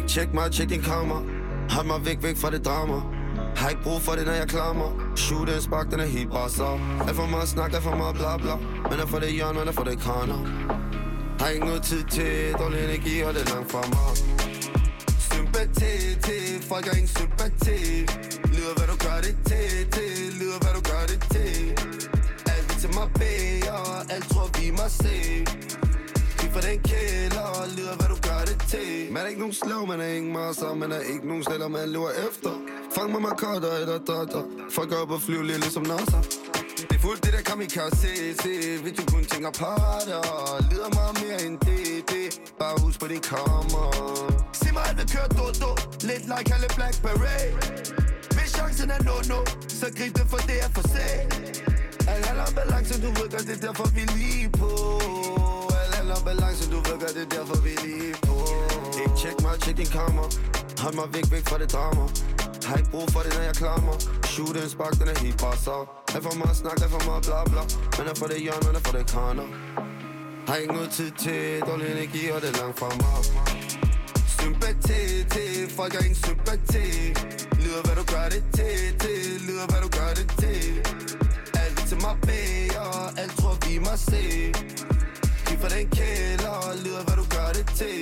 Ikke tjek mig, tjek din kamera. Hold mig væk fra det drama. Har ikke brug for det, når jeg klammer. Shoot en spark, den er helt bare så. Alt for meget snak, alt for meget bla bla. Men er for det hjørne, men er for det kraner. Har ikke noget tid til dårlig energi, og det er langt fra mig. Sympati til, folk har ingen sympati. Lyder hvad du gør det til, lyder hvad du gør det til. Alt vi til mig beder, alt tror vi må se. Vi for den kælder, lyder hvad du gør det til. Man er ikke nogen slag, man er ingen masser. Man er ikke nogen sletter, man lever efter. Fang mig markotter eller dotter. Folk går op og flyver lidt ligesom NASA. Det er fuldt det der kamikaze, hvis du kun tænker parter. Lyder meget mere end det. Bare husk på din kammer. Sig mig alt vil køre do. Lidt like alle Blackberry. Hvis chancen er no, så grib det for det er for sent. Alt handler om balance, du ved godt, det er derfor vi lige på. Alt handler om balance, du ved godt, det er derfor vi lige på. Ikke tjek mig, tjek din kamera. Hold mig væk fra det drama. Har ikke brug for det, når jeg klammer. Shoot en spark, den er helt bare så. Alt for meget snak, alt for meget bla bla. Men er for det hjørne, men er for det kraner. Har ikke noget tid til dårlig energi, og det er langt fra mig. Sympati til, folk har ingen sympati. Lyder hvad du gør det til, lyder hvad du gør det til. Alt til mig beder, alt tror vi må se. Giv for den kælder, lyder hvad du gør det til.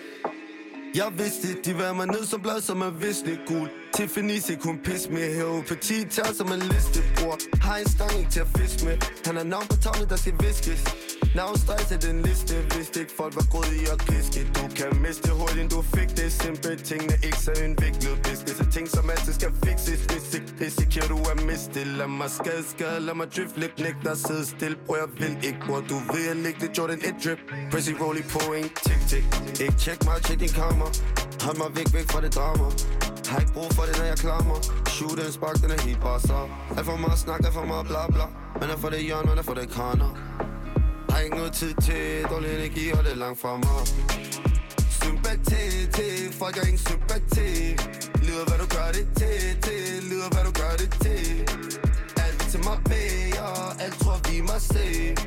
Jeg vidste, de var mig ned som blad, som er visne gul. Tiffany's ikke kun pis med her. Petit tager som en listebror. Har en stang ikke til at fiske med. Han har navn på tavlen, der skal viskes. Navnstrejs er den liste. Vidste ikke folk var gået i at kliske. Du kan miste hurtigt, du fik det. Simple tingene ikke så indviklet business. Og ting som altid skal fixes. Hvis ikke risikerer du at miste. Lad mig skade, lad mig drift lidt. Nægter sidde stille, bror jeg vil ikke. Bror du vil jeg lægge det Jordan 1 drip. Pressy rolling på en tik. Ikke tjek mig, tjek din kamera. Hold mig væk fra det drama. Har ikke brug for det, når jeg klammer. Shoot en spark, den er helt bare så. Alt for meget snak, alt for meget bla bla. Men er for det hjørne, men er for det kraner. Har ikke noget tid til dårlig energi, og det er langt fra mig. Sympati til, folk har ingen sympati. Lyder hvad du gør det til, lyder hvad du gør det til. Alt til mig beder, alt tror vi må se.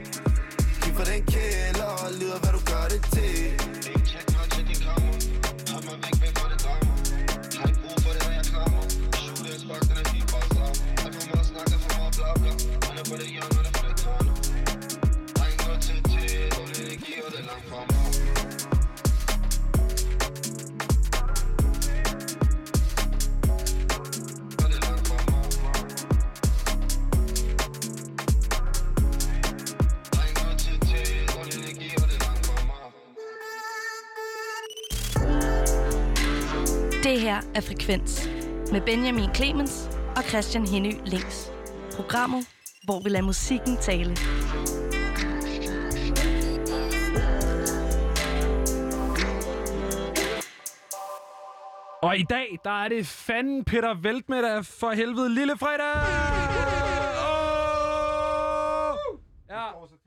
Giv for den kælder, lyder hvad du gør det til. Tjek mig, tjek din kamera. Hold mig væk fra det drama. Har ikke brug for det, når jeg klammer. Shoot en spark, den er helt bare så. Alt for meget snak, alt for meget bla bla. Men er for det hjørne, men er for det kraner. Har ikke noget tid til dårlig energi, og det er langt fra mig. Det her er Frekvens med Benjamin Clemens og Christian Henny Links. Programmet, hvor vi lader musikken tale. Og i dag, der er det fanden Peter Veltmeddag for helvede lille fredag! Ja.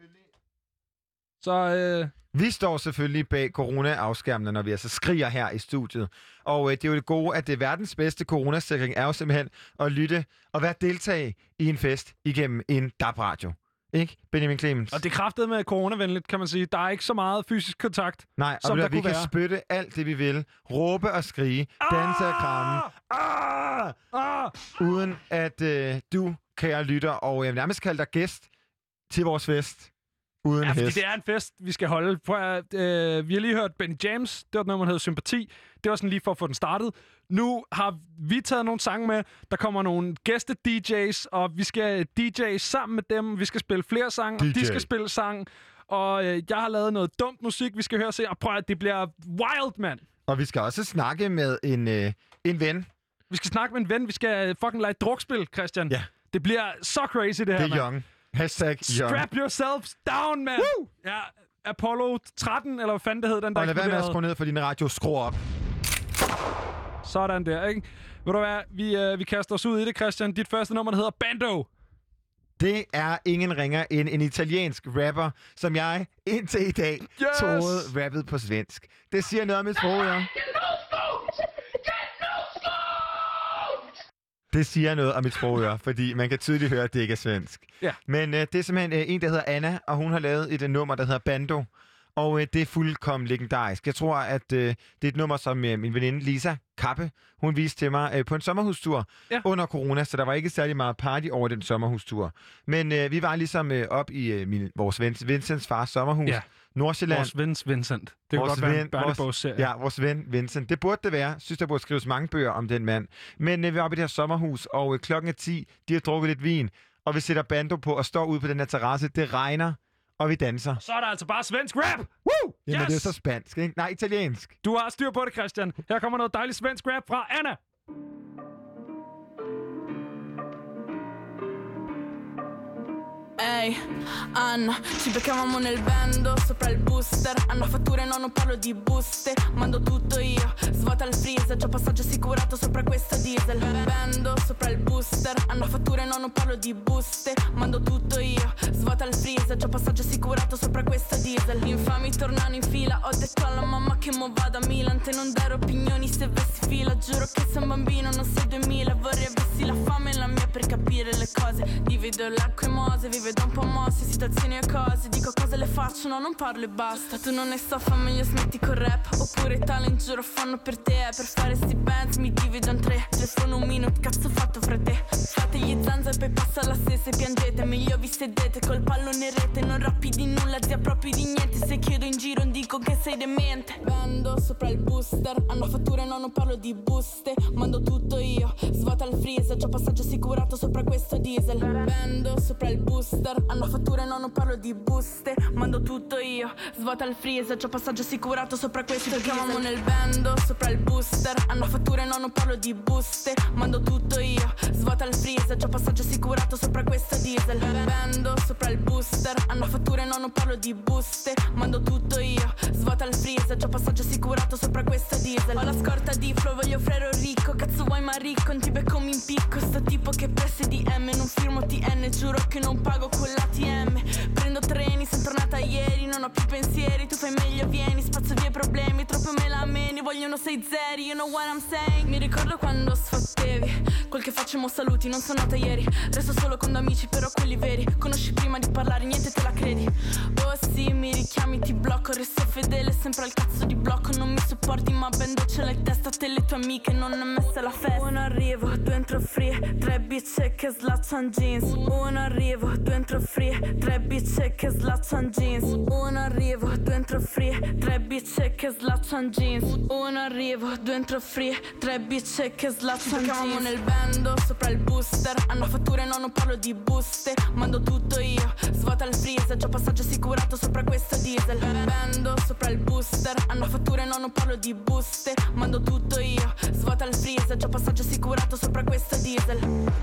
Så Vi står selvfølgelig bag corona-afskærmene, når vi altså skriger her i studiet. Og det er jo det gode, at det verdens bedste coronasikring er jo simpelthen at lytte og være deltage i en fest igennem en DAB-radio. Ikke, Benjamin Clemens? Og det er kraftet med coronavenligt, kan man sige. Der er ikke så meget fysisk kontakt, nej, som der vi kunne kan være. spytte alt det, vi vil. Råbe og skrige. Danse og kramme. Uden at du, kære lytter, og jeg vil nærmest kalde dig gæst til vores fest. Uden ja, fordi hest. det er en fest, vi skal holde. Vi har lige hørt Benny James. Det var et nummer, der hedder Sympati. Det var sådan lige for at få den startet. Nu har vi taget nogle sange med. Der kommer nogle gæste-DJ's, og vi skal DJ sammen med dem. Vi skal spille flere sange, og de skal spille sang. Og jeg har lavet noget dumt musik, vi skal høre se. Og prøv at det bliver wild, mand. Og vi skal også snakke med en ven. Vi skal snakke med en ven. Vi skal fucking lege drukspil, Christian. Ja. Det bliver så crazy, det her, Det er young. Hashtag young. Strap yourselves down, man. Woo! Ja, Apollo 13, eller hvad fanden det hed, den der og lad være med at eksploderede. skrue ned for din radio. Skru op. Sådan der, ikke? Ved du hvad, vi kaster os ud i det, Christian. Dit første nummer, der hedder Bando. Det er ingen ringer end en italiensk rapper, som jeg indtil i dag troede rappede på svensk. Det siger noget om et sprog, ja. Det siger noget om mit sprogøre, fordi man kan tydeligt høre, at det ikke er svensk. Ja. Men det er simpelthen en, der hedder Anna, og hun har lavet et nummer, der hedder Bando. Og det er fuldkommen legendarisk. Jeg tror, at det er et nummer, som min veninde Lisa Kappe, hun viste til mig på en sommerhustur under corona, så der var ikke særlig meget party over den sommerhustur. Men vi var ligesom op i vores ven Vincents fars sommerhus. Ja. Nordsjælland. Vores ven Vincent. Det kunne godt være en børnebogsserie. Ja, vores ven Vincent. Det burde det være. Jeg synes, der burde skrives mange bøger om den mand. Men vi var oppe i det her sommerhus, og klokken er 10. De har drukket lidt vin, og vi sætter bando på og står ude på den her terrasse. Det regner, og vi danser. Så er der altså bare svensk rap! Woo! Jamen, det er så spansk, ikke? Nej, italiensk. Du har styr på det, Christian. Her kommer noget dejligt svensk rap fra Anna. Ehi, Anna, ci beccavamo nel bando sopra il booster. Hanno fatture, no, non parlo di buste. Mando tutto io, svuota il freezer. C'ho passaggio assicurato sopra questo diesel. Bando sopra il booster. Hanno fatture, no, non parlo di buste. Mando tutto io, svuota il freezer. C'ho passaggio assicurato sopra questo diesel. Gli infami tornano in fila. Ho detto alla mamma che mo vado a Milan. Te non dare opinioni se vessi fila. Giuro che sei un bambino, non sei 2000. Vorrei avessi la fame e la mia per capire le cose. Divido l'acqua e mose, vive da un po' mosse, situazioni e cose. Dico cose le faccio, no, non parlo e basta. Tu non ne so, fa meglio smetti col rap. Oppure talent, giuro, fanno per te. Per fare sti bands mi divido in tre. Telefono un minuto, cazzo fatto fra te. Fate gli zanza e poi passa la stessa e piangete. Meglio vi sedete col pallone in rete. Non rappi di nulla, zia proprio di niente. Se chiedo in giro dico che sei demente. Vendo sopra il booster. Hanno fatture, no, non parlo di buste. Mando tutto io, svuota il freezer. C'ho passaggio assicurato sopra questo diesel. Vendo sopra il booster. Hanno fatture, no, non parlo di buste. Mando tutto io, svuota il freezer. C'ho passaggio assicurato sopra questo diesel. Chiamamo nel bando sopra il booster. Hanno fatture, no, non parlo di buste. Mando tutto io, svuota il freezer. C'ho passaggio assicurato sopra questo diesel. Bando sopra il booster. Hanno fatture, no, non parlo di buste. Mando tutto io, svuota il freezer. C'ho passaggio assicurato sopra questo diesel. Ho la scorta di flow, voglio frero ricco. Cazzo vuoi ma ricco, non ti becco mi impicco. Sto tipo che presse DM, non firmo TN. Giuro che non pago con l'ATM. Prendo treni, sono tornata ieri. Non ho più pensieri, tu fai meglio vieni. Spazzo via i problemi, troppo me la meni. Vogliono 6 zeri, you know what I'm saying. Mi ricordo quando sfottevi quel che facciamo saluti, non sono nata ieri. Resto solo con 2 amici, però quelli veri. Conosci prima di parlare, niente te la credi. Oh sì, mi richiami, ti blocco. Resto fedele, sempre al cazzo di blocco. Non mi sopporti, ma bendo ce l'hai testa. Te le tue amiche, non è messa la festa. Uno arrivo, 2 entro free. 3 bitch che slaccian jeans. Uno arrivo, 2 entro free. 3 bitch che slaccian jeans. Uno arrivo, 2 entro free. 3 bitch che slaccian jeans. Uno arrivo, 2 entro free. 3 bitch che slaccian jeans. Chiamamo nel bando sopra il booster. Hanno fatture, no, non parlo di buste. Mando tutto io, svuota il freezer. C'ho passaggio assicurato sopra questo diesel. Bando sopra il booster. Hanno fatture, no, non parlo di buste. Mando tutto io, svuota il freezer. C'ho passaggio assicurato sopra questo diesel.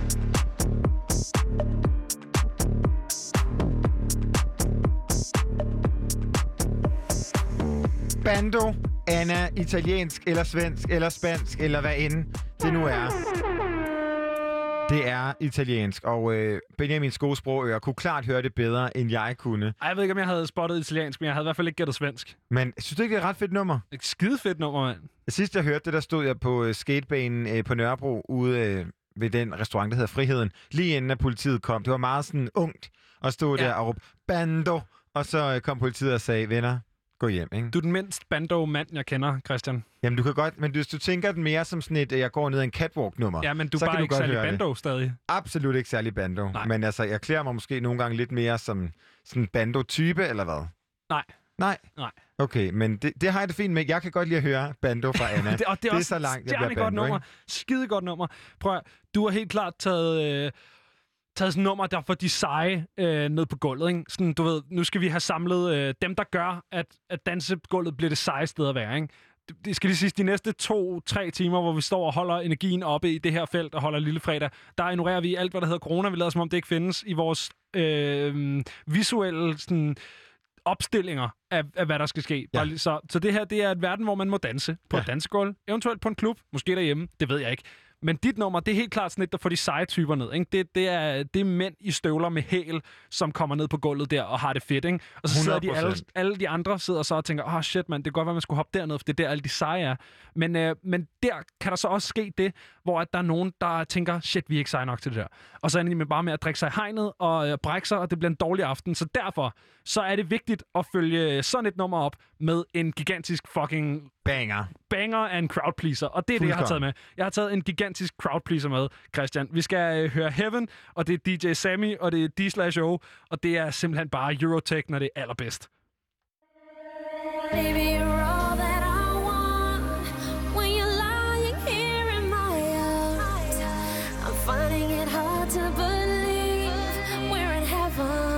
Bando, Anna, italiensk eller svensk eller spansk eller hvad end det nu er. Det er italiensk, og Benjamins gode sprogører kunne klart høre det bedre, end jeg kunne. Ej, jeg ved ikke, om jeg havde spottet italiensk, men jeg havde i hvert fald ikke gættet svensk. Men synes du ikke, det er et ret fedt nummer? Et skide fedt nummer, mand. Sidst jeg hørte det, der stod jeg på skatebanen på Nørrebro ude ved den restaurant, der hedder Friheden, lige inden at politiet kom. Det var meget sådan ungt at stå der og råbe bando, og så kom politiet og sagde, venner, gå hjem, ikke? Du er den mindst bando-mand, jeg kender, Christian. Jamen, du kan godt, men hvis du tænker den mere som sådan et, jeg går ned ad en catwalk-nummer. Ja, men du er bare ikke særlig bando stadig. Absolut ikke særlig bando. Nej. Men altså, jeg klæder mig måske nogle gange lidt mere som sådan bando-type, eller hvad? Nej? Nej. Okay, men det har jeg det fint med. Jeg kan godt lide at høre bando fra Anna. det er også så langt, jeg bliver bando, nummer. Skide godt nummer. Prøv at, du har helt klart taget sådan et nummer, der får de seje ned på gulvet, ikke? Sådan, du ved, nu skal vi have samlet dem, der gør, at dansegulvet bliver det seje sted at være, ikke? Det skal lige sige, de næste 2-3 timer, hvor vi står og holder energien oppe i det her felt og holder lille fredag, der ignorerer vi alt, hvad der hedder corona. Vi lader som om det ikke findes i vores visuelle sådan, opstillinger af, hvad der skal ske. Ja. Så det her, det er et verden, hvor man må danse på et dansegulv, eventuelt på en klub, måske derhjemme, det ved jeg ikke. Men dit nummer, det er helt klart sådan et, der får de seje typer ned. Ikke? Det er mænd i støvler med hæl, som kommer ned på gulvet der og har det fedt. Ikke? Og så sidder de alle de andre sidder så og tænker, shit mand, det kan godt være, man skulle hoppe derned, for det er der alle de seje er. Men der kan der så også ske det, hvor at der er nogen, der tænker, shit, vi er ikke seje nok til det der. Og så ender de bare med at drikke sig i hegnet og brække sig, og det bliver en dårlig aften. Så derfor så er det vigtigt at følge sådan et nummer op med en gigantisk fucking banger af en crowdpleaser. Og det er det, jeg har taget med. Jeg har taget en gigantisk crowdpleaser med, Christian. Vi skal høre Heaven, og det er DJ Sammy, og det er D/O, og det er simpelthen bare Eurotech, når det er allerbedst. Baby, you're all that I want. When you're lying here in my arms, I'm finding it hard to believe we're in heaven.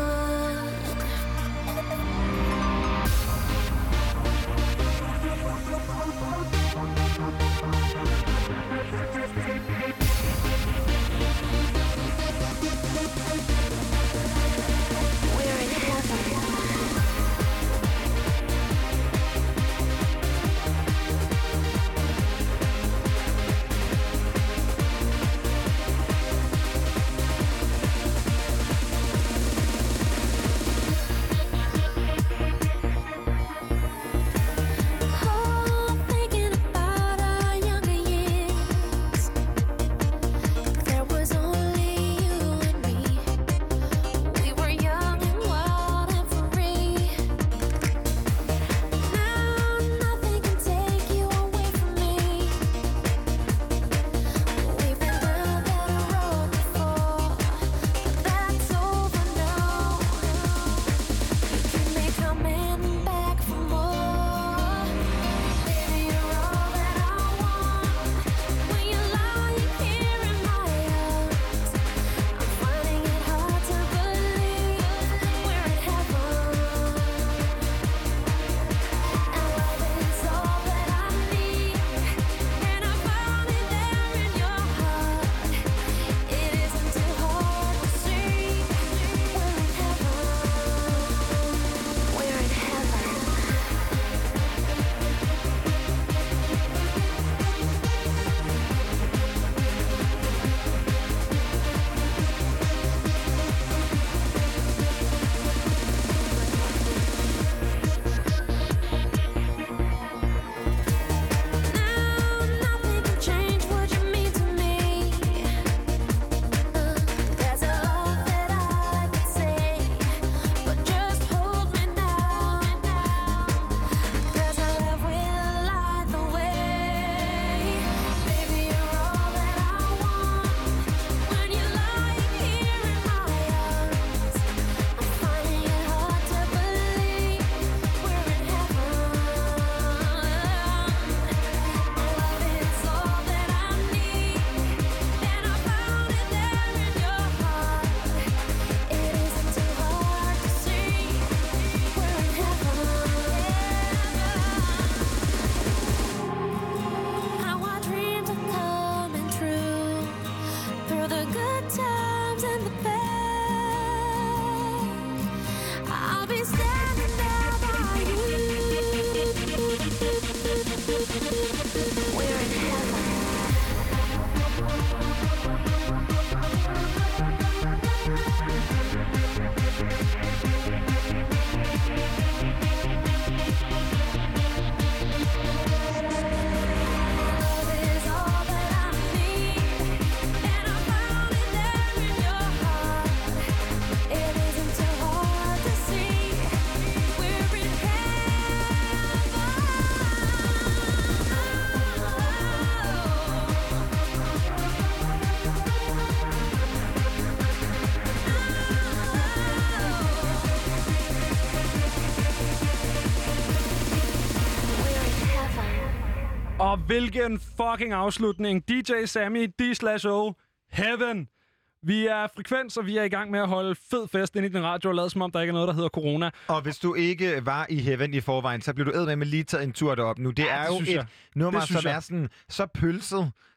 Og hvilken fucking afslutning. DJ Sammy, D/O, Heaven. Vi er Frekvens, og vi er i gang med at holde fed fest ind i din radio og lade som om, der ikke er noget, der hedder corona. Og hvis du ikke var i Heaven i forvejen, så bliver du eddermame lige taget en tur derop nu. Det er jo et nummer, som er sådan så pølset.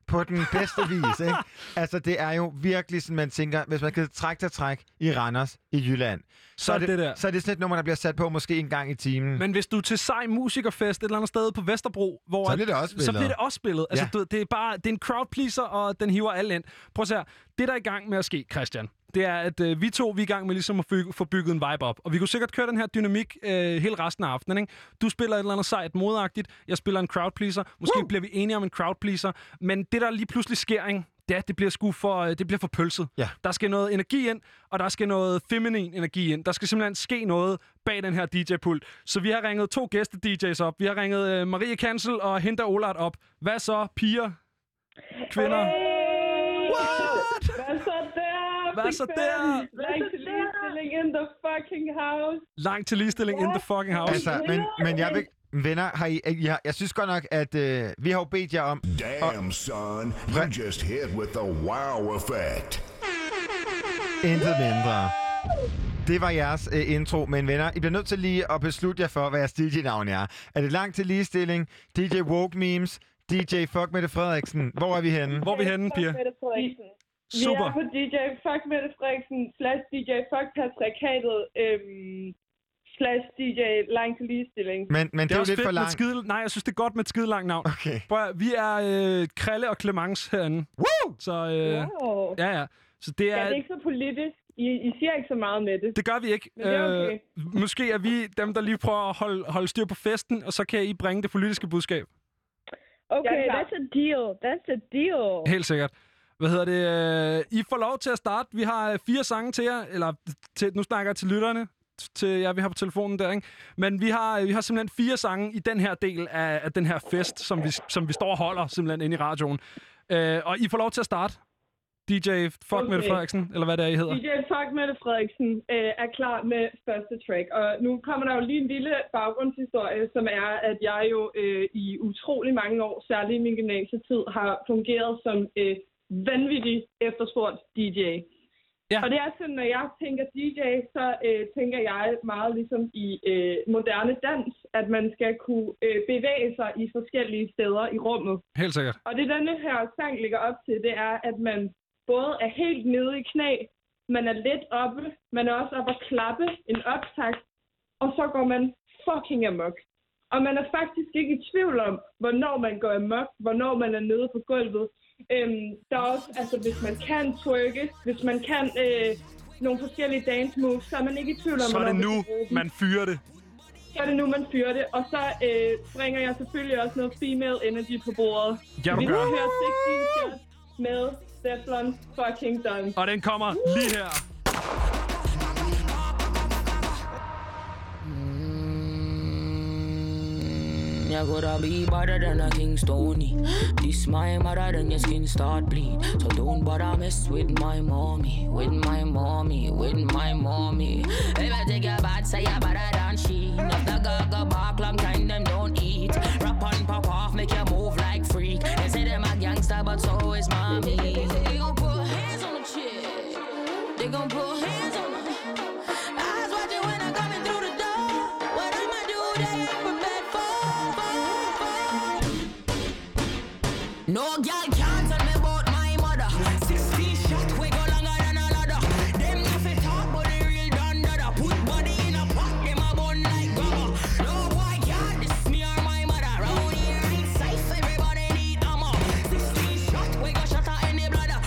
på den bedste vis, ikke? Altså, det er jo virkelig sådan, man tænker, hvis man kan træk i Randers i Jylland, så er det sådan et nummer, der bliver sat på måske en gang i timen. Men hvis du er til sej musikerfest et eller andet sted på Vesterbro, hvor så bliver det også spillet. Så bliver det også spillet. Altså, Ja. det er en crowd pleaser, og den hiver alle ind. Prøv at se her. Det, der er i gang med at ske, Christian, det er, at vi er i gang med ligesom at få bygget en vibe op. Og vi kunne sikkert køre den her dynamik hele resten af aftenen, ikke? Du spiller et eller andet sejt modagtigt, jeg spiller en crowd pleaser. Måske bliver vi enige om en crowd pleaser. Men det, der lige pludselig sker, ikke? Det bliver for pølset. Ja. Der skal noget energi ind, og der skal noget feminin energi ind. Der skal simpelthen ske noget bag den her DJ-pult. Så vi har ringet 2 gæste-DJ's op. Vi har ringet Marie Kansel og Hinda Olart op. Hvad så, piger? Kvinder? Hey! What? Hvad så der? Hvad så der? Langt til ligestilling in the fucking house. Langt til ligestilling in the fucking house. Altså, men jeg vil... Venner, jeg synes godt nok, at vi har jo bedt jer om... Damn, son. You just hit with the wow effect. Intet mindre. Det var jeres intro, men venner, I bliver nødt til lige at beslutte jer for, hvad jeres DJ-navn er. Er det langt til ligestilling, DJ Woke Memes, DJ Fuck Mette Frederiksen? Hvor er vi henne? Hvor er vi henne, piger? Super. Vi er på DJ Fuck Mette Frederiksen / DJ Fuck Patriarkatet / DJ Langt til ligestilling. Men det er jo lidt for langt. Nej, jeg synes, det er godt med et skide langt navn. Okay. Vi er Krille og Clemence herinde. Woo! Så Wow. ja. Så det er... Ja, det er ikke så politisk. I siger ikke så meget med det. Det gør vi ikke. Men det er okay. Måske er vi dem, der lige prøver at holde styr på festen, og så kan I bringe det politiske budskab. Okay, that's a deal. Helt sikkert. Hvad hedder det? I får lov til at starte. Vi har 4 sange til jer, eller nu snakker jeg til lytterne, til jer, vi har på telefonen der, ikke? Men vi har simpelthen 4 sange i den her del af den her fest, som vi står og holder simpelthen inde i radioen. Og I får lov til at starte. DJ Fuck Mette Frederiksen, eller hvad det er, I hedder. DJ Fuck Mette Frederiksen er klar med første track. Og nu kommer der jo lige en lille baggrundshistorie, som er, at jeg jo i utrolig mange år, særligt i min gymnasietid, har fungeret som vanvittig efterspurgt DJ. Ja. Og det er sådan, når jeg tænker DJ, så tænker jeg meget ligesom i moderne dans, at man skal kunne bevæge sig i forskellige steder i rummet. Helt sikkert. Og det denne her sang ligger op til, det er, at man både er helt nede i knæ, man er lidt oppe, man er også oppe at klappe en optakt, og så går man fucking amok. Og man er faktisk ikke i tvivl om, hvornår man går amok, hvornår man er nede på gulvet. Der er også, altså hvis man kan twerke, hvis man kan nogle forskellige dance moves, så er man ikke i tvivl om, så er det nu, man fyrer det. Så er det nu, man fyrer det. Og så bringer jeg selvfølgelig også noget female energy på bordet. Ja, vi skal høre 16 shots med Stefflon fucking Don. Og den kommer lige her. You coulda be better than a King Stony. This my mother, then your skin start bleed. So don't bother mess with my mommy, with my mommy, with my mommy. If I take your bad, say you better than she. If the girl back long time, them don't eat. Rap on, pop off, make you move like freak. They say them a gangster, but so is mommy. They gon' put hands on the chick. They gon' put hands on the. Eyes watching when I'm coming through the door. What I'ma do, they ain't prepared for. No girl can't tell me about my mother. 16 shot, we go longer than a ladder. Them nothing talk, but they real done dada. Put body in a pot, them a bun like grabber. No boy can't diss me or my mother. Round here ain't safe, everybody need ammo. 16 shot, we go shut her in the bladder.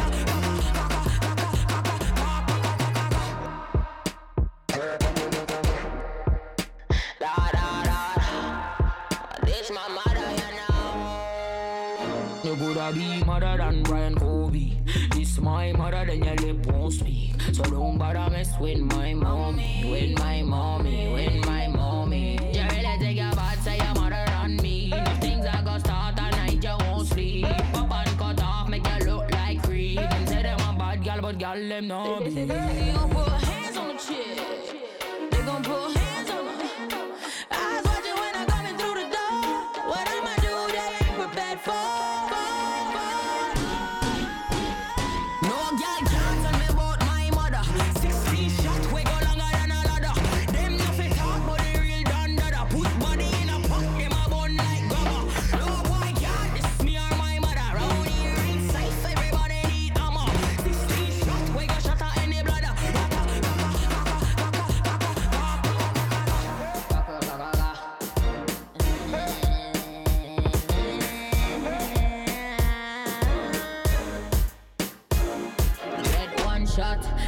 Da da da da. This my mother, you know. You coulda be mother than Brian Kobe. This my mother, then your lip won't speak. So don't bother mess with my mommy, with my mommy, with my mommy. You really take your bad, say your mother than me. If things are gonna start all night, you won't sleep. Pop and cut off, make you look like creep. Them say them a bad gal, but gal them no be. They gon' put hands on the chick. They gon' put hands on her. Eyes watching when I'm coming through the door. What I'ma do, they ain't prepared for. No girl can't tell me about my mother. 16 shot, we go longer than a ladder. Them nothing talk, but they real done dada. Put body in a pot, them a bun like grabber. No boy can't diss me or my mother. Round here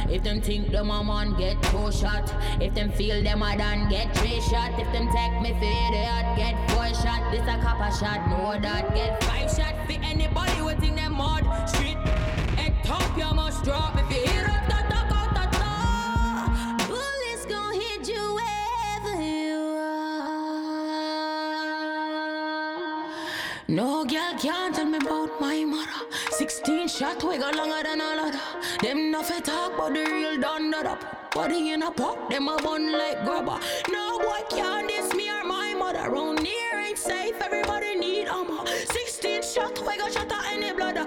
If them think them a man get 2 shot. If them feel them a done get 3 shot. If them take me for idiot get 4 shot. This a copper shot, know that get 5 shot. For anybody who think them mud street. Egg top you must drop. If you hear up the talk out the door. Bullets gon' hit you wherever you are. No girl can't tell me about my mother. 16 shot we go longer than a ladder. Them nothing talk but the real done that up. Body in a pot, them a bun like grubber. No boy can't diss me or my mother. Round here ain't safe, everybody need armor. 16 shot we go shot at any bladder.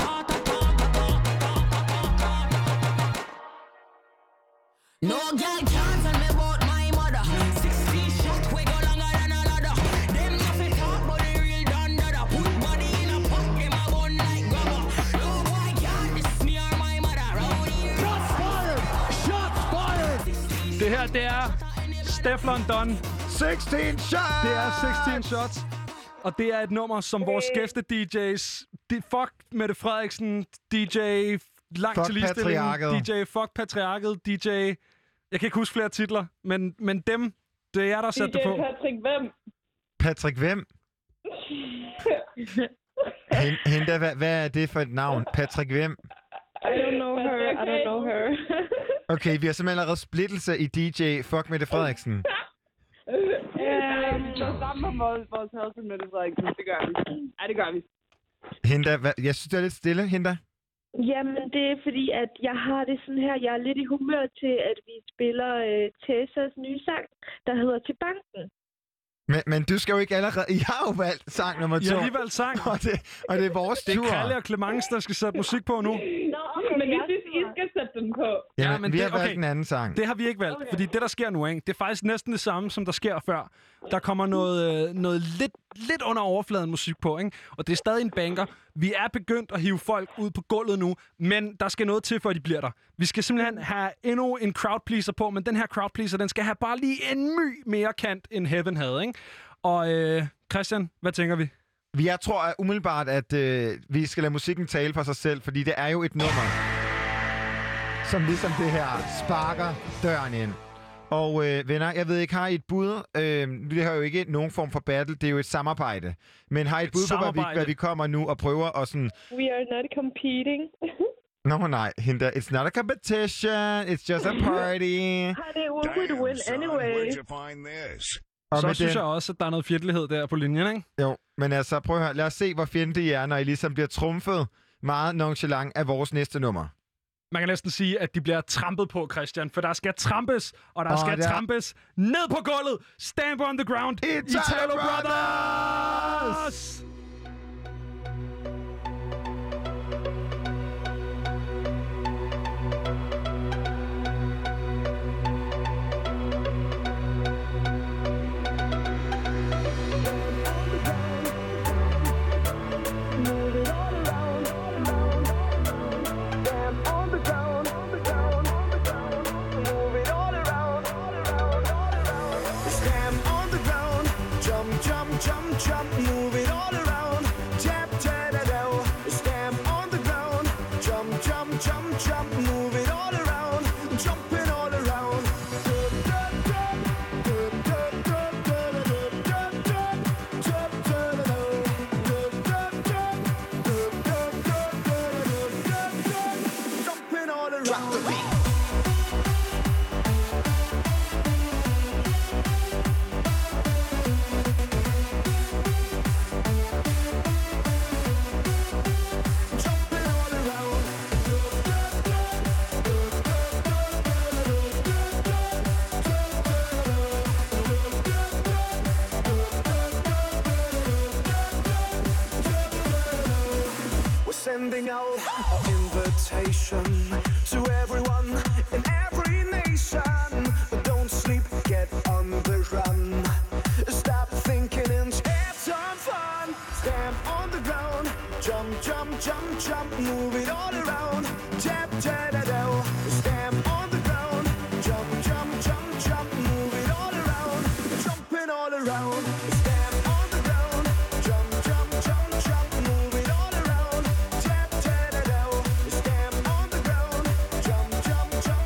No girl can't tell me about my mother. 16 shot we go longer than a ladder. Them nothing talk but the real done that up. Put body in a pot, them a bun like grubber. No boy can't diss me or my mother. Round here. Shots fired! Shots fired! Det her, det er Stefflon Don. 16 shots! Det er 16 shots. Og det er et nummer, som vores gæste-DJ's... Fuck Mette Frederiksen, DJ... Langt Fuck til ligestilling, patriarket. DJ Fuck Patriarket, DJ... Jeg kan ikke huske flere titler, men dem, det er jer, der satte det på. DJ Patrick hvem? Patrick hvem? Hende, hvad er det for et navn? Patrick hvem? I don't know her, I don't know her. Okay, vi har simpelthen allerede splittelse i DJ Fuck Mette Frederiksen. Vi står sammen om vores husband Mette Frederiksen, det gør vi. Ja, det gør vi. Hinda, jeg synes, det er lidt stille, Hinda. Jamen, det er fordi, at jeg har det sådan her. Jeg er lidt i humør til, at vi spiller Tessas nye sang, der hedder Til Banken. Men du skal jo ikke allerede... Jeg har jo valgt sang nummer 2. Jeg har lige valgt sang. Og det er vores tur. Det er Kalle og Clemence, der skal sætte musik på nu. Nå, okay, men jeg synes, I skal sætte den på. Ja, men vi har valgt en anden sang. Det har vi ikke valgt, fordi det, der sker nu, ikke? Det er faktisk næsten det samme, som der sker før. Der kommer noget lidt under overfladen musik på, ikke? Og det er stadig en banker. Vi er begyndt at hive folk ud på gulvet nu, men der skal noget til, før de bliver der. Vi skal simpelthen have endnu en crowdpleaser på, men den her crowdpleaser, den skal have bare lige en my mere kant, end Heaven havde, ikke? Og Christian, hvad tænker vi? Jeg tror umiddelbart, at vi skal lade musikken tale for sig selv, fordi det er jo et nummer, som ligesom det her sparker døren ind. Og venner, jeg ved ikke, har I et bud? Det har jo ikke nogen form for battle, det er jo et samarbejde. Men har I et bud på, hvad vi kommer nu og prøver at sådan... We are not competing. Nej, Hinda, it's not a competition, it's just a party. Honey, we would win anyway. Så synes jeg også, at der er noget fjendtlighed der på linjen, ikke? Jo, men altså, prøv at høre. Lad os se, hvor fjendtlige I er, når I ligesom bliver trumfet meget nonchalant af vores næste nummer. Man kan næsten sige, at de bliver trampet på, Christian. For der skal trampes, og der skal trampes ned på gulvet. Stamp on the ground. Italo Brothers! Sending out an invitation to everyone in every nation. Don't sleep, get on the run. Stop thinking and have some fun. Stamp on the ground, jump, jump, jump, jump, move it all around. Tap, tap, da, da. Stamp on the ground, jump, jump, jump, jump, move it all around. Jumping all around. Jump,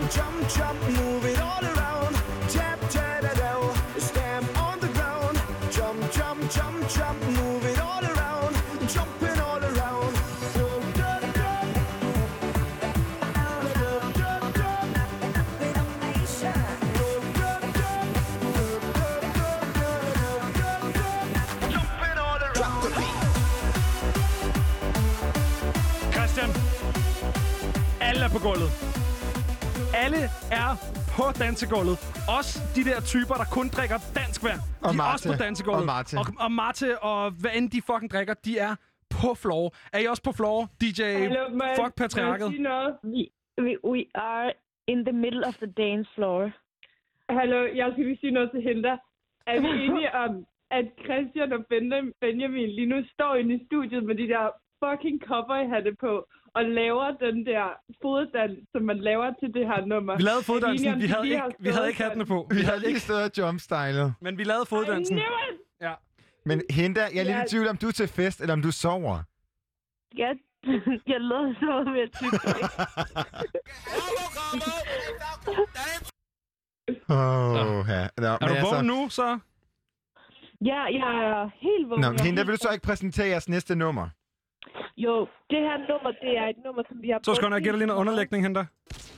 Jump, jump, move it all around. Tap, ta-da-dow, stamp on the ground. Jump, jump, jump, jump, move it all around. Jumping all around. Dum, dum, dum. Dum, dum, dum. Rhythm Nation. Dum, dum, dum. Dum, dum, dum, dum, dum, dum. Jumping all around. Drop the beat. Christian, alle er på gulvet. Alle er på dansegulvet. Også de der typer, der kun drikker dansk vand. Og de er Marte. også på dansegulvet. Og Marte. Og Marte, og hvad end de fucking drikker, de er på floor. Er I også på floor, DJ Fuck Patriarket? We are in the middle of the dance floor. Hallo, jeg skal lige sige noget til Hilda. Er vi enige om, at Christian og Benjamin lige nu står inde i studiet med de der fucking cowboyhatte på og laver den der foddans, som man laver til det her nummer? Vi lavede foddansen, vi havde ikke hattene på. Vi havde lige stået og jumpstylet. Men vi lavede foddansen. Ja. Men Hinda, jeg er lidt i tvivl, om du er til fest, eller om du sover. Ja, jeg lader så med at tykke. Er du vågen nu, så? Ja, jeg er helt vågen. Nå, Hinda, vil du så ikke præsentere jeres næste nummer? Jo, det her nummer, det er et nummer, som vi har... Så skal jeg give dig lige noget underlægning, Hinda.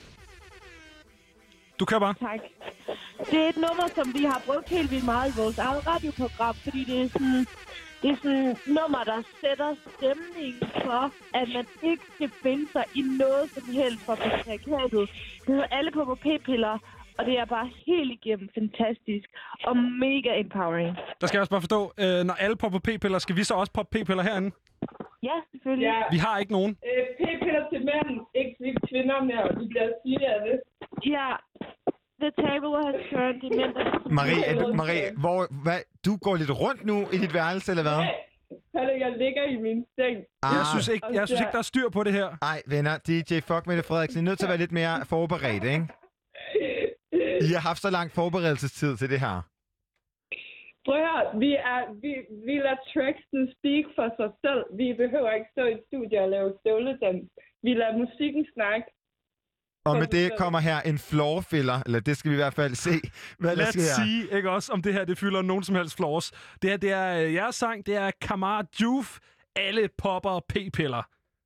Du kan bare. Tak. Det er et nummer, som vi har brugt helt vildt meget i vores eget radioprogram, fordi det er sådan et nummer, der sætter stemningen for, at man ikke skal finde sig i noget som helst fra patriarkatet. Det hedder Alle på p-piller, og det er bare helt igennem fantastisk og mega empowering. Der skal jeg også bare forstå, når alle popper p-piller, skal vi så også poppe p-piller herinde? Ja, selvfølgelig. Ja. Vi har ikke nogen. P-piller til mænd, ikke til kvinder mere, og de bliver sige af det. Ja, the table has turned. De mænd, Marie, du går lidt rundt nu i dit værelse, eller hvad? Jeg ligger i min seng. Jeg synes ikke, der er styr på det her. Nej, venner, DJ Fuck Mette Frederiksen, I er nødt til at være lidt mere forberedt, ikke? I har haft så lang forberedelsestid til det her. Prøv at høre, vi lader tracksen speak for sig selv. Vi behøver ikke stå i et studie og lave støvledans. Vi lader musikken snakke. Og med det kommer her en floorfiller, eller det skal vi i hvert fald se, hvad der sker. Lad os sige, ikke også, om det her det fylder nogen som helst floors. Det her, det er jeres sang, det er Kamar Juf, Alle popper p-piller.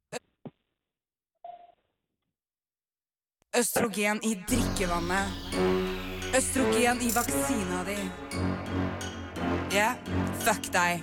Østrogen i drikkevandet. Østrogen i vaksina di. Ja, fuck deg.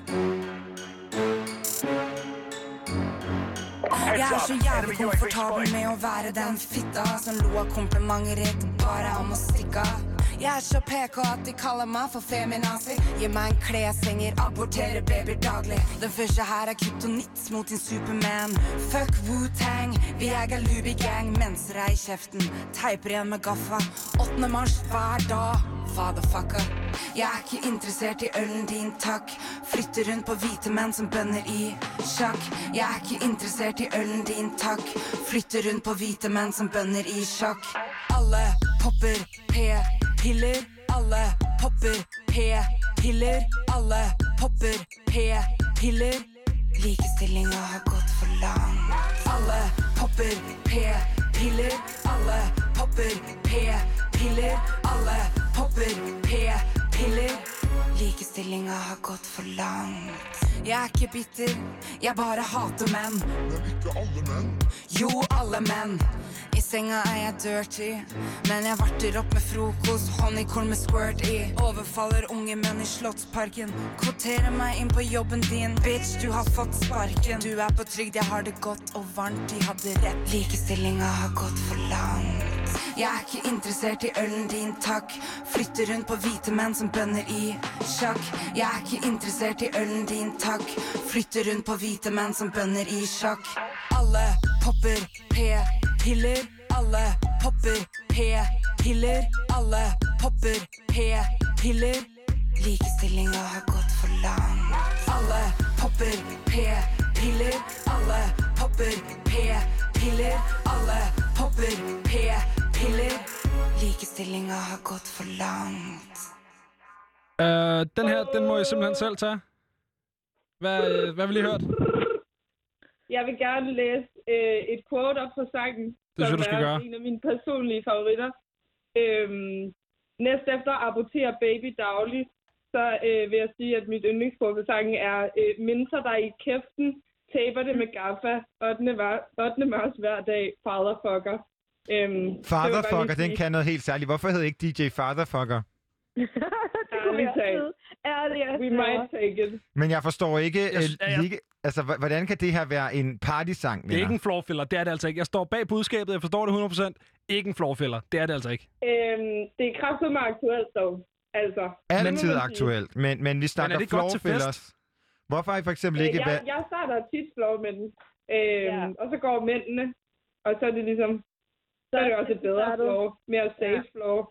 Jeg er så jævlig komfortabel med å være den fitta som lo av komplimenter rett bare om å stikke av. Jeg er så PK at de kaller meg for feminazi. Gi meg en kleshenger, aborterer babyer daglig. Den første her er kryptonits mot din Superman. Fuck Wu-Tang, vi er Galubi-gang. Menser deg i kjeften, teiper igjen med gaffa. 8. mars hver dag, fatherfucker. Jeg er ikke interessert i ølen din, takk. Flytter rundt på hvite menn som bønner i sjakk. Jeg er ikke interessert i ølen din, takk. Flytter rundt på hvite menn som bønner i sjakk. Alle popper p-piller. Alle popper p-piller. Alle popper p-piller. Likestillinga har gått for langt. Alle popper p-piller. Alle popper p-piller. Alle popper p-piller. Likestillinga har gått for langt. Jeg er ikke bitter, jeg bare hater menn. Men ikke alle menn. Jo, alle menn. I senga er jeg dirty, men jeg varter opp med frokost, honeycorn med squirt i. Overfaller unge menn i Slottsparken. Kvoterer meg inn på jobben din, bitch, du har fått sparken. Du er på trygd, jeg har det godt og varmt, de hadde rett. Likestillinga har gått for langt. Jeg er ikke interessert i ølen din, takk. Flytter rundt på hvite menn som bønner i sjakk. Jeg er ikke interessert i ølen din, takk. Flytter rundt på hvite menn som bønner i sjakk. Alle popper p-piller. Alle popper p-piller. Alle popper p-piller. Likestillinga har gått for langt. Alle popper p-piller. Alle popper p-piller. Alle popper p-piller. Likestillinga har gått for langt. Den her, den må jeg simpelthen selv tage. Hvad vil I hørt? Jeg vil gerne læse et quote op på sangen. synes jeg, du skal gøre. En af mine personlige favoritter. Næst efter Apportere Baby dagligt, så vil jeg sige, at mit yndlingsbrug for sangen er Minser dig i kæften, taber det med gaffa, 8. marts hver dag, Fatherfucker. Fatherfucker, den kan noget helt særligt. Hvorfor hedder ikke DJ Fatherfucker? We might take it. Men jeg forstår ikke, altså, hvordan kan det her være en partysang? Det er ikke en floorfiller, det er det altså ikke. Jeg står bag budskabet, jeg forstår det 100%. Ikke en floorfiller, det er det altså ikke. Det er kraftigt meget aktuelt dog. Altså. Altid aktuelt, men vi snakker floorfillers. Hvorfor har I for eksempel ikke... Jeg starter tit floor med den, og så går mændene, og så er det ligesom... Så er det også et bedre floor, mere safe floor.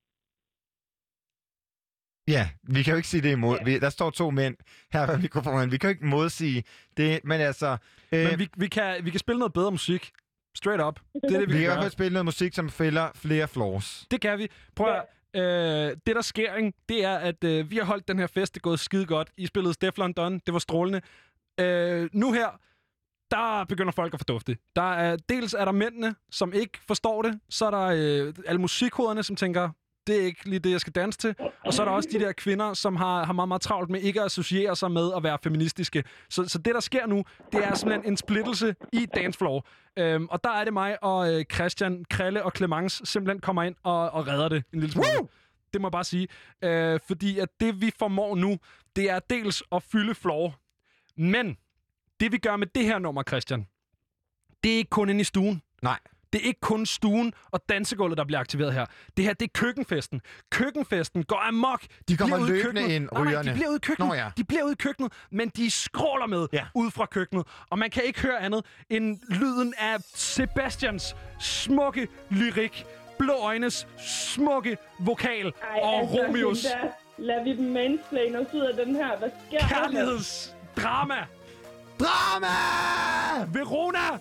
Ja, vi kan jo ikke sige det imod. Der står 2 mænd her ved mikrofonen. Vi kan jo ikke modsige det, men altså... Men vi kan spille noget bedre musik. Straight up. Det er det, vi kan i hvert fald spille noget musik, som fælder flere floors. Det kan vi. Prøv at... det, der sker, ikke, det er, at vi har holdt den her fest. Det er gået skide godt. I spillede Stefflon Don. Det var strålende. Nu her, der begynder folk at fordufte. Dels er der mændene, som ikke forstår det. Så er der alle musikhoderne, som tænker... Det er ikke lige det, jeg skal danse til. Og så er der også de der kvinder, som har meget, meget travlt med ikke at associere sig med at være feministiske. Så det, der sker nu, det er simpelthen en splittelse i dancefloor. Og der er det mig og Christian, Krille og Clemence simpelthen kommer ind og redder det en lille smule. Det må jeg bare sige. Fordi at det, vi formår nu, det er dels at fylde floor. Men det, vi gør med det her nummer, Christian, det er ikke kun inde i stuen. Nej. Det er ikke kun stuen og dansegulvet, der bliver aktiveret her. Det her, det er køkkenfesten. Køkkenfesten går amok. De kommer løbende ind, rygerne. Nej, de bliver ude i køkkenet. De bliver ude i køkkenet, men de skråler med ud fra køkkenet. Og man kan ikke høre andet end lyden af Sebastians smukke lyrik, Blå Øjnes smukke vokal og altså, Romeos. Lad vi dem mansplain os ud af den her. Hvad sker der? Kærlighedsdrama. Drama! Verona!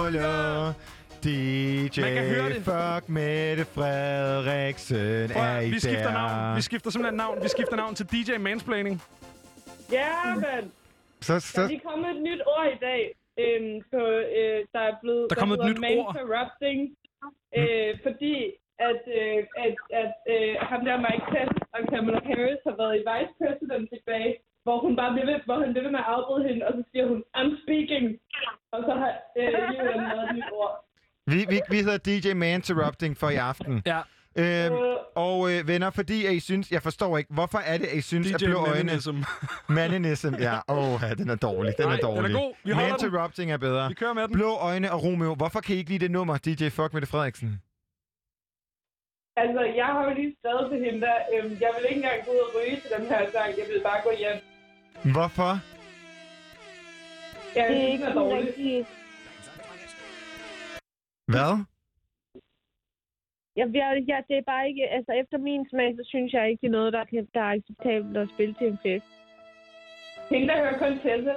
Lolo. DJ Man kan høre det. Fuck Mette Frederiksen er i vi skifter navn. Vi skifter simpelthen navn. Vi skifter navn til DJ Mansplaining. Ja, men Så. der er lige kommet et nyt ord i dag. Der er blevet... Der er kommet et nyt ord. Interrupting. Fordi at ham der Mike Pence og Kamala Harris har været i vice president tilbage, hvor han bliver ved med at afbryde hende, og så siger hun, I'm speaking. Og så har Julian lavet et nyt ord. Vi hedder DJ Manterrupting for i aften. Ja. Venner, fordi at I synes... Jeg forstår ikke, hvorfor er det, at I synes, at blå øjne... Maninism, ja. Den er dårlig. Den er god. Vi holder den. Manterrupting er bedre. Vi kører med den. Blå øjne og Romeo. Hvorfor kan I ikke lide det nummer, DJ Fuck Mette Frederiksen? Altså, jeg har jo lige skrevet til hende der. Jeg vil ikke engang gå ud og ryge til den her sang. Jeg vil bare gå hjem. Hvorfor? Jeg Det er synes, ikke den er sådan dårlig. rigtig... Hvad? Det er bare ikke... Altså, efter min smag, så synes jeg ikke, det er noget, der er acceptabelt at spille til en fest. Hende, der hører kun Tessa.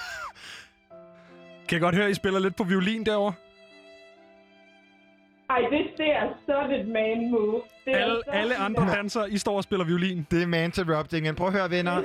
Kan jeg godt høre, at I spiller lidt på violin derovre? Ej, det er sådan et man-move. Alle andre danser, I står og spiller violin. Det er Manterrupting. Men prøv at høre, venner.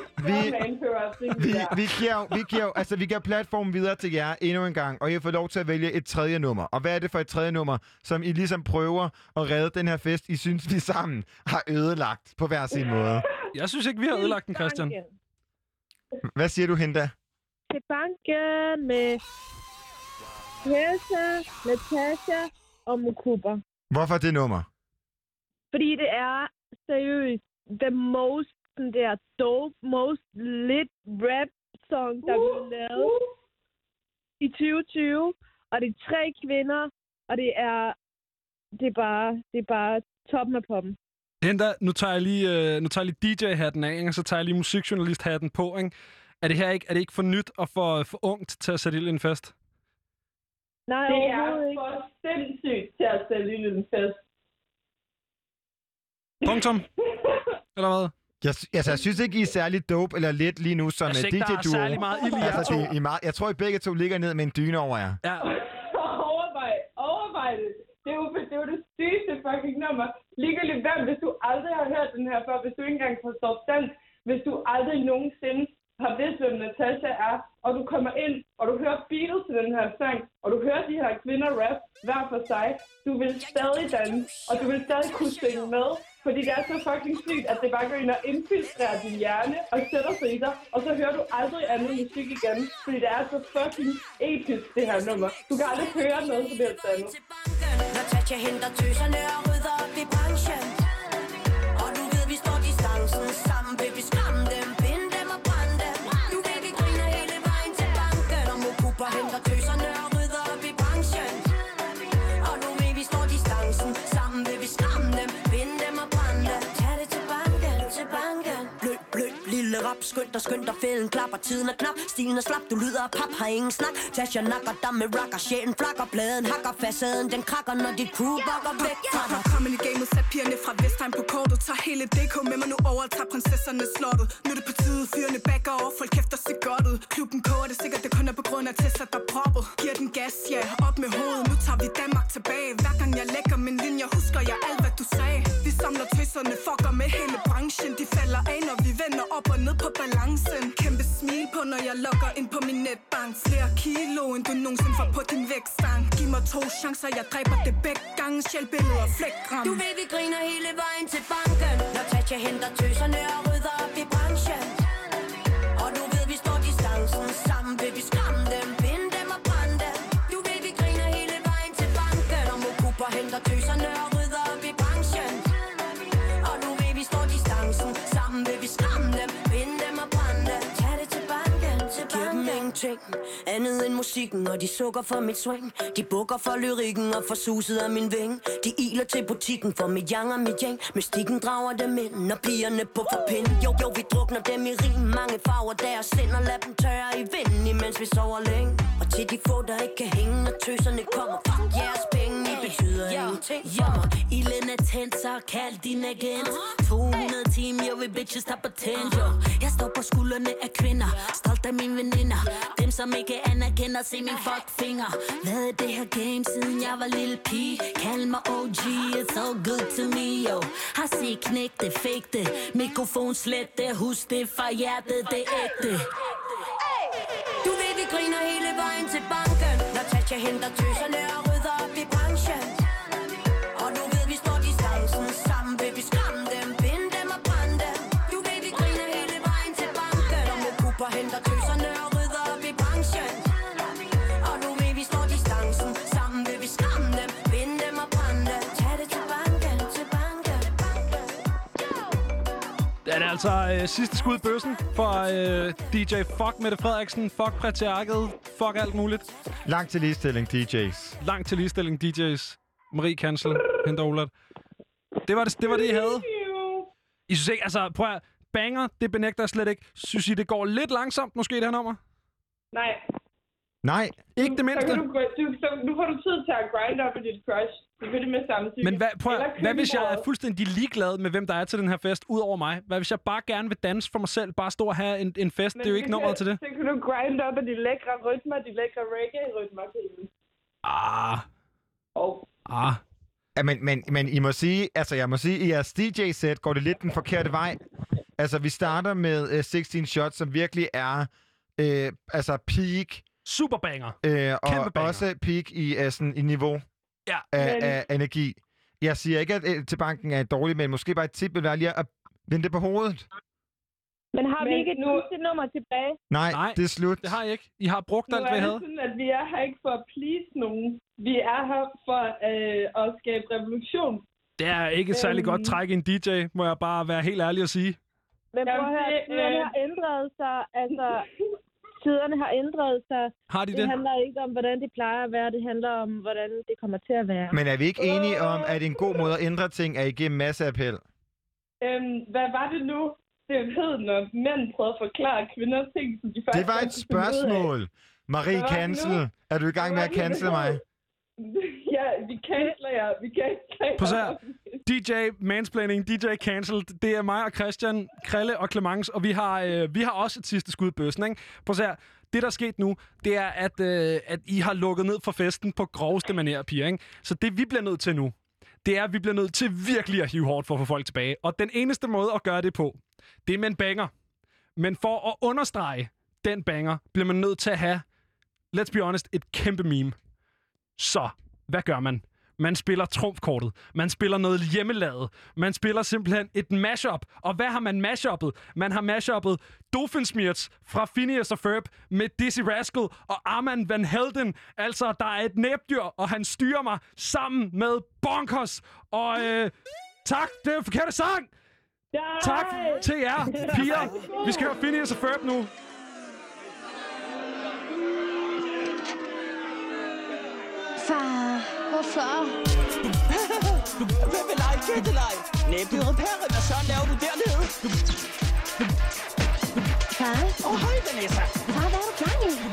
Vi giver platformen videre til jer endnu en gang, og I har fået lov til at vælge et tredje nummer. Og hvad er det for et tredje nummer, som I ligesom prøver at redde den her fest, I synes, vi sammen har ødelagt på hver sin måde? Jeg synes ikke, vi har ødelagt den, Christian. Hvad siger du, Hinda? Til banken med Tessa, Natasha og Mukuba. Hvorfor det nummer? Fordi det er seriøst the most, den der dope, most lit rap song, der blev lavet i 2020. Og det er 3 kvinder, og det er bare toppen af poppen. Hinda, nu tager jeg lige DJ-hatten af, og så tager jeg lige musikjournalist-hatten på, ikke? Er det ikke for nyt og for ungt til at sætte ild i en fest? Nej, det er for sindssygt til at sætte ild i en fest. Punktum. Eller hvad? Jeg synes ikke, I er særlig dope eller lidt lige nu som DJ-duo. Jeg synes ikke, der er særlig meget ild i jer to. Jeg tror, I begge to ligger ned med en dyne over jer. Ja. Overvej det. Det er jo det sygeste fucking nummer. Ligegyldigt hvem, hvis du aldrig har hørt den her før, hvis du ikke engang forstår dansk, hvis du aldrig nogensinde har vidst, hvem Natasha er, og du kommer ind, og du hører beatet til den her sang, og du hører de her kvinder rap hver for sig, du vil stadig danse, og du vil stadig kunne synge med, fordi det er så fucking sygt, at det bare går ind og infiltrerer din hjerne og sætter sig i dig, og så hører du aldrig andet musik igen, fordi det er så fucking episk, det her nummer. Du kan aldrig høre noget som helst andet. Natasha henter tøserne og rydder op i branchen, og du ved, vi står distancen sammen, vil vi skræmme dem, binde dem og brænde dem. Du ved, vi griner hele vejen til banken, og Mukuba henter tøserne og rydder op i branchen, og nu ved, vi står distancen sammen, vil vi skræmme dem, binde dem og brænde dem. Tag det til banken, til banken. Blød, lille rap, skønt og fælden klapper, tiden er knap, stilen er slap, du lyder af pap, har ingen snak. Tasha nakker dig med rocker, sjælen flakker, bladen hakker, facaden den krakker, når dit crew bakker væk fra dig. Kom ind i gamet, sat pigerne fra Vestheim på kortet, tager hele DK med mig nu over, tager prinsesserne slottet. Nu er det på tide, fyrene backer over, folk kæfter sig godt ud. Klubben koger det sikkert, det kun er på grund af Tessa, der proppet. Giver den gas, ja, op med hovedet, nu tager vi Danmark tilbage. Hver gang jeg lægger min linje, husker jeg alt, hvad du sagde. Vi samler tøserne, fucker med hele branchen, de falder af, når vi vender op og ned på balancen. Kæmpe smil på, når jeg logger ind på min netbank. Flere kilo, end du nogensinde får på din vægtstang. Giv mig 2 chancer, jeg dræber det begge gange. Sjælbilleder, flækgram. Du ved, vi griner hele vejen til banken, når Tasha henter tøserne og rydder op i branchen, og du ved, vi står distancen sammen, vil vi skræmme dem, binde dem og brænde dem. Du ved, vi griner hele vejen til banken, og Mukuba henter tøserne og rydder op i branchen, og nu ved, vi står distancen sammen, vil vi skræmme dem, binde dem og brænde dem. Tag det til banken, til banken. Giv dem ingenting andet end musikken, og de sukker for mit swing. De bukker for lyrikken og for suset af min ving. De iler til butikken for mit yang og mit yang. Mystikken drager dem ind, når pigerne på forpind. Jo, vi drukner dem i rim. Mange farver deres sind og lad dem tørre i vinden, imens vi sover længe. Og til de få, der ikke kan hænge, når tøserne kommer. Fuck jeres penge, I betyder ingenting for mig. Ilden er tændt, så kald din agent. 200 timer, jeg vil bitches der på tændt. Jeg står på skuldrene af kvinder, stolt af mine veninder. Dem som ikke anerkender, se min fuckfinger. Hvad er det her game, siden jeg var lille pige? Kald mig OG, it's all good to me, yo. Har set knæk det, fake det. Mikrofon slet det, husk det fra hjertet, det er ægte. Du ved, vi griner hele vejen til banken. Når Tatja henter tøserne og rydder op i branchen. Og nu ved vi står distancen sammen, vil vi skræmme dem, binde dem og brænde dem. Du ved, vi griner hele vejen til banken. Og med Cooper henter tøserne og rydder op i branchen. Og nu ved vi står distancen sammen, vil vi skræmme dem, binde dem og brænde dem. Tag det til banken, til banken. Det er altså sidste skud i bøssen for DJ Fuck Mette Frederiksen, Fuck Patriarket, Fuck alt muligt. Langt til ligestilling, DJ's. Langt til ligestilling, DJ's. Marie Kansel, henter Olat. Det var det, I havde. I synes ikke, altså prøv at banger, det benægter jeg slet ikke. Synes I, det går lidt langsomt, måske det her nummer? Nej. Nej. Ikke det mindste. Nu får du tid til at grind op i dit crush. Selvfølgelig med samtidig. Men hvad hvis jeg er fuldstændig ligeglad med, hvem der er til den her fest, ud over mig? Hvad hvis jeg bare gerne vil danse for mig selv? Bare stå og have en fest? Det er jo ikke nummeret til det. Så kan du grind op af de lækre rytmer, de lækre reggae-rytmer. Ja, men I må sige, altså jeg må sige, i jeres DJ-sæt går det lidt den forkerte vej. Altså vi starter med 16 Shots, som virkelig er altså peak. Superbanger. Og også peak i, sådan, i niveau af energi. Jeg siger ikke, at til banken er dårlig, men måske bare et tip vil være lige at vende det på hovedet. Men har vi ikke et sidste nummer tilbage? Nej, det er slut. Det har I ikke. I har brugt alt, hvad I havde. Nu er det sådan, at vi er her ikke for at please nogen. Vi er her for at skabe revolution. Det er ikke et særlig godt træk i en DJ, må jeg bare være helt ærlig at sige. Men prøv at høre, tiderne har ændret sig. Altså, tiderne har ændret sig. Har de det? Det handler ikke om, hvordan det plejer at være. Det handler om, hvordan det kommer til at være. Men er vi ikke enige om, at en god måde at ændre ting er igennem masseappel? Hvad var det nu? Det hed, når mænd prøvede at forklare kvinder ting, som de faktisk... Det var et spørgsmål. Marie Kansel, er du i gang med at cancele mig? Ja, vi canceler jer. Prøv at se. DJ Mansplaining, DJ Cancel, det er mig og Christian, Krille og Clemens, og vi har også et sidste skud i bøssen, ikke? Prøv at se. Det, der er sket nu, det er, at I har lukket ned for festen på groveste manér, piger, ikke? Så det, vi bliver nødt til nu, det er, at vi bliver nødt til virkelig at hive hårdt for at få folk tilbage. Og den eneste måde at gøre det på, det er med en banger. Men for at understrege den banger, bliver man nødt til at have, let's be honest, et kæmpe meme. Så, hvad gør man? Man spiller trumfkortet. Man spiller noget hjemmelavet. Man spiller simpelthen et mashup. Og hvad har man mashuppet? Man har mashuppet Doofenshmirtz fra Phineas og Ferb med Dizzy Rascal og Armand Van Helden. Altså, der er et næbdyr, og han styrer mig sammen med Bonkers. Og tak, det er en forkerte sang! Tak til jer, piger. Vi skal høre Phineas og Ferb nu. Far, hvorfor? Hvem vil lege gætteleg? Næbdyret Perry, hvad søren laver du dernede? Far? Hej Vanessa. Far, hvad er du klar i?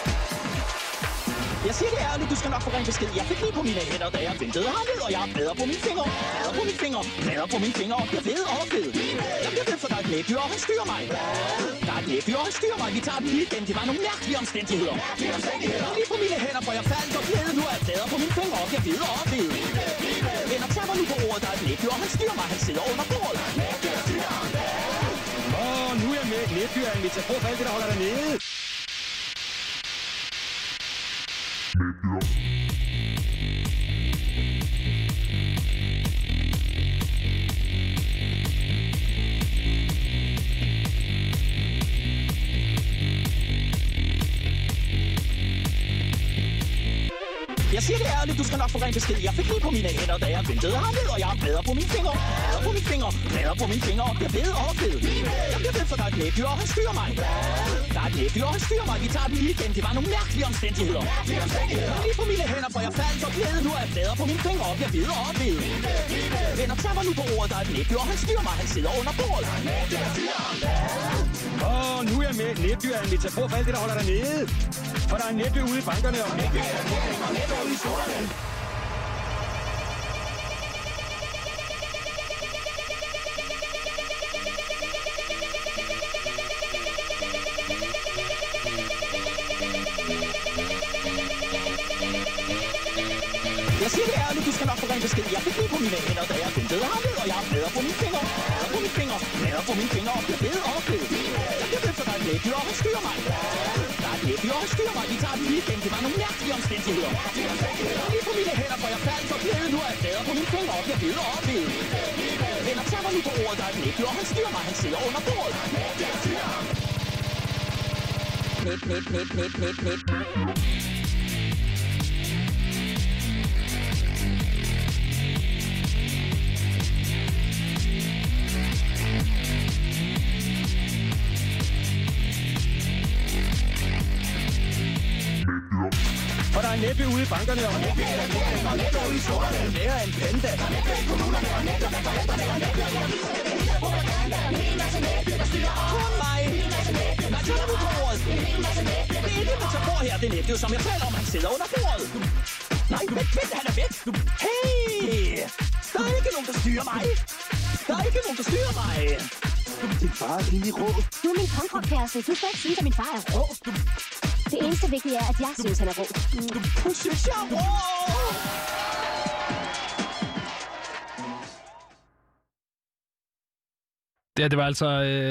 Jeg siger det ærligt, du skal nok få ren besked. Jeg fik lige på mine hænder, da jeg ventede hernede, og jeg har blæder på mine fingre. Blæder på mine fingre, blæder på mine fingre, og jeg ved og ved. Jeg bliver ved, for der er et næbdyr, og han styrer mig. Der er et næbdyr, og han styrer mig. Vi tager den lige igen. Det var nogle mærkelige omstændigheder. Lige på mine hænder, for jeg faldt og blæde. Nu er jeg blæder på mine fingre, og jeg ved og ved. Venner, tag mig nu på ordet. Der er et næbdyr, og han styrer mig. Han sidder under bordet. Nu er jeg med et næbdyr, jeg inviterer på for alt det, der holder dernede. Jeg siger det ærligt, du skal nok få ren besked. Jeg fik lige på mine hænder, da jeg ventede hernede, og jeg har blæder på mine fingre. Blæder på mine fingre, blæder på mine fingre, og jeg ved og ved. Jeg bliver ved, for der er et næbdyr, og han styrer mig. Der er et næbdyr, og han styrer mig. Vi tager den lige igen. Det var nogle mærkelige omstændigheder. Lige på mine hænder, for jeg faldt og blæde. Nu er jeg blæder på mine fingre, og jeg ved og ved. Venner, tag mig nu på ordet. Der er et næbdyr, og han styrer mig. Han sidder under bordet. Nu er jeg med et næbdyr, jeg inviterer på for alt det, der holder dernede. For der er en næbdyr ude i bankerne, og næbdyr ude i solerne. Jeg siger det ærligt, du skal nok få rent besked. Jeg fik lige på mine hænder, da jeg ventede herned, og jeg har plader på mine fingre. Plader på mine fingre, plader på mine fingre, og bliver ved og ved. Jeg bliver ved, for der er et læbdyr, og han styrer mig. Der er et læbdyr, og han styrer mig. Vi tager den lige igen. Det var nogle mærkelige omstændigheder. Lige på mine hænder, for jeg faldt for klædet. Nu er jeg plader på mine fingre, og bliver ved og ved. Venner, tag mig nu på ordet, der er et læbdyr, og han styrer mig. Han sidder under bordet. Knip, knip, knip, knip, knip, knip. For der er næppe ude i bankerne, og næppe i regeringen, og næppe ude i sorterne, mere end panda. Og næppe i kommunerne, og næppe ved forældrene, og næppe i aviserne, propaganda, en hel masse næppe, der styrer op. Kun mig! Nej, tag nu på ordet! Det er ikke metafor her, det er næppe, som jeg taler om, han sidder under bordet. Nej, vent, han er væk! Hey! Der er ikke nogen, der styrer mig! Der er ikke nogen, der styrer mig! Din far er rimelig rå. Du er min konkurrkæreste. Du skal ikke sige, at min far er rå. Det eneste vigtige er, at jeg synes, han er rå. Hun synes, jeg er rå! Det var altså...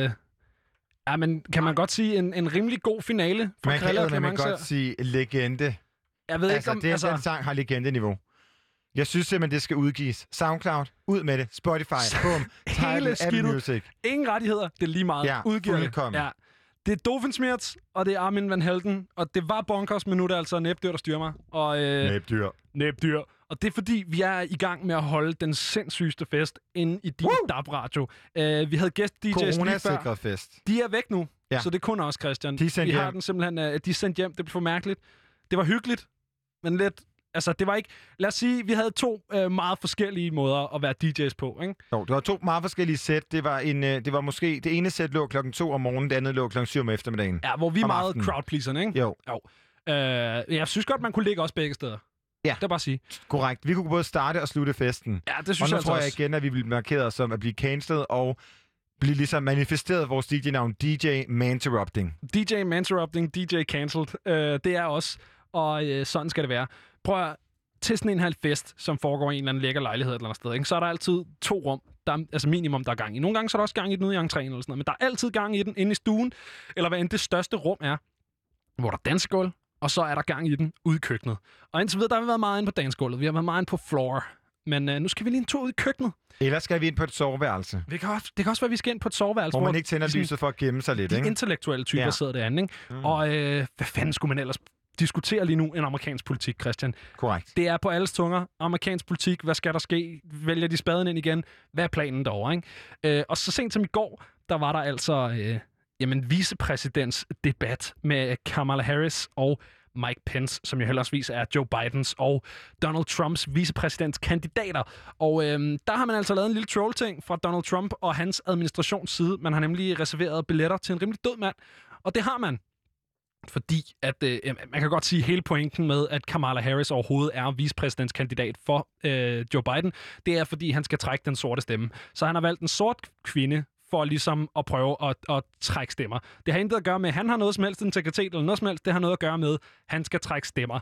Ja, men kan man godt sige en rimelig god finale for Krille og Clemence? Man kan godt sige legende. Jeg ved ikke, om... Den sang har legende-niveau. Jeg synes simpelthen, det skal udgives. SoundCloud, ud med det. Spotify, boom. Hele Apple Music. Ingen rettigheder, det er lige meget. Ja, udgiver fuldkommen. Ja. Det er Doofenshmirtz, og det er Armin van Helden, og det var Bonkers, men nu er det altså Næbdyr, der styrer mig. Og, Næbdyr. Og det er fordi, vi er i gang med at holde den sindssygeste fest inde i din DAB-radio. Vi havde gæst-DJ's lige før. Fest. De er væk nu, ja. Så det er kun os, Christian. De er sendt vi hjem. har den simpelthen, de er sendt hjem. Det blev for mærkeligt. Det var hyggeligt, men lidt... Altså, det var ikke... Lad os sige, vi havde to meget forskellige måder at være DJ's på, ikke? Jo, det var to meget forskellige sæt. Det var måske... Det ene sæt lå 2:00 om morgenen, det andet lå 7:00 om eftermiddagen. Ja, hvor vi er meget crowdpleaserne, ikke? Jo. Jeg synes godt, man kunne ligge også begge steder. Ja. Det er bare at sige. Korrekt. Vi kunne både starte og slutte festen. Ja, det synes jeg altså tror jeg igen, at vi bliver markeret som at blive cancelled og blive ligesom manifesteret vores DJ-navn DJ Manterrupting. DJ Manterrupting, DJ Cancelled. Det er os, og sådan skal det være. Prøv at til sådan en halv fest, som foregår i en eller anden lækker lejlighed et eller andet sted, ikke? Så er der altid 2 rum, der altså minimum, der er gang i. Nogle gange så er der også gang i den ude i entréen eller sådan noget, men der er altid gang i den inde i stuen, eller hvad end det største rum er, hvor der er dansegulv, og så er der gang i den ude i køkkenet. Og indtil videre, der har vi været meget inde på dansegulvet, vi har været meget inde på floor, men nu skal vi lige en tur ud i køkkenet. Eller skal vi ind på et soveværelse? Det kan også være, at vi skal ind på et soveværelse. Hvor man ikke tænder lyset for at gemme sig lidt, de ikke? Intellektuelle typer sidder derinde, ikke? Og hvad fanden skulle man ellers diskutere lige nu en amerikansk politik, Christian? Korrekt. Det er på alles tunger. Amerikansk politik, hvad skal der ske? Vælger de spaden ind igen? Hvad er planen derovre, ikke? Og så sent som i går, der var der altså vicepræsidents debat med Kamala Harris og Mike Pence, som jo heldigvis er Joe Bidens og Donald Trumps vicepræsidentskandidater. Og der har man altså lavet en lille troll-ting fra Donald Trump og hans administrations side. Man har nemlig reserveret billetter til en rimelig død mand. Og det har man. Fordi at man kan godt sige hele pointen med, at Kamala Harris overhovedet er vicepræsidentskandidat for Joe Biden, det er, fordi han skal trække den sorte stemme. Så han har valgt en sort kvinde for ligesom at prøve at trække stemmer. Det har intet at gøre med, at han har noget som helst integritet eller noget som helst. Det har noget at gøre med, at han skal trække stemmer.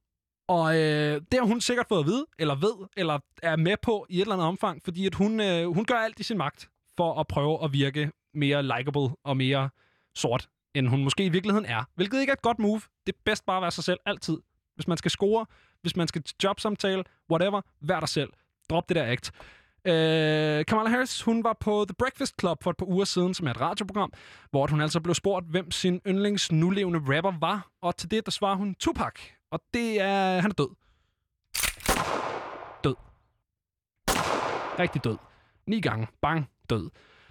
Og det har hun sikkert fået at vide, eller ved, eller er med på i et eller andet omfang, fordi at hun gør alt i sin magt for at prøve at virke mere likable og mere sort, end hun måske i virkeligheden er. Hvilket ikke er et godt move. Det er bedst bare at være sig selv altid. Hvis man skal score, hvis man skal jobsamtale, whatever, vær dig selv. Drop det der act. Kamala Harris, hun var på The Breakfast Club for et par uger siden, som er et radioprogram, hvor hun altså blev spurgt, hvem sin yndlings nulevende rapper var, og til det, der svarer hun Tupac. Og det er... han er død. Død. Rigtig død. 9 gange. Bang. Død.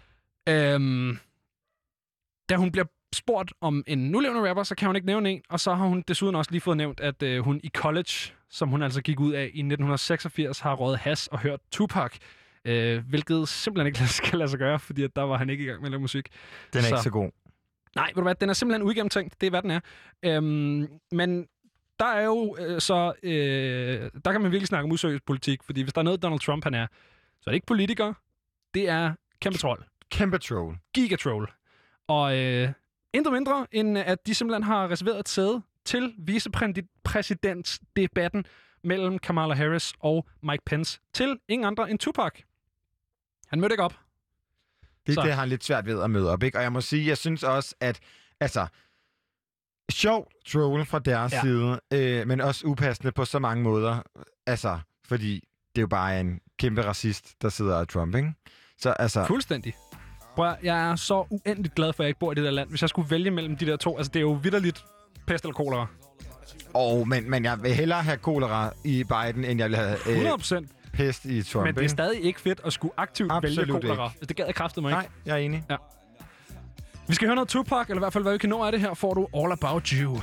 Da hun bliver spurgt om en nulevende rapper, så kan hun ikke nævne en, og så har hun desuden også lige fået nævnt, at hun i college, som hun altså gik ud af i 1986, har røget hash og hørt Tupac, hvilket simpelthen ikke skal lade sig gøre, fordi at der var han ikke i gang med at lave musik. Den er ikke så god. Nej, ved du hvad, den er simpelthen uigennemtænkt, det er hvad den er. Men der er jo der kan man virkelig snakke om useriøs politik, fordi hvis der er noget Donald Trump han er, så er det ikke politiker, det er kæmpe troll. Kæmpe troll. Gigatroll. Og intet mindre, end at de simpelthen har reserveret et sæde til vicepræsidentsdebatten, mellem Kamala Harris og Mike Pence til ingen andre end Tupac. Han mødte ikke op. Det har han lidt svært ved at møde op, ikke? Og jeg må sige, jeg synes også, at sjovt troll fra deres side, men også upassende på så mange måder. Fordi det er jo bare en kæmpe racist, der sidder af Trump, ikke? Så fuldstændig. Prøv, jeg er så uendeligt glad for, at jeg ikke bor i det der land. Hvis jeg skulle vælge mellem de der to, det er jo vitterligt pest eller kolera. Men jeg vil hellere have kolera i Biden, end jeg vil have 100%. Pest i Trump. Men det er stadig ikke fedt at skulle aktivt vælge kolera. Ikke. Det gad jeg kraftedeme ikke. Nej, jeg er enig. Ja. Vi skal høre noget Tupac, eller i hvert fald, hvad vi kan nå af det her, får du All About You.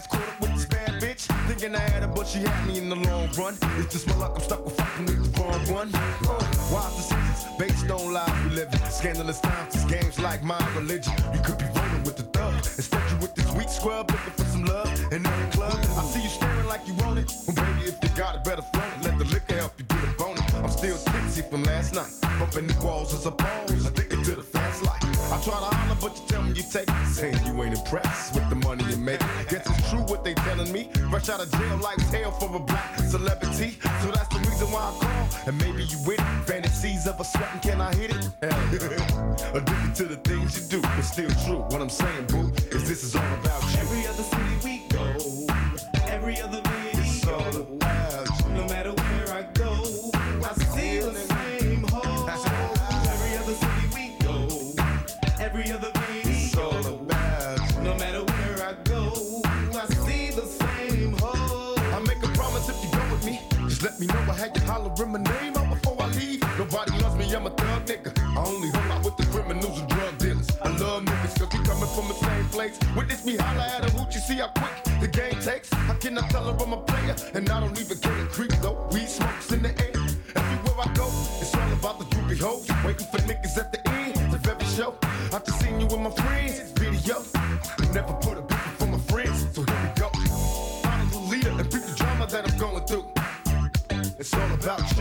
Thinking I had her, but she had me in the long run. It's just my luck, I'm stuck with fucking with the wrong one. Wise decisions based on lies we live in. Scandalous times, these games like my religion. You could be rolling with the thug. Instead you with this weak scrub, looking for some love in every club. I see you staring like you want it. Well, baby, if you got it, better flaunt it. Let the liquor help you get a bonus. I'm still tipsy from last night. Bumping the walls as a pose, addicted to the fast life. I try to holler, but you tell me you take it. Saying you ain't impressed with the money you make. Guess it's true what they telling me. Fresh out of jail like tail for a black celebrity. So that's the reason why I call. And maybe you with it. Fantasies of a sweating, can I hit it? Addicted to the things you do. It's still true. What I'm saying, boo, is this is all about you. Every other city we go, every other video, it's all about you. No matter where I go, I see the same hoes. Every other city we go, every other video, it's all about you. No matter where I go, I see the same hoes. I make a promise if you go with me, just let me know. I had you hollering my name out before I leave. Nobody loves me, I'm a thug nigga. I only hung out with the criminals and drug dealers. I love niggas cause we coming from the same place. Witness me holla at a hoot, you see how quick the game takes. I cannot tell her I'm a player, and I don't even care. Creep though, weed smokes in the air. Everywhere I go, it's all about the groupie hoes. Waiting for niggas at the end of every show. I just seen you with my friends, video. Never put a picture for my friends, so here we go. I'm the leader and beat the drama that I'm going through. It's all about you.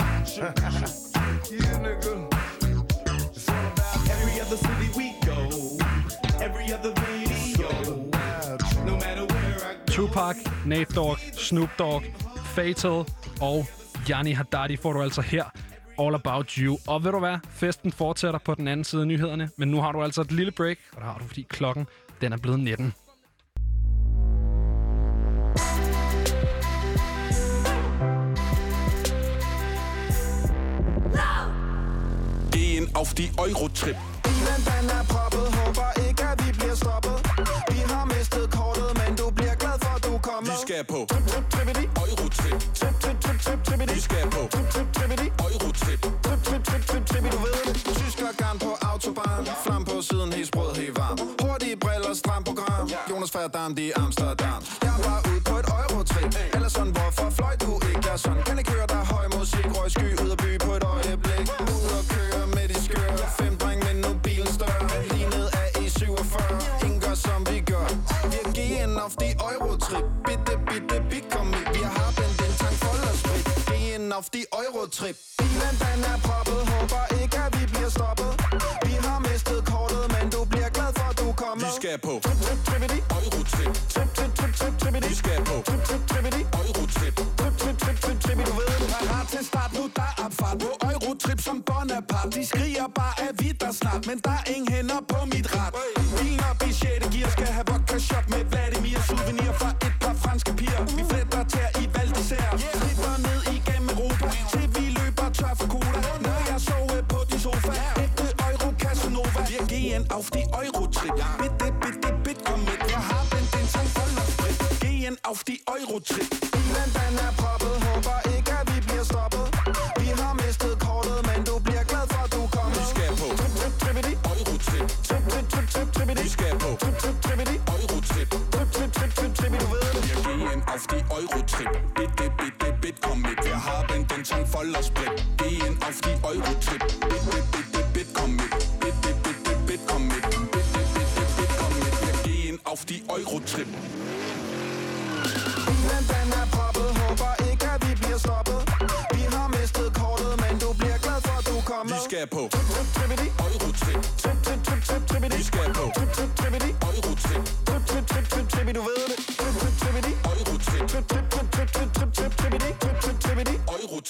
Yeah, nigga. It's all about every other city we go, every other video. No matter where I go. Tupac, Nate Dogg, Snoop Dogg, Fatal og Gianni Haddadi får du altså her. All About You. Og ved du hvad? Festen fortsætter på den anden side af nyhederne. Men nu har du altså et lille break, og det har du, fordi klokken den er blevet 19. Gehen auf die Eurotrip. Bilen den er proppet, håber ikke at vi bliver stoppet. Vi har mistet kortet, men du bliver glad for at du er kommet. Vi skal på trip, trip, trippity. Eurotrip. Trip, trip, trip, trip, trippity. Vi skal på trip, trip, trippity. Eurotrip. Trip, trip, trip, trip, trippity. Du ved det. Tysker garn på autobahn. Flam på siden, helt sprød, helt varm. Hurtige briller, stram program. Jonas Verdammt i Amsterdam. Jeg var ude på et Eurotrip. Eller sådan, hvorfor fløj du ikke? Jeg sådan kan ikke høre dig høj musik. Røg sky ud af by på et øjeblik. Ud og køre med de skøre. 5 dreng, men nu bilen større. Lignet af E47. Ingen gør som vi gør. Wir gehen auf die Eurotrip. Bitte, bitte, bitte, komm mit. Wir haben den Tank voller Sprit. Gehen auf die Eurotrip. Bilen den er proppet. Håber ikke at vi bliver stoppet. Vi har mistet kortet, men du bliver glad for at du kommer. Vi skal på trip, trip, trippity. Eurotrip. Trip, trip, trip, trip, trippity. Vi skal på trip, trip, trippity. Eurotrip. Trip, trip, trip, trip, trippity. Du ved det. Parat til start, nu der er opfart. På Eurotrip som Bonaparte. De skriger bare af vi der snart, men der er ingen hænder på mit rat. Bilen op i 6. gear skal have vodka shop med Vladimir. Souvenir fra et par franske piger. Vi fletter tær i Val d'Isère. Slipper ned igennem Europa, til vi løber tør for cola. Når jeg sover på din sofa, ægte Euro Casanova. Wir gehen auf die Eurotrip. Bitte, bitte, bitte, komm mit. Jeg har den Tank voller sprit. Gehen auf die Eurotrip. Bilen den er proppet, håber ikke at vi bliver stoppet. Vi har mistet kortet, men du bliver glad for at du kommer. Vi skal på trip, trip, trippity. Eurotrip. Trip, trip, trip, trip, trippity. Vi skal på trip, trip, trippity. Eurotrip. Trip, trip, trip, trip, trippity. Du ved det. Wir gehen auf die Eurotrip. Bitte, bitte, bitte, komm mit. Wir haben den Tank voller Sprit. Gehen auf die Eurotrip. Bitte, bitte, bitte, komm mit. Bitte, bitte, bitte, komm mit. Bitte, bitte, bitte, komm mit. Wir gehen auf die Eurotrip. Bilen den er proppet, håber ikke at vi bliver stoppet. Vi har mistet kortet, men du bliver glad for at du kommer. Vi skal på trip, trip, trippity. Eurotrip. Trip, trip, trip, trip, trippity. Vi skal på trip, trip, trippity. Eurotrip. Trip, trip, trip, trip, trippity. Du ved det. Trip, trip, trippity. Eurotrip. Trip, trip, trip, trip, trip, trip, trip, trippity.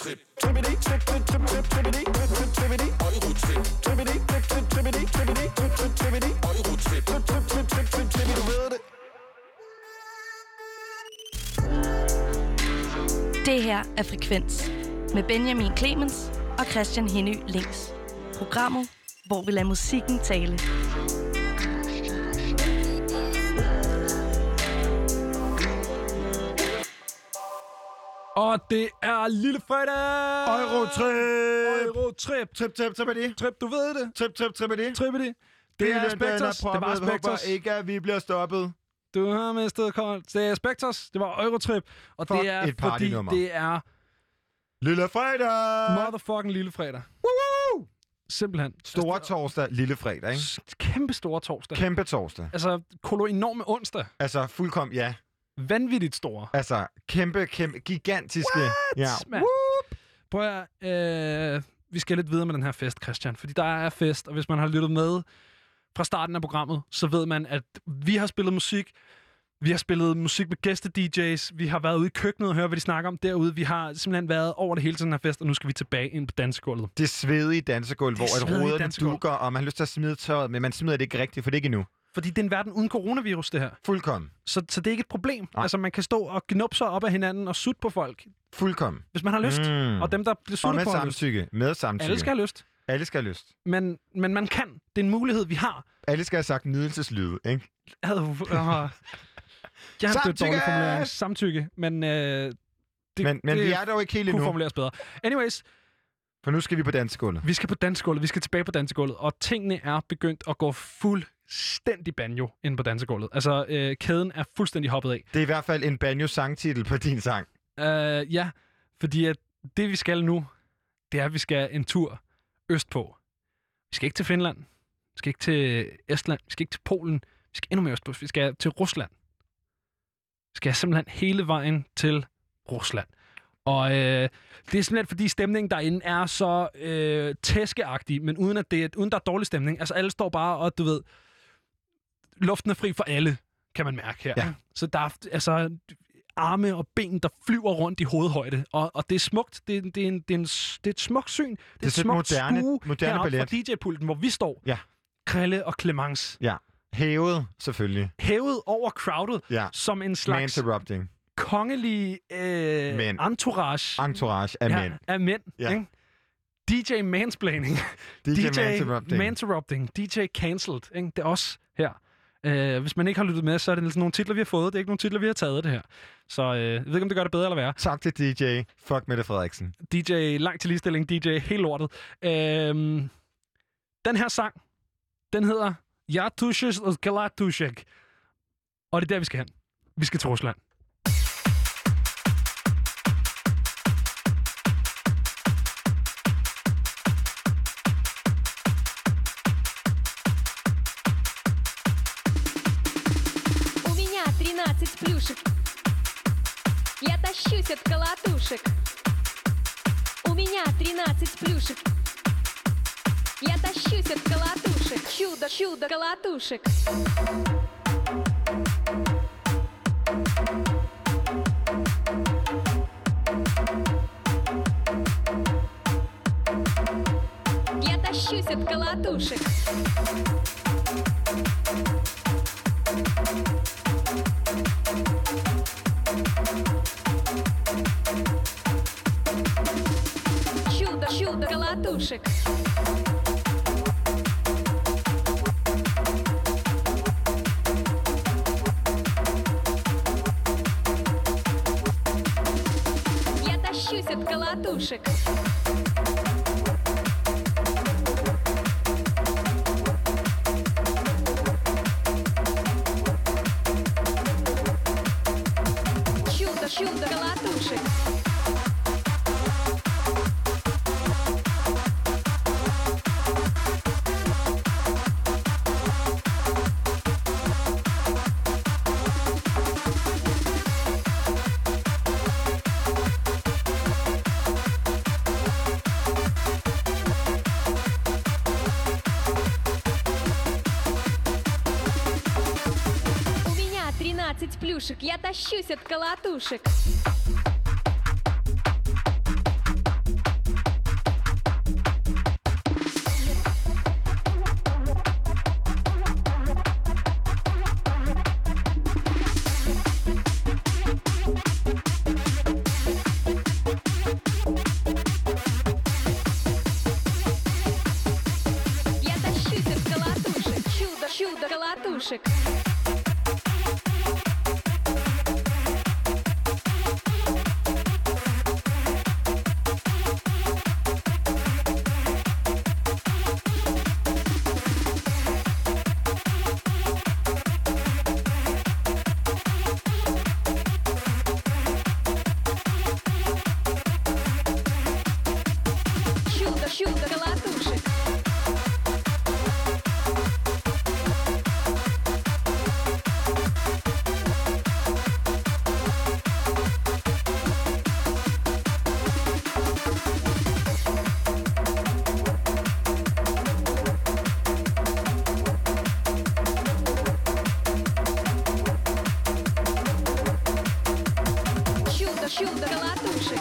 Eurotrip. Trippity, trip, trip, trip, trip, trippity, trip, trip, trippity. Eurotrip. Trippity, trip, trip, trippity, trippity, trip, trip, trippity. Eurotrip. Trip, trip, trip, trip, trip, trippity. Du ved det. Det her er Frekvens med Benjamin Clemens og Christian Henny Links. Programmet, hvor vi lader musikken tale. Og det er lille fredag! Eurotrip! Trip, du ved det. Trippity. Det er Spectres. Det var Spectres. Håber ikke, at vi bliver stoppet. Du har mistet kold. Det er Spectres. Det var Eurotrip. Og Fuck, det er et fordi partynummer. det er Lille fredag! motherfucking lille fredag. Woo! Simpelthen. Store torsdag, lille fredag, ikke? Kæmpe store torsdag. Kæmpe torsdag. Altså, enorme onsdag. Altså, fuldkommen, ja. Vanvittigt store. Altså, kæmpe, gigantiske. What? Ja. Man. Prøv at vi skal lidt videre med den her fest, Christian. Fordi der er fest, og hvis man har lyttet med fra starten af programmet, så ved man, at vi har spillet musik. Vi har spillet musik med gæste-DJ's. Vi har været ude i køkkenet og hørt, hvad de snakker om derude. Vi har simpelthen været over det hele til den her fest, og nu skal vi tilbage ind på dansegulvet. Det svedige dansegulv, hvor et roderne dukker, og man har lyst til at smide tøjet, men man smider det ikke rigtigt, for det er ikke endnu. Fordi det er en verden uden coronavirus, det her. Fuldkommen. Så det er ikke et problem. Nej. Altså, man kan stå og gnubbe sig op af hinanden og sutte på folk. Fuldkommen. Hvis man har lyst. Og dem, der bliver suttet på, med samtykke. Alle skal have lyst. Alle skal have lyst. Men man kan. Det er en mulighed, vi har. Alle skal have sagt nydelseslyde, ikke? Jeg har et dårligt formulering. Samtykke. Men vi er dog ikke helt endnu. Kunne formuleres bedre. Anyways. For nu skal vi på dansegulvet. Vi skal på dansegulvet. Vi skal tilbage på dansegulvet. Og tingene er begyndt at gå fuldstændig banjo inde på dansegulvet. Altså, kæden er fuldstændig hoppet af. Det er i hvert fald en banjo-sangtitel på din sang. Ja, fordi at det vi skal nu, det er, at vi skal en tur østpå. Vi skal ikke til Finland. Vi skal ikke til Estland. Vi skal ikke til Polen. Vi skal endnu mere østpå. Vi skal til Rusland. Vi skal simpelthen hele vejen til Rusland. Og det er simpelthen, fordi stemningen derinde er så tæskeagtig, men uden der er dårlig stemning. Altså, alle står bare, og du ved, luften er fri for alle, kan man mærke her. Ja. Så der er altså arme og ben, der flyver rundt i hovedhøjde. Og det er smukt. Det er et smukt syn. Det er et smukt moderne ballet. fra DJ-pulten, hvor vi står. Ja. Krille og Clemence. Ja. Hævet, selvfølgelig. Hævet over crowded, som en slags interrupting. Kongelig entourage. Entourage af mænd. Af mænd, ja. Ikke? DJ mansplaining. DJ manterrupting. DJ cancelled. Ikke? Det er os her. Hvis man ikke har lyttet med, så er det sådan nogle titler, vi har fået. Det er ikke nogle titler, vi har taget det her. Så jeg ved ikke, om det gør det bedre eller værre. Tak til DJ. Fuck Mette Frederiksen. DJ langt til ligestilling. DJ helt lortet. Den her sang, den hedder Ja Tushek og Galatushek. Og det er der, vi skal hen. Vi skal til Rusland. Плюшек. Я тащусь от колотушек. У меня 13 плюшек. Я тащусь от колотушек. Чудо колотушек. Я тащусь от колотушек. Чудо колотушек. Я тащусь от колотушек. Чудо колотушек. Плюшек, я тащусь от колотушек. Чудо колотушек. Чудо колотушек.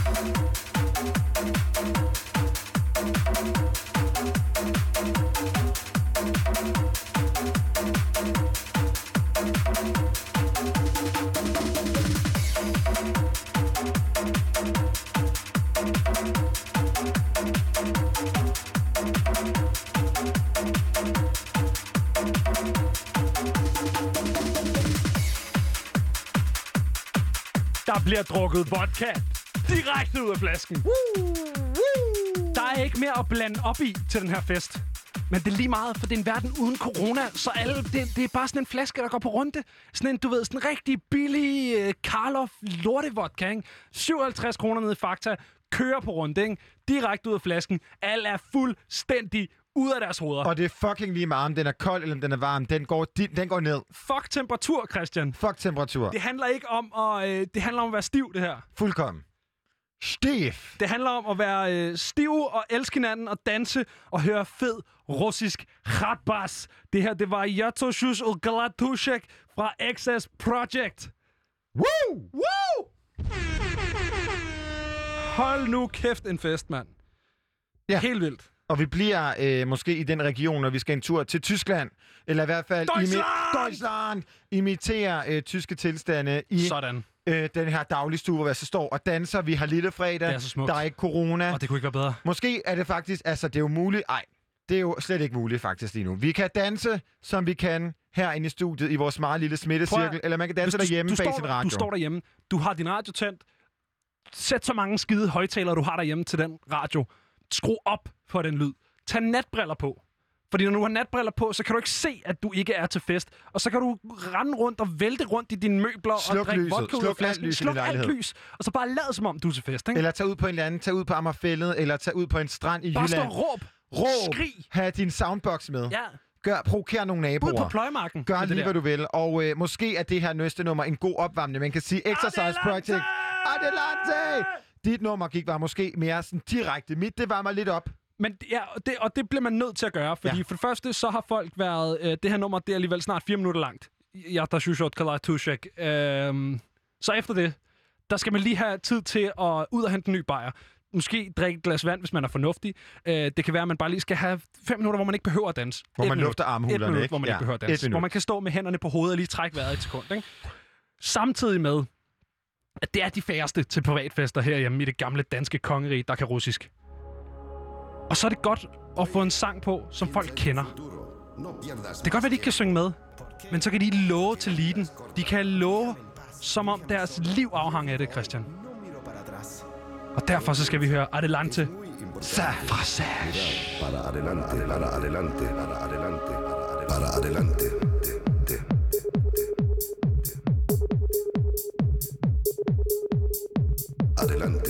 Der bliver drukket vodka direkte ud af flasken. Der er ikke mere at blande op i til den her fest. Men det er lige meget, for det er en verden uden corona, så alle, det er bare sådan en flaske, der går på runde. Sådan en, du ved, sådan en rigtig billig Karloff lortevodka, ikke? 57 kroner nede i Fakta, kører på runde, ikke? Direkte ud af flasken. Alle er fuldstændig ud af deres hoveder. Og det er fucking lige meget, om den er kold eller om den er varm. Den går ned. Fuck temperatur, Christian. Fuck temperatur. Det handler ikke om det handler om at være stiv, det her. Fuldkommen. Stiv. Det handler om at være stiv og elske hinanden og danse og høre fed russisk khatbas. Det her, det var Yatoshus og Galatushek fra XS Project. Woo! Woo! Hold nu kæft en fest, mand. Ja. Helt vildt. Og vi bliver måske i den region, når vi skal en tur til Tyskland. Eller i hvert fald Deutschland! Imitere tyske tilstande i sådan. Den her dagligstue, hvor vi så står og danser. Vi har lille fredag. Det er så smukt. Der er ikke corona. Og det kunne ikke være bedre. Måske er det faktisk... Altså, det er jo muligt... Ej, det er jo slet ikke muligt faktisk lige nu. Vi kan danse, som vi kan herinde i studiet i vores meget lille smittecirkel. Eller man kan danse derhjemme bag sin radio. Du står derhjemme. Du har din radio tændt. Sæt så mange skide højtalere, du har derhjemme til den radio. Skru op for den lyd. Tag natbriller på. Fordi når du har natbriller på, så kan du ikke se, at du ikke er til fest. Og så kan du rende rundt og vælte rundt i dine møbler og drikke vodka ud af flasken. Sluk alt lys. Og så bare lad som om, du er til fest. Ikke? Eller tag ud på en eller anden. Tag ud på Amagerfællet. Eller tag ud på en strand i Jylland. Bare stå råb. Skrig. Ha' din soundbox med. Ja. Provoker nogle naboer. Ud på pløjemarken. Gør lige, hvad du vil. Og måske er det her næste nummer en god opvarmning. Man kan sige Exercise Project. Adelante! Dit nummer gik var måske mere sådan direkte. Mit, det var mig lidt op. Men ja, det bliver man nødt til at gøre, fordi for det første, så har folk været... det her nummer, det er alligevel snart 4 minutter langt. Yatoshus Kalatushek. Så efter det, der skal man lige have tid til at ud og hente en ny bajer. Måske drikke et glas vand, hvis man er fornuftig. Det kan være, at man bare lige skal have 5 minutter, hvor man ikke behøver at danse. Hvor man lufter armhulerne, ikke? Hvor man ikke behøver at danse. Hvor man kan stå med hænderne på hovedet og lige trække vejret et sekund, ikke? Samtidig med, at det er de færreste til privatfester herhjemme i det gamle danske kongerige, der kan russisk. Og så er det godt at få en sang på, som folk kender. Det kan godt være, de ikke kan synge med, men så kan de love til leaden. De kan love, som om deres liv afhænger af det, Christian. Og derfor så skal vi høre Adelante fra Sage. Para adelante, para adelante, para adelante, para adelante. Adelante.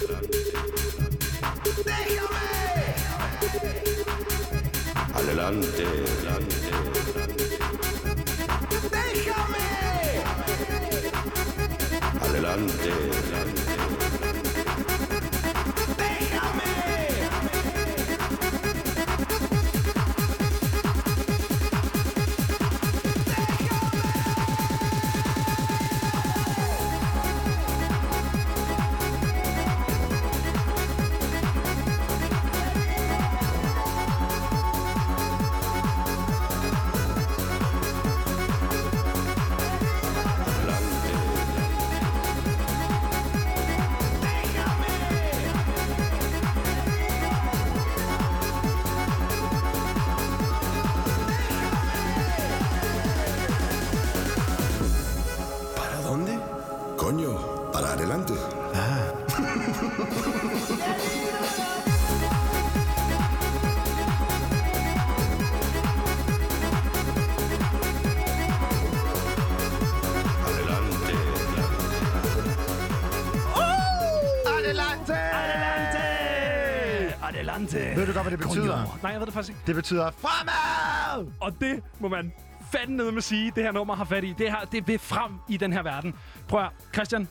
Adelante. Adelante. Ved du godt, hvad det betyder? Nej, jeg ved det faktisk ikke. Det betyder fremad! Og det må man fandme med sige, det her nummer har fat i. Det vil frem i den her verden. Prøv at, Christian.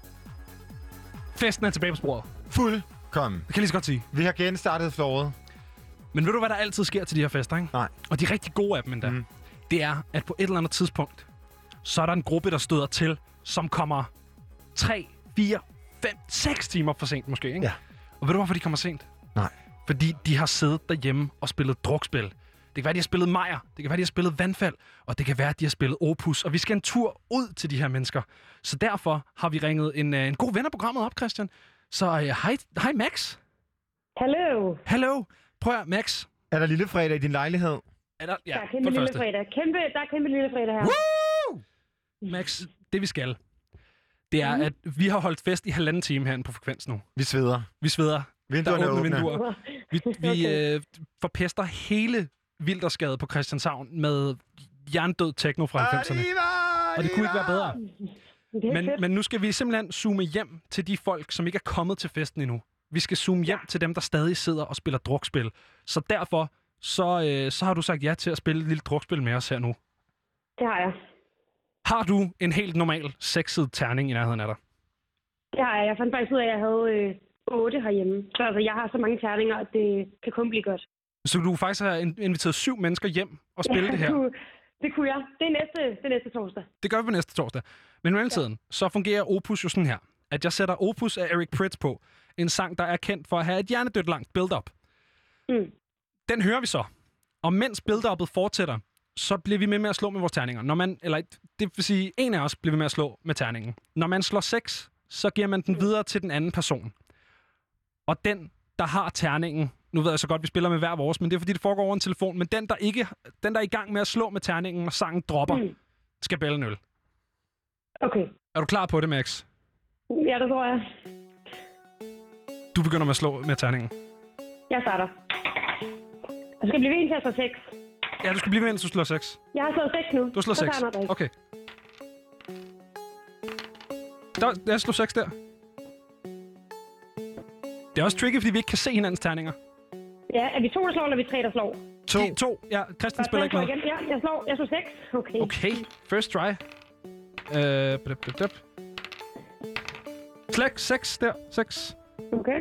Festen er tilbage på sporet. Fuldkommen. Det kan jeg lige så godt sige. Vi har genstartet flowet. Men ved du, hvad der altid sker til de her fester, ikke? Nej. Og de rigtig gode af dem endda. Det er, at på et eller andet tidspunkt, så er der en gruppe, der støder til, som kommer 3, 4, 5, 6 timer for sent måske, ikke? Ja. Og ved du, hvorfor de kommer sent? Nej. Fordi de har siddet derhjemme og spillet drukspil. Det kan være, de har spillet Majer. Det kan være, de har spillet Vandfald. Og det kan være, de har spillet Opus. Og vi skal en tur ud til de her mennesker. Så derfor har vi ringet en god ven af programmet op, Christian. Så hej Max. Hallo. Hallo. Prøv at, Max. Er der lille fredag i din lejlighed? Ja, der er kæmpe lille fredag. Der er kæmpe lille fredag her. Woo! Max, det vi skal, det er, at vi har holdt fest i 1,5 time herinde på Frekvens nu. Vi sveder. Vinduerne er åbne. Vinduer. Vi forpester hele Wildersgade på Christianshavn med jerndød techno fra 90'erne. Og det kunne ikke være bedre. Men nu skal vi simpelthen zoome hjem til de folk, som ikke er kommet til festen endnu. Vi skal zoome hjem til dem, der stadig sidder og spiller drukspil. Så derfor så har du sagt ja til at spille et lille drukspil med os her nu. Det har jeg. Har du en helt normal sexet terning i nærheden af dig? Det har jeg. Jeg fandt faktisk ud af, at jeg havde 8 herhjemme. Så altså, jeg har så mange terninger, at det kan kun blive godt. Så du faktisk har inviteret 7 mennesker hjem og spille det her? Det kunne jeg. Det er næste torsdag. Det gør vi på næste torsdag. Men i mellemtiden, så fungerer Opus jo sådan her. At jeg sætter Opus af Eric Prydz på. En sang, der er kendt for at have et hjernedødt langt build-up. Den hører vi så. Og mens build-uppet fortsætter, så bliver vi med at slå med vores terninger. Det vil sige, en af os bliver ved med at slå med terningen. Når man slår 6, så giver man den videre til den anden person. Og den, der har terningen, nu ved jeg så godt, vi spiller med hver vores, men det er fordi, det foregår over en telefon, men den, der er i gang med at slå med terningen, og sangen dropper, skal bælle en øl. Okay. Er du klar på det, Max? Ja, det tror jeg. Du begynder med at slå med terningen. Jeg starter. Jeg skal blive ved, til at slå 6. Ja, du skal blive ved, indtil du slår 6. Jeg har slået 6 nu. Du har slået 6? Okay. Jeg slår 6 der. Det er også tricky, fordi vi ikke kan se hinandens terninger. Ja, er vi 2, der slår, eller er vi 3, der slår? 2. Ja, Christian spiller ikke med. Ja, jeg slår 6. Okay. Okay, first try. 6 der. 6. Okay.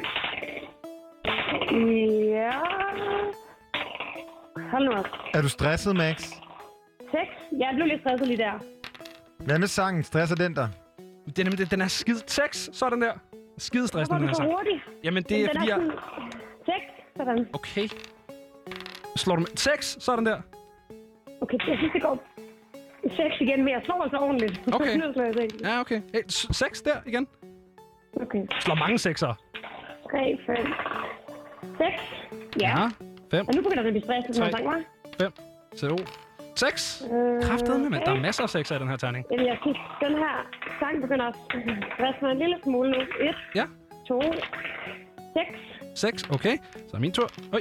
Ja. Hold nu op. Er du stresset, Max? 6. Jeg blev lidt stresset lige der. Hvad med sangen? Stresser den der? Den er skide... 6, sådan der. Skide stressende, den her sang. Hurtigt? Jamen, det er fordi, jeg... 6, sådan. Okay. Slår du med... 6, sådan der. Okay, jeg synes, det går 6 igen, men jeg slår altså ordentligt. Okay. Ja, okay. 6 der igen. Okay. Slår mange 6'ere. 3, 5, 6. Ja. 5. Og nu begynder det at blive stresset, når sang var. 5. 6. Kraftedeme, men der er masser af 6'er i den her terning. Jamen, jeg synes, den her sang begynder at stresse mig en lille smule nu. 1. Ja. 2. 6. 6, okay. Så er min tur. Oj.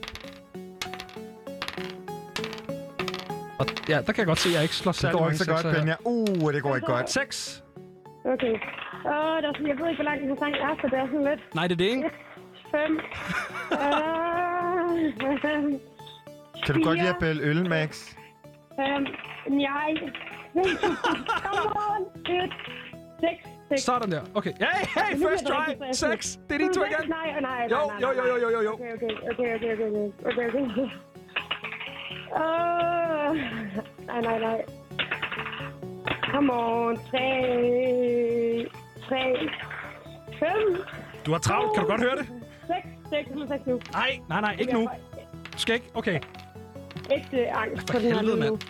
Og ja, der kan jeg godt se, at jeg ikke slår særlig mange 6'er. Det går ikke så godt, Benja. Det går ikke godt. 6. Okay. Jeg ved ikke, hvor lang den sang er, så det er sådan lidt... Nej, det er det, ikke? 5. Kan du godt lide at bælge øl, Max? Nej. Come on. 6. Sådan der. Okay. Hey, first try. 6. Det er de to igen. Nej. Jo. Okay. Nej. Come on. 3. 5. Du har travlt. Kan du godt høre det? 6 nu. Nej. Ikke nu. Du skal ikke. Okay. Ægte angst på den her helvede, nu.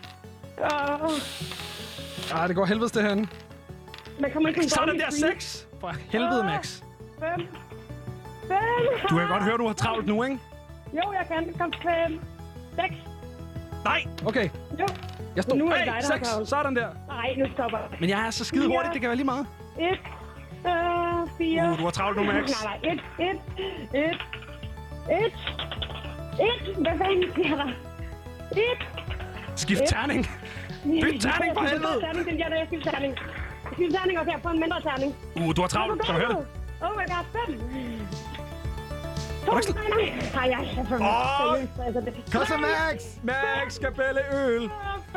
Det går helvedes det herinde. Man kommer ikke sådan der 6. For helvede, Max. 5. Du kan godt høre, du har travlt nu, ikke? Jo, jeg kan. Kom 5. 6. Nej, okay. Jo. Jeg står. Nu er Hey, 6. Sådan der. Nej, nu stopper jeg. Men jeg er så skide hurtigt, det kan være lige meget. 1. 4. Du har travlt nu, Max. Nej. 1. Hvad fanden sker der? 1. Skift terning. Byt terning for helvede. Jeg skifter terning. Skift terning også her på en mindre terning. Du har travlt. Kan du høre det? Oh my god, 5. Nej, jeg er for Kom så, Max! Max skal bælge øl.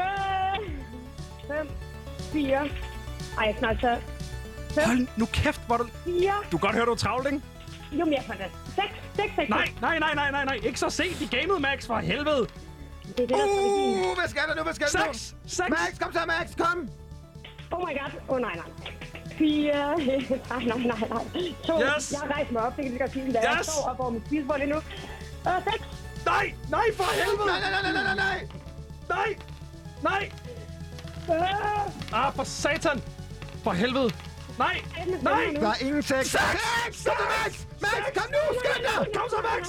5. 4. Ej, jeg snart så. Hold nu kæft, hvor du... 4. Du kan godt høre, du er travlt, ikke? Jo, men jeg får det. 6. Nej. Ikke så sent i gamet, Max, for helvede. Det er det, der strategien. Hvad skal der nu? 6. Max, kom så, Max, kom! Oh my god. Nej. 4. Nej. 2. Yes. Jeg har rejst mig op, det kan vi godt sige. Jeg står op over mit spisebord lige nu. 6. Nej, for helvede! Nej! For satan! For helvede! Nej! Der er ingen 6. 6! Kom så, Max! Max, kom nu! Skynd dig! Kom så, Max!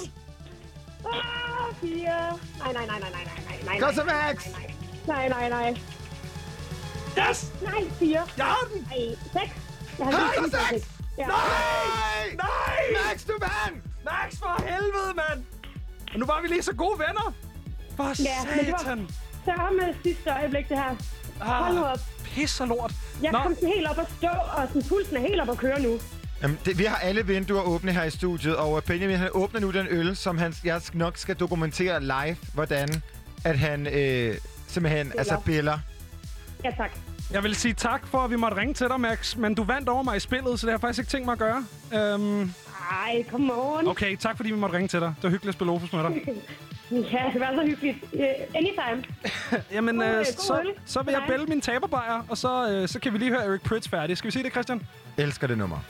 4. Nej. Kom så, Max! Nej. Yes! Nej, 4. Jeg har den! Nej, 6. Kom så, 6! Ja. Nej! Max, du vandt! Max, for helvede, mand! Og nu var vi lige så gode venner. For satan! Så med sidste øjeblik, det her. Hold nu op. Pis og lort. Jeg kom sådan helt op at stå, og sådan pulsen er helt op at køre nu. Jamen, vi har alle vinduer åbne her i studiet, og Benjamin, han åbner nu den øl, som jeg nok skal dokumentere live, hvordan at han simpelthen biller. Ja, tak. Jeg vil sige tak for, at vi måtte ringe til dig, Max, men du vandt over mig i spillet, så det har jeg faktisk ikke tænkt mig at gøre. Ej, come on. Okay, tak fordi vi måtte ringe til dig. Det var hyggeligt at spille Opus med dig. Ja, det var så hyggeligt. Anytime. Jamen, så vil jeg bælge min taberbajer, og så kan vi lige høre Eric Prydz færdig. Skal vi sige det, Christian? Elsker det nummer.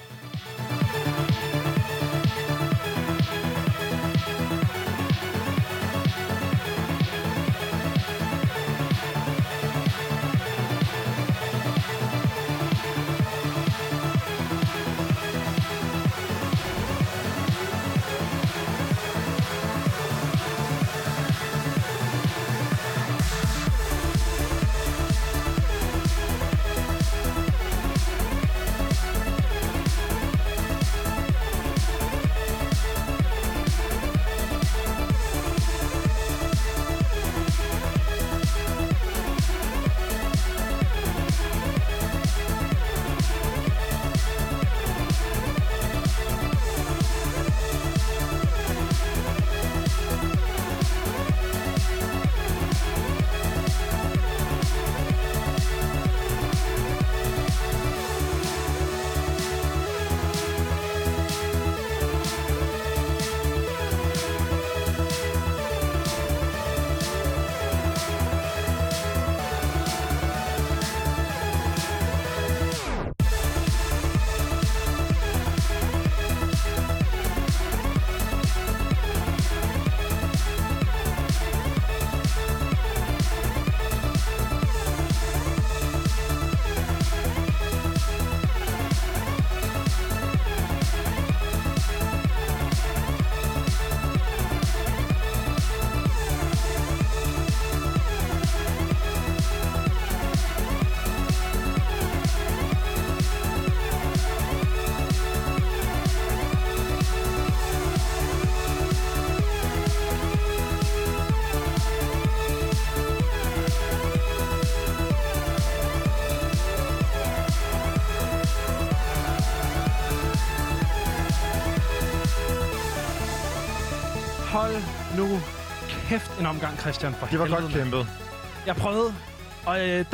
nu kæft en omgang, Christian. For det var helvede. godt kæmpet. Jeg prøvede, og der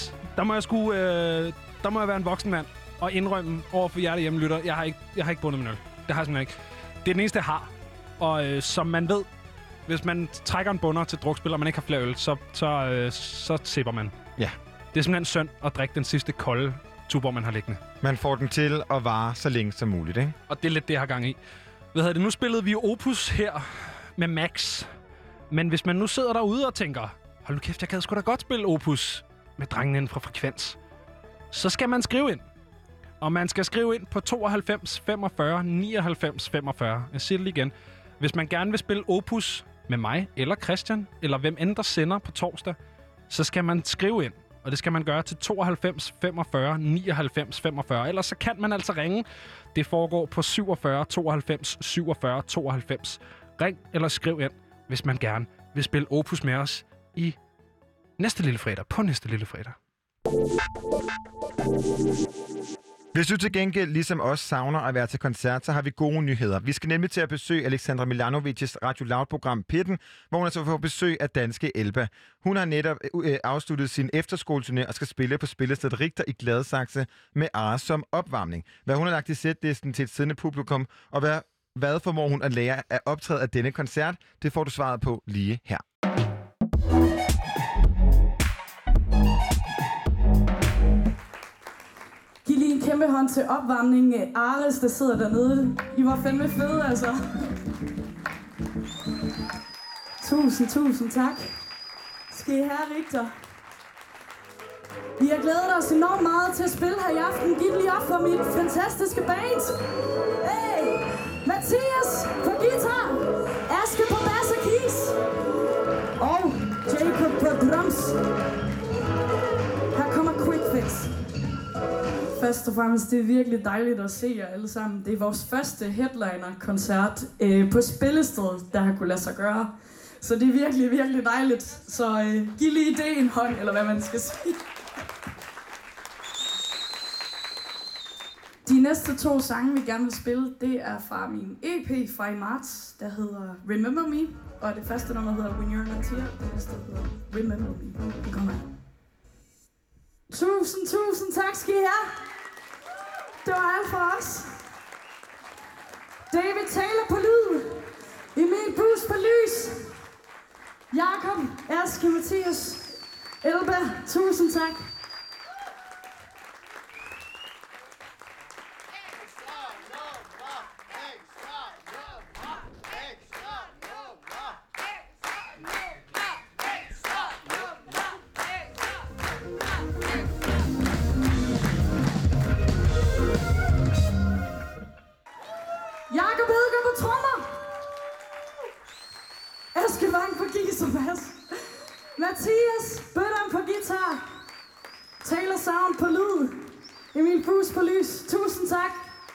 må jeg være en voksen mand og indrømme over for jer hjemmelytter. Jeg har ikke bundet min øl. Det har jeg simpelthen ikke. Det er den eneste, jeg har. Og som man ved, hvis man trækker en bunder til drukspil, og man ikke har flere øl, så sipper man. Ja. Det er simpelthen synd at drikke den sidste kolde Tuborg, man har liggende. Man får den til at vare så længe som muligt, ikke? Og det er lidt det, jeg har gang i. Nu spillede vi Opus her med Max. Men hvis man nu sidder derude og tænker, hold nu kæft, jeg kan sgu da godt spille Opus med drengene inden fra Frekvens, så skal man skrive ind. Og man skal skrive ind på 92 45 99 45. Jeg siger det lige igen. Hvis man gerne vil spille Opus med mig eller Christian, eller hvem end der sender på torsdag, så skal man skrive ind. Og det skal man gøre til 92 45 99 45. Ellers så kan man altså ringe. Det foregår på 47 92 47 92. Ring eller skriv ind, hvis man gerne vil spille Opus med os i næste lille fredag. På næste lille fredag. Hvis du til gengæld ligesom os savner at være til koncert, så har vi gode nyheder. Vi skal nemlig til at besøge Alexandra Milanovics Radio Loud-program Pitten, hvor hun altså får besøg af danske Elba. Hun har netop afsluttet sin efterskoleturné og skal spille på spillestedet Richter i Gladsaxe med Ares som opvarmning. Hvad hun har lagt i setlisten til et siddende publikum, og hvad formår hun at lære af optræde af denne koncert, det får du svaret på lige her. Giv lige en kæmpe hånd til opvarmningen af Ares, der sidder dernede. I var fandme fede, altså. Tusind tak. Skal I have, Richter. Vi har glædet os enormt meget til at spille her i aften. Giv lige op for mit fantastiske band. Hey! Mathias på guitar. Aske på bass og keys. Og Jacob på drums. Her kommer Quick Fix. Først og fremmest, det er virkelig dejligt at se jer alle sammen. Det er vores første headliner-koncert på spillestedet, der har kunne lade sig gøre. Så det er virkelig, virkelig dejligt. Så giv lige det en hånd, eller hvad man skal sige. De næste 2 sange, vi gerne vil spille, det er fra min EP fra i marts, der hedder Remember Me. Og det første nummer hedder When You're Not Here, det næste hedder Remember Me. Det kommer her. Tusind tak skal I have. Det var alt for os. David Taylor på lyd. Emil Bus på lys. Jakob, Aske, Mathias, Elba. Tusind tak. Jakob Edgar på trommer. Aske Vang på keys og bass. Mathias Bøtteren på guitar. Taylor Sound på lyd. Emil Bus på lys. Tusind tak.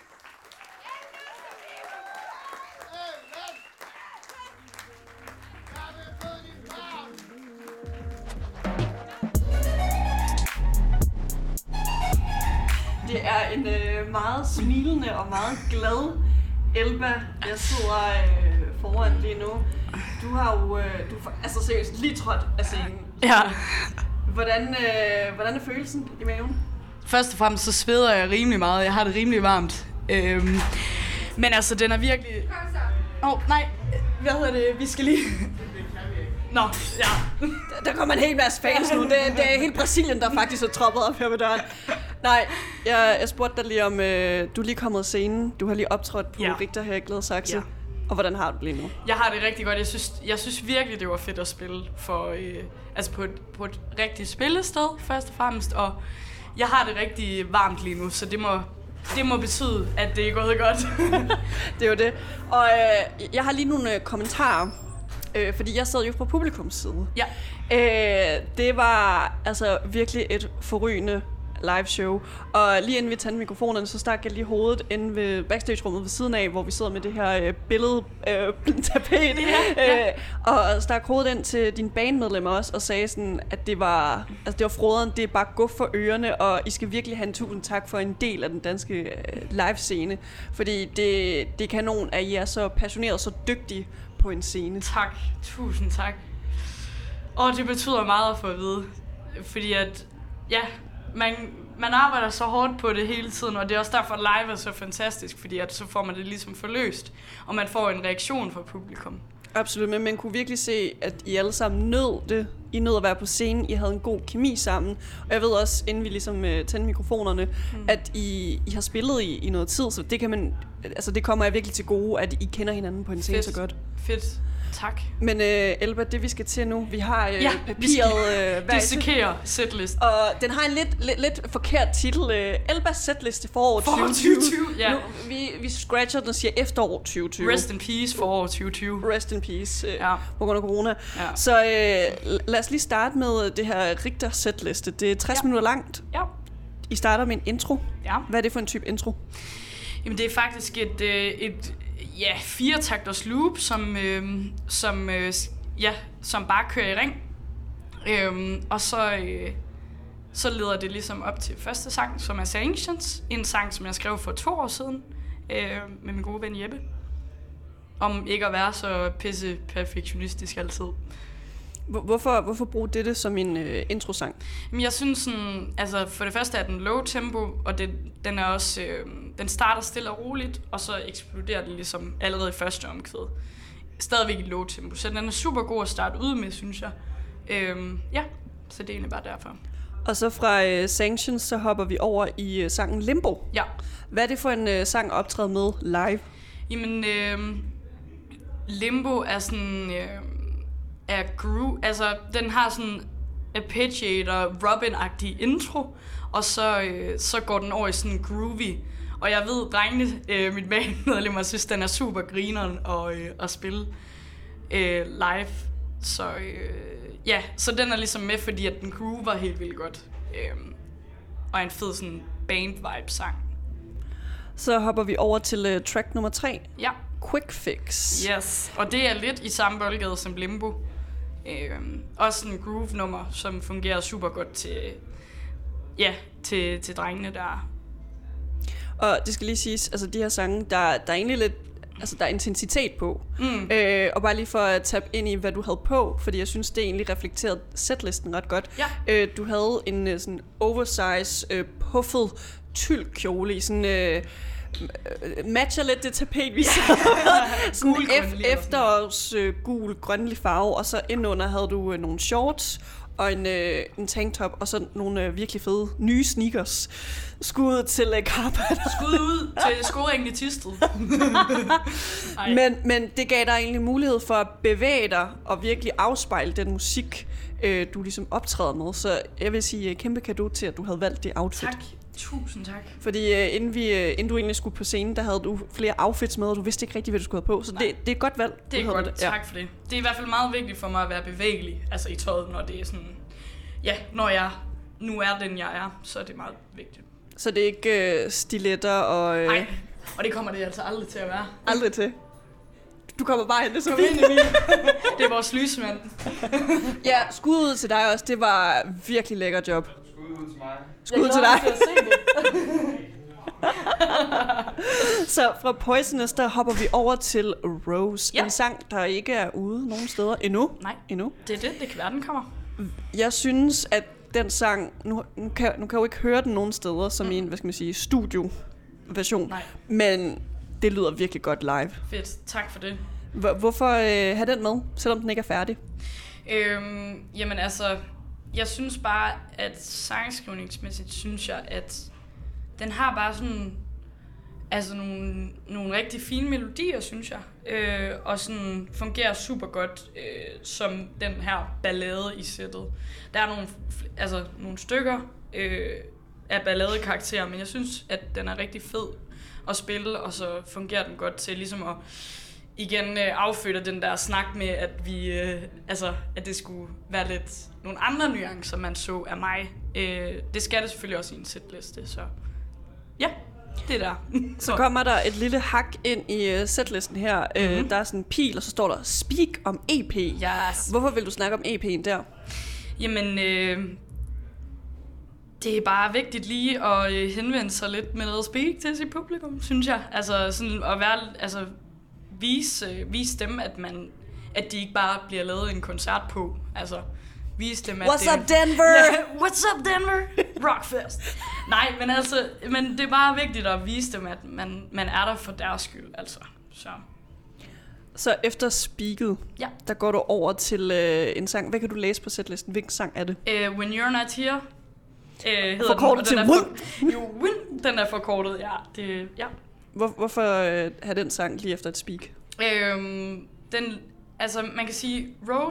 Det er en meget smilende og meget glad Elba, jeg sidder foran lige nu. Du har jo altså seriøst lige trådt af scenen. Ja. Hvordan er følelsen i maven? Først og fremmest så sveder jeg rimelig meget. Jeg har det rimelig varmt. Men altså, den er virkelig... nej. Hvad hedder det? Vi skal lige... Nå, ja. Der kommer en hel masse fans nu. Det er helt Brasilien, der faktisk er troppet op her ved døren. Nej, jeg spurgte dig lige om, du er lige kommet af scenen. Du har lige optrådt på Richter her i Gladsaxe. Ja. Og hvordan har du det lige nu? Jeg har det rigtig godt. Jeg synes virkelig, det var fedt at spille for, altså på et rigtigt spillested, først og fremmest. Og jeg har det rigtig varmt lige nu, så det må betyde, at det er gået godt. Det er jo det. Og jeg har lige nogle kommentarer. Fordi jeg sad jo på publikums side. Ja. Det var altså virkelig et forrygende live show. Og lige inden vi tændte mikrofonerne, så stak jeg lige hovedet inde ved backstage-rummet ved siden af, hvor vi sidder med det her billedtapet. Og stak hovedet ind til dine bandmedlemmer også, og sagde sådan, at det var froderen, det er bare guf for ørerne, og I skal virkelig have en tusind tak for en del af den danske live-scene. Fordi det er kanon, at I er så passionerede og så dygtige på en scene? Tak. Tusind tak. Det betyder meget at få at vide. Fordi at, ja, man arbejder så hårdt på det hele tiden, og det er også derfor, at live er så fantastisk, fordi at så får man det ligesom forløst, og man får en reaktion fra publikum. Absolut, men man kunne virkelig se, at I alle sammen nød det. I nød at være på scenen, I havde en god kemi sammen. Og jeg ved også, inden vi ligesom tændte mikrofonerne, at I har spillet i noget tid, så det kan man, altså det kommer jeg virkelig til gode, at I kender hinanden på en scene så godt. Fedt. Tak. Men Elba, det vi skal til nu, vi har papiret dissekere setlist. Og den har en lidt forkert titel. Elbas setliste forår 2020. Ja. Nu, vi scratcher den og siger efterår 2020. Rest in peace forår 2020. Rest in peace på grund af corona. Ja. Så lad os lige starte med det her Richter setliste. Det er 60 minutter langt. Ja. I starter med en intro. Ja. Hvad er det for en type intro? Jamen det er faktisk et 4-takters loop, som bare kører i ring. Og så leder det ligesom op til første sang, som er Sanctions. En sang, som jeg skrev for 2 år siden med min gode ven Jeppe. Om ikke at være så pisse perfektionistisk altid. Hvorfor bruge det som en introsang? Men jeg synes sådan, altså for det første er den low tempo, og den er også den starter stille og roligt, og så eksploderer den ligesom allerede i første omkvæd. Stadigvæk i low tempo, så den er super god at starte ud med, synes jeg. Så det er egentlig bare derfor. Og så fra Sanctions, så hopper vi over i sangen Limbo. Ja. Hvad er det for en sang at optræde med live? Jamen, Limbo er sådan er groove, altså den har sådan arpeggiator, Robin-agtig intro, og så går den over i sådan groovy. Og jeg ved, drengene, mit bandmedlemmer, synes, den er super grineren at spille live. Så den er ligesom med, fordi at den groover helt vildt godt. Og en fed sådan band-vibe-sang. Så hopper vi over til track nummer 3. Ja. Quick Fix. Yes, og det er lidt i samme boldgade som Limbo. Også en groove-nummer, som fungerer super godt til drengene der. Og det skal lige siges, altså de her sange, der er egentlig lidt, altså der er intensitet på. Og bare lige for at tabe ind i, hvad du havde på, fordi jeg synes, det egentlig reflekterede setlisten ret godt. Ja. Du havde en sådan oversize, puffet tyldkjole i sådan... matcher lidt det tapet, vi så. Sådan efterårs gul, grønlig farve, og så indunder havde du nogle shorts og en tanktop, og så nogle virkelig fede nye sneakers. Skud til Carpet. Skud ud til skoringen i Thisted. Men det gav dig egentlig mulighed for at bevæge dig og virkelig afspejle den musik, du ligesom optræder med. Så jeg vil sige kæmpe cadeau til, at du havde valgt det outfit. Tak. Tusind tak. Fordi inden du egentlig skulle på scenen, der havde du flere outfits med, og du vidste ikke rigtig, hvad du skulle have på. Så det er et godt valg. Det er godt. Tak for det. Det er i hvert fald meget vigtigt for mig at være bevægelig, altså i tøjet, når det er sådan... Ja, når jeg nu er den, jeg er, så er det meget vigtigt. Så det er ikke stiletter og... Nej, og det kommer det altså aldrig til at være. Aldrig til? Du kommer bare hen, det så fint. Det er vores lysmand. Ja, skud ud til dig også. Det var virkelig lækker job. Skud ud til mig. Skud til dig. Så fra Poisonous, der hopper vi over til Rose. Ja. En sang, der ikke er ude nogen steder endnu. Nej, endnu. Det er det kan være, den kommer. Jeg synes, at den sang, nu kan jeg jo ikke høre den nogen steder, som en, hvad skal man sige, studioversion. Nej. Men det lyder virkelig godt live. Fedt, tak for det. Hvorfor have den med, selvom den ikke er færdig? Jamen altså, jeg synes bare, at sangskrivningsmæssigt synes jeg, at den har bare sådan, altså nogle rigtig fine melodier, synes jeg. Og sådan fungerer super godt som den her ballade i sættet. Der er nogle stykker af balladekarakterer, men jeg synes, at den er rigtig fed at spille, og så fungerer den godt til ligesom at igen affødte den der snak med, at vi, at det skulle være lidt nogle andre nuancer, man så af mig. Det skal det selvfølgelig også i en setliste, så ja, det er der. Så kommer der et lille hak ind i setlisten her. Der er sådan en pil, og så står der Speak om EP. Yes. Hvorfor vil du snakke om EP'en der? Jamen, det er bare vigtigt lige at henvende sig lidt med noget speak til sit publikum, synes jeg. Altså sådan at være vise dem, at de ikke bare bliver lavet en koncert på. Altså, vise dem, at What's up, Denver? Ja, what's up, Denver? Rockfest. Nej, men det er bare vigtigt at vise dem, at man er der for deres skyld, altså. Så efter Speaket, ja. Der går du over til en sang. Hvad kan du læse på setlisten? Hvilken sang er det? When You're Not Here. Forkortet til Win. Jo, Win. Den er forkortet, ja. Hvorfor have den sang lige efter et Speak? Altså, man kan sige,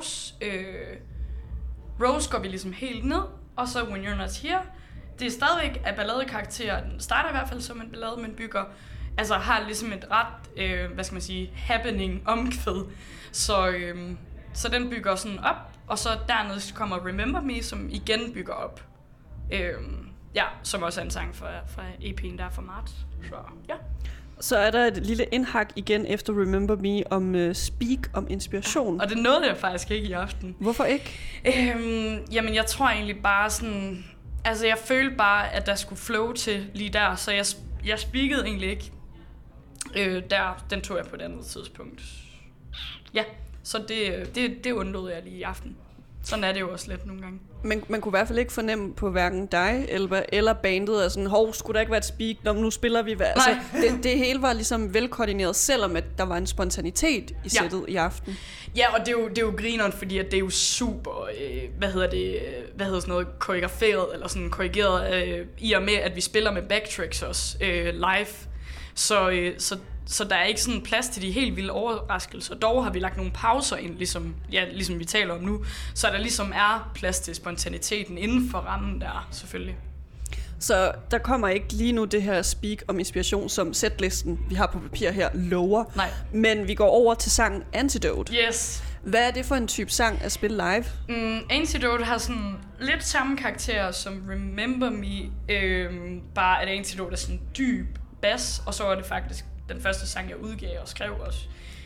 Rose går vi ligesom helt ned, og så When You're Not Here. Det er stadigvæk af balladekarakter. Den starter i hvert fald som en ballade, men har ligesom et ret, happening omkvæd. Så den bygger sådan op, og så dernede kommer Remember Me, som igen bygger op. Som også er en sang fra EP'en der fra marts. Så, ja. Så er der et lille indhak igen efter Remember Me om Speak, om inspiration. Og det nåede jeg faktisk ikke i aften. Hvorfor ikke? Jamen, jeg tror egentlig bare sådan... Altså, jeg følte bare, at der skulle flow til lige der, så jeg speakede egentlig ikke den tog jeg på et andet tidspunkt. Ja, så det undlod jeg lige i aften. Sådan er det jo også lidt nogle gange. Men man kunne i hvert fald ikke fornemme på hverken dig eller bandet, at sådan, skulle der ikke være et speak, nu spiller vi. Altså, det hele var ligesom velkoordineret, selvom at der var en spontanitet i sættet i aften. Ja, og det er jo grineren, fordi at det er jo super, koreograferet, eller sådan korrigeret, i og med, at vi spiller med backtracks også live. Så der er ikke sådan plads til de helt vilde overraskelser. Dog har vi lagt nogle pauser ind, ligesom vi taler om nu, så der ligesom er plads til spontaniteten inden for rammen der, selvfølgelig. Så der kommer ikke lige nu det her speak om inspiration, som setlisten, vi har på papir her, lover. Nej. Men vi går over til sangen Antidote. Yes. Hvad er det for en type sang at spille live? Antidote har sådan lidt samme karakter som Remember Me, bare at Antidote er sådan dyb bass, og så er det faktisk den første sang, jeg udgav og skrev også.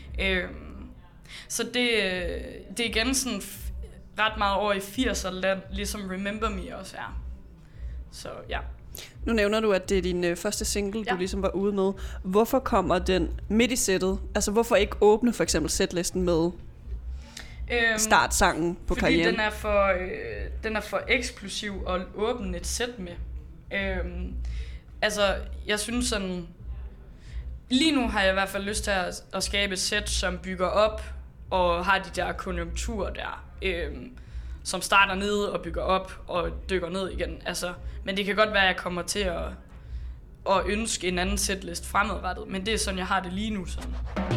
Så det er igen sådan ret meget over i 80'er land, ligesom Remember Me også er. Så ja. Nu nævner du, at det er din første single, du ligesom var ude med. Hvorfor kommer den midt i sættet? Altså hvorfor ikke åbne for eksempel setlisten med startsangen på karrieren? Fordi den er for eksplosiv at åbne et sæt med. Jeg synes sådan... Lige nu har jeg i hvert fald lyst til at skabe et sæt, som bygger op og har de der konjunkturer der, som starter nede og bygger op og dykker ned igen. Men det kan godt være, at jeg kommer til at ønske en anden setlist fremadrettet, men det er sådan, jeg har det lige nu. Sådan.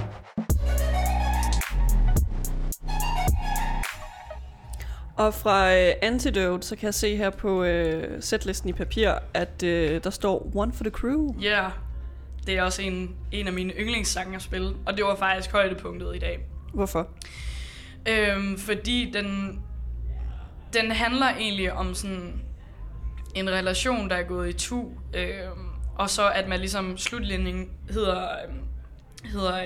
Og fra Antidote, så kan jeg se her på setlisten i papir, at der står One for the Crew. Ja. Yeah. Det er også en af mine yndlingssange at spille, og det var faktisk højdepunktet i dag. Hvorfor? Fordi den handler egentlig om sådan en relation, der er gået i tu, og så at man ligesom slutlinjen hedder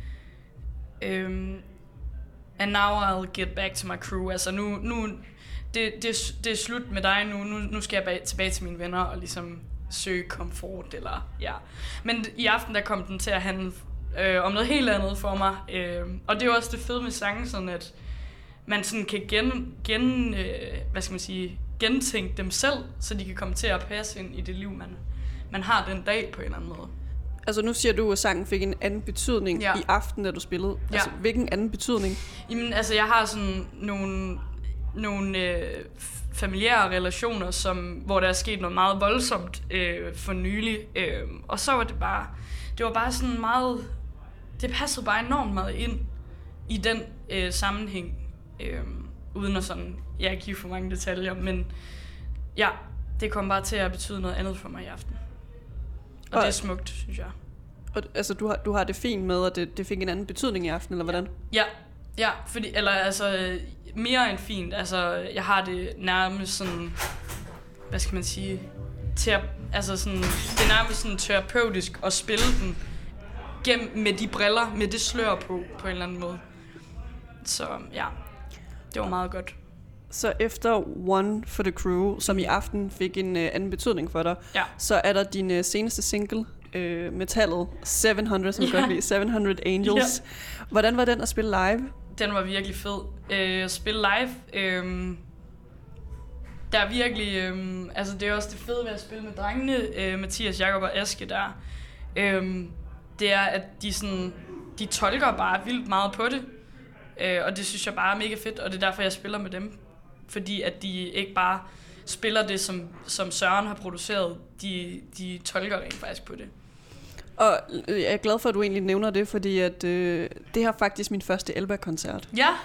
and now I'll get back to my crew. Altså nu det er slut med dig nu skal jeg tilbage til mine venner og ligesom søge komfort, eller ja. Men i aften, der kom den til at handle om noget helt andet for mig. Og det er jo også det fede med sangen, sådan at man sådan kan gentænke dem selv, så de kan komme til at passe ind i det liv, man har den dag på en eller anden måde. Altså nu siger du, at sangen fik en anden betydning i aften, da du spillede. Ja. Altså hvilken anden betydning? Jamen altså, jeg har sådan nogle familiære relationer, hvor der er sket noget meget voldsomt for nylig. Og så var det var bare sådan meget, det passede bare enormt meget ind i den sammenhæng, uden at sådan, give for mange detaljer, men ja, det kom bare til at betyde noget andet for mig i aften. Og det er smukt, synes jeg. Og, altså du har det fint med, at det fik en anden betydning i aften, eller hvordan? Ja, fordi, eller altså, mere end fint. Altså, jeg har det nærmest sådan, hvad skal man sige, det er nærmest sådan terapeutisk at spille den gennem med de briller, med det slør på en eller anden måde. Så ja, det var meget godt. Så efter One for the Crew, som i aften fik en anden betydning for dig, så er der din seneste single, metallet 700, som godt lide, 700 Angels. Hvordan var den at spille live? Den var virkelig fed. At spille live, der er virkelig, altså det er også det fede ved at spille med drengene, Mathias, Jakob og Aske der. Det er, at de tolker bare vildt meget på det. Og det synes jeg bare er mega fedt, og det er derfor, jeg spiller med dem. Fordi at de ikke bare spiller det, som Søren har produceret. De tolker rent faktisk på det. Og jeg er glad for, at du egentlig nævner det, fordi at, det er faktisk min første Elba-koncert.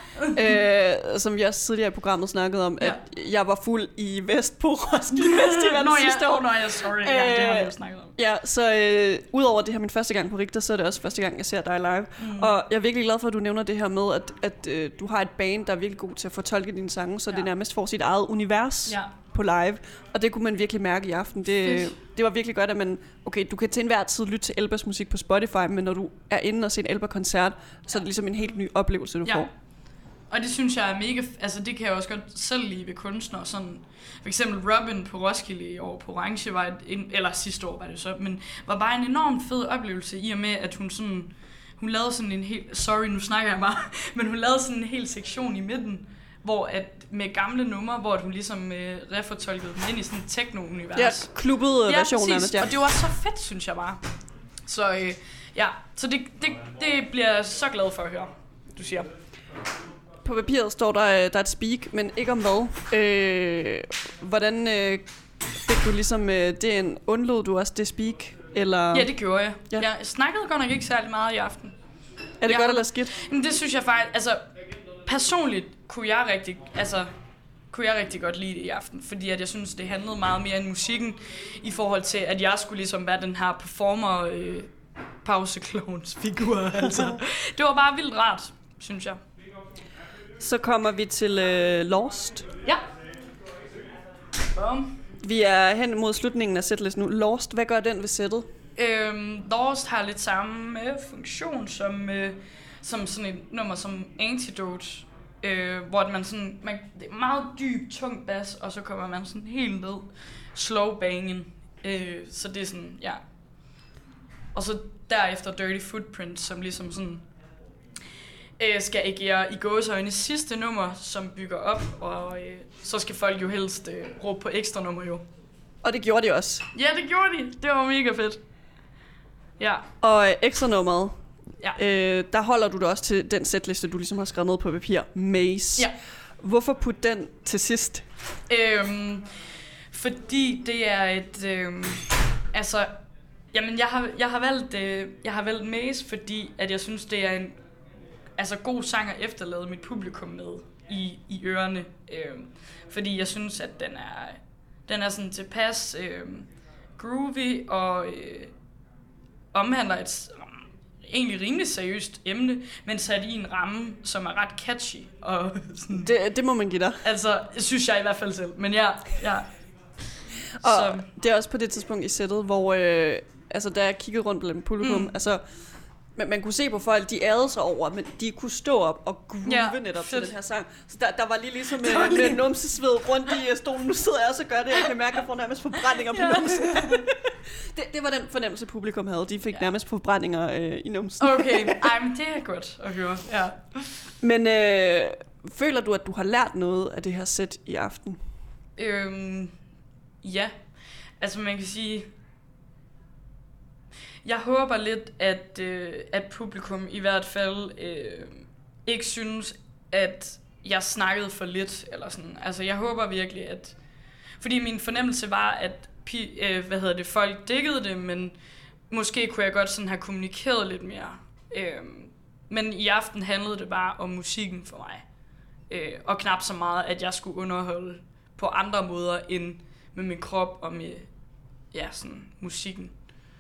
Ja. Som vi også tidligere i programmet snakkede om, at jeg var fuld i Vest på Roskilde Festival sidste år. Sorry. Ja, det har vi jo snakket om. Ja, så udover det her min første gang på Richter, så er det også første gang, jeg ser dig live. Og jeg er virkelig glad for, at du nævner det her med, at du har et band, der er virkelig god til at fortolke dine sange, så det nærmest får sit eget univers på live. Og det kunne man virkelig mærke i aften. Det var virkelig godt, at man... Okay, du kan til enhver tid lytte til Elbas musik på Spotify, men når du er inde og ser en Elba-koncert, så er det ligesom en helt ny oplevelse, du får. Og det synes jeg er mega... Altså, det kan jeg også godt selv lide ved kunstnere. Sådan, for eksempel Robin på Roskilde i år på Orange, eller sidste år var det så, men var bare en enormt fed oplevelse i og med, at hun lavede sådan en helt... Sorry, nu snakker jeg bare. Men hun lavede sådan en hel sektion i midten, hvor at med gamle numre, hvor hun ligesom refortolkede dem ind i sådan et techno-univers. Ja, klubbede version af det. Ja, og det var så fedt, synes jeg bare. Så så det bliver jeg så glad for at høre, du siger. På papiret står der er et speak, men ikke om hvad. Hvordan fik du ligesom det undlod du også det speak? Eller? Ja, det gjorde jeg. Ja. Jeg snakkede godt nok ikke særlig meget i aften. Er det godt eller skidt? Men det synes jeg faktisk, altså personligt kunne jeg rigtig godt lide det i aften, fordi at jeg synes, det handlede meget mere om musikken, i forhold til, at jeg skulle ligesom være den her performer pauseklovns figur. Altså. Det var bare vildt rart, synes jeg. Så kommer vi til Lost. Ja. Vi er hen mod slutningen af setlist nu. Lost, hvad gør den ved sættet? Lost har lidt samme funktion som sådan et nummer som Antidote, hvor man sådan, det er meget dyb, tung bas, og så kommer man sådan helt ned, slow banging, så det er sådan, ja. Og så derefter Dirty Footprint, som ligesom sådan skal agere i gåseøjne sidste nummer, som bygger op, og så skal folk jo helst råbe på ekstra nummer jo. Og det gjorde de også. Ja, det gjorde de. Det var mega fedt. Ja. Og ekstra nummeret, der holder du det også til den setliste, du ligesom har skrevet ned på papir, Maze. Ja. Hvorfor putte den til sidst? Fordi det er et... jamen, jeg har valgt Maze, fordi at jeg synes, det er en god sang at efterlade mit publikum med i ørerne. Fordi jeg synes, at den er sådan tilpas groovy og omhandler et egentlig rimelig seriøst emne, men sat i en ramme, som er ret catchy. Og sådan, det må man give dig. Altså, synes jeg i hvert fald selv. Men ja. Og det er også på det tidspunkt i sættet, hvor da jeg kiggede rundt blandt publikum, man kunne se på folk, de ærede sig over, men de kunne stå op og groove netop til den her sang. Så der var lige ligesom med numsesved rundt i stolen. Nu sidder jeg også og gør det, jeg kan mærke, at jeg får nærmest forbrændinger på numsen. Det var den fornemmelse, publikum havde. De fik nærmest forbrændinger i numsen. Okay, men det er godt at høre. Ja. Men føler du, at du har lært noget af det her sæt i aften? Ja. Altså man kan sige... Jeg håber lidt, at publikum i hvert fald ikke synes, at jeg snakkede for lidt, eller sådan. Altså, jeg håber virkelig, at... Fordi min fornemmelse var, at folk diggede det, men måske kunne jeg godt sådan have kommunikeret lidt mere. Men i aften handlede det bare om musikken for mig. Og knap så meget, at jeg skulle underholde på andre måder end med min krop og med sådan musikken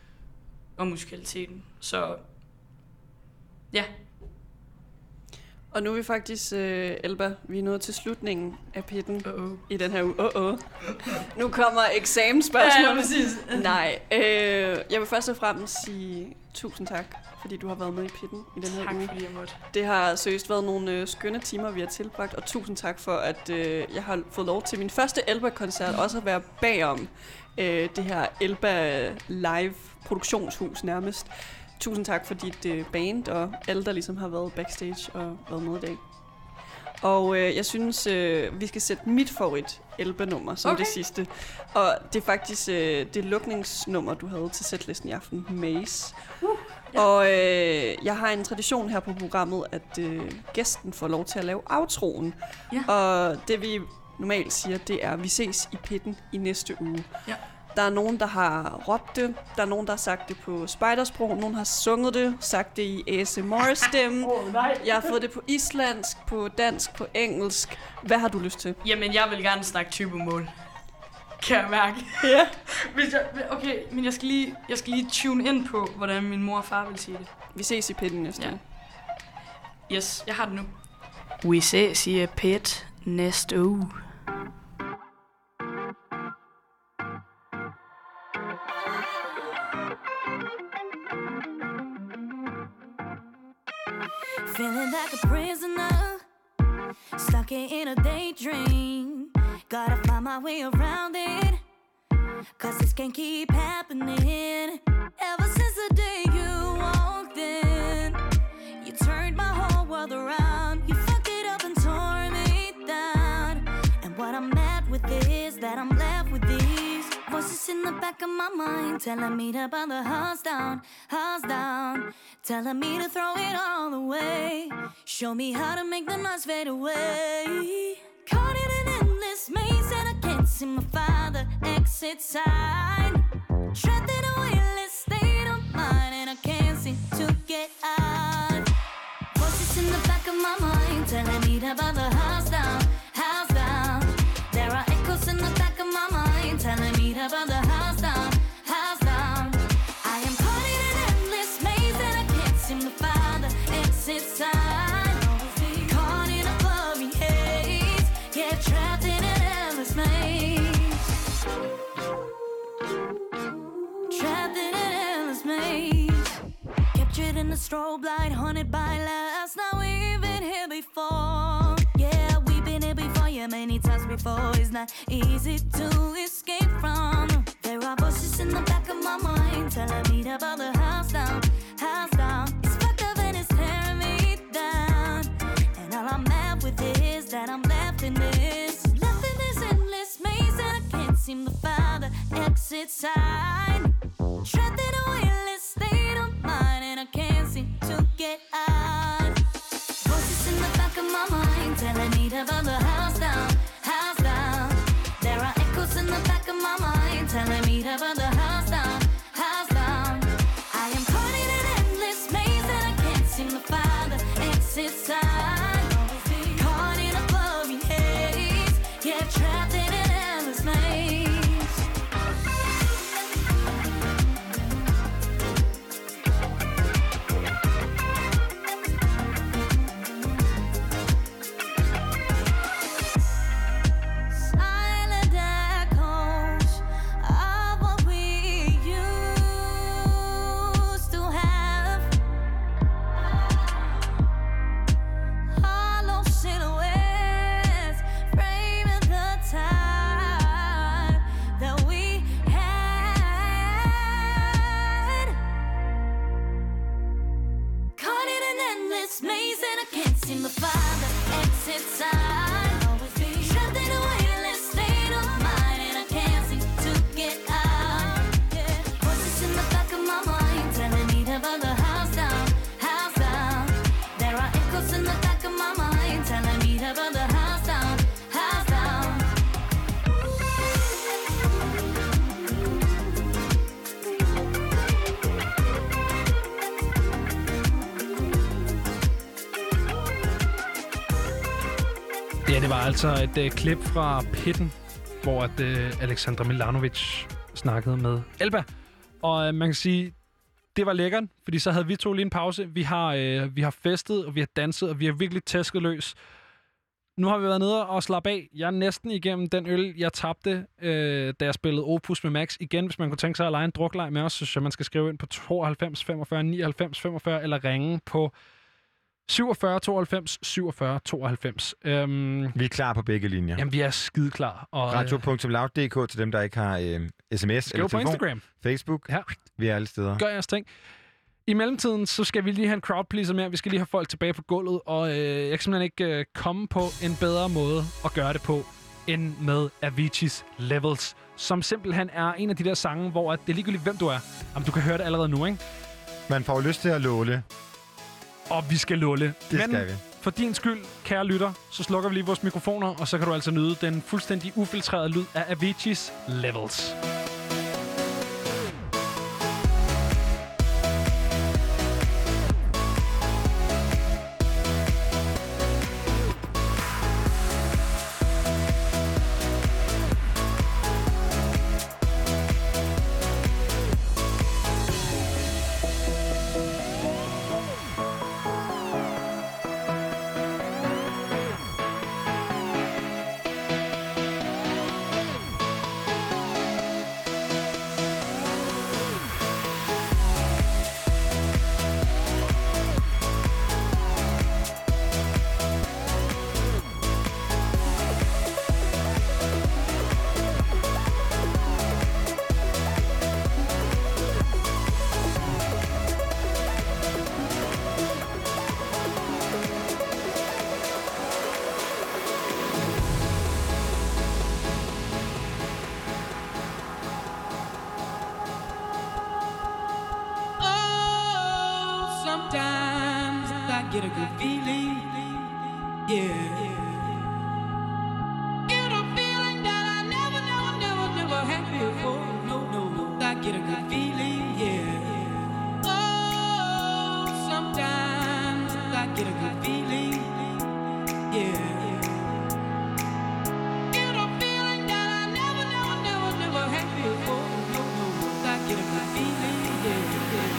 og musikaliteten. Så ja. Og nu er vi faktisk, Elba, vi er nået til slutningen af pitten i den her uge. Nu kommer eksamensspørgsmål. Ja, præcis. Nej, jeg vil først og fremmest sige tusind tak, fordi du har været med i pitten i den her uge. Tak fordi jeg måtte. Det har seriøst været nogle skønne timer, vi har tilbragt, og tusind tak for, at jeg har fået lov til min første Elba-koncert også at være bagom det her Elba live produktionshus nærmest. Tusind tak for dit band og alle, der ligesom har været backstage og været med i dag. Og jeg synes, vi skal sætte mit favorit Elba-nummer som det sidste. Og det er faktisk det lukningsnummer, du havde til setlisten i aften, Maze. Og jeg har en tradition her på programmet, at gæsten får lov til at lave outroen. Ja. Og det vi normalt siger, det er, at vi ses i pitten i næste uge. Ja. Der er nogen, der har råbt det. Der er nogen, der har sagt det på spejdersprog. Nogen har sunget det, sagt det i ASMR-stemme. Jeg har fået det på islandsk, på dansk, på engelsk. Hvad har du lyst til? Jamen, jeg vil gerne snakke typemål. Kan jeg mærke. Ja. Okay, men jeg skal lige tune ind på, hvordan min mor og far vil sige det. Vi ses i pitten næste uge. Yes, jeg har det nu. Vi ses i pit næste uge. Feeling like a prisoner, stuck in a daydream. Gotta find my way around it, cause this can't keep happening. Ever since the day you walked in, you turned my whole world around. You fucked it up and tore me down. And what I'm mad with is that I'm left with these voices in the back of my mind, telling me to burn the house down, telling me to throw it all away. Show me how to make the noise fade away. Caught in an endless maze and I can't see my father exit sign. Trapped in a weightless state of mind and I can't seem to get out. Voices in the back of my mind telling me to burn the house down. There are echoes in the back of my mind telling me to burn the house down. I am caught in an endless maze and I can't seem to find the exit sign. Caught in a blurry haze, yeah, trapped in an endless maze. Trapped in an endless maze. Captured in the strobe light, haunted by last. Now we've been here before. Yeah, we've been here before, yeah, many times before. It's not easy to escape from. There are voices in the back of my mind telling me to burn the house down. It's fucked up and it's tearing me down. And all I'm mad with is that I'm left in this endless maze and I can't seem to find the exit sign. Trapped in a weightless state of mind and I can't seem to get out. Voices in the back of my mind telling me to burn the house down. There are echoes in the back of my mind telling me to burn the house down. I am caught in an endless maze and I can't seem to find the exit sign. Caught in a blurry haze, yeah, trapped in an endless maze. Maze and I can't seem to find the exit sign. Trapped in a weightless state of mind and I can't seem to get out. Voices in the back of my mind telling me to burn the house down. There are echoes in the back of my mind telling me to burn the house down. Ja, det var altså et klip fra pitten, hvor Alexandra Milanovic snakkede med Elba. Og man kan sige, Det var lækkert, fordi så havde vi to lige en pause. Vi har festet, og vi har danset, og vi har virkelig tæsket løs. Nu har vi været nede og slappe af. Jeg er næsten igennem den øl, jeg tabte, da jeg spillede Opus med Max. Igen, hvis man kunne tænke sig at lege en drukleg med os, så synes jeg, man skal skrive ind på 92 45 99 45, eller ringe på 47 92 47 92. Vi er klar på begge linjer. Jamen, vi er skide klar. Radio.loud.dk til dem, der ikke har sms eller telefon. På Instagram. Facebook. Ja. Vi er alle steder. Gør jeres ting. I mellemtiden, så skal vi lige have en crowdpleaser mere. Vi skal lige have folk tilbage på gulvet, og jeg kan simpelthen ikke komme på en bedre måde at gøre det på, end med Avicii's Levels, som simpelthen er en af de der sange, hvor det er ligegyldigt, hvem du er. Jamen, du kan høre det allerede nu, ikke? Man får lyst til at låle. Og vi skal låle. Det skal vi. For din skyld, kære lytter, så slukker vi lige vores mikrofoner, og så kan du altså nyde den fuldstændig ufiltrerede lyd af Avicii's Levels. get a good feeling, yeah. Get a feeling that I never had before. No, I get a good feeling, yeah. Oh, sometimes I get a good feeling, yeah. Get a feeling that I never had before. No, I get a good feeling, yeah.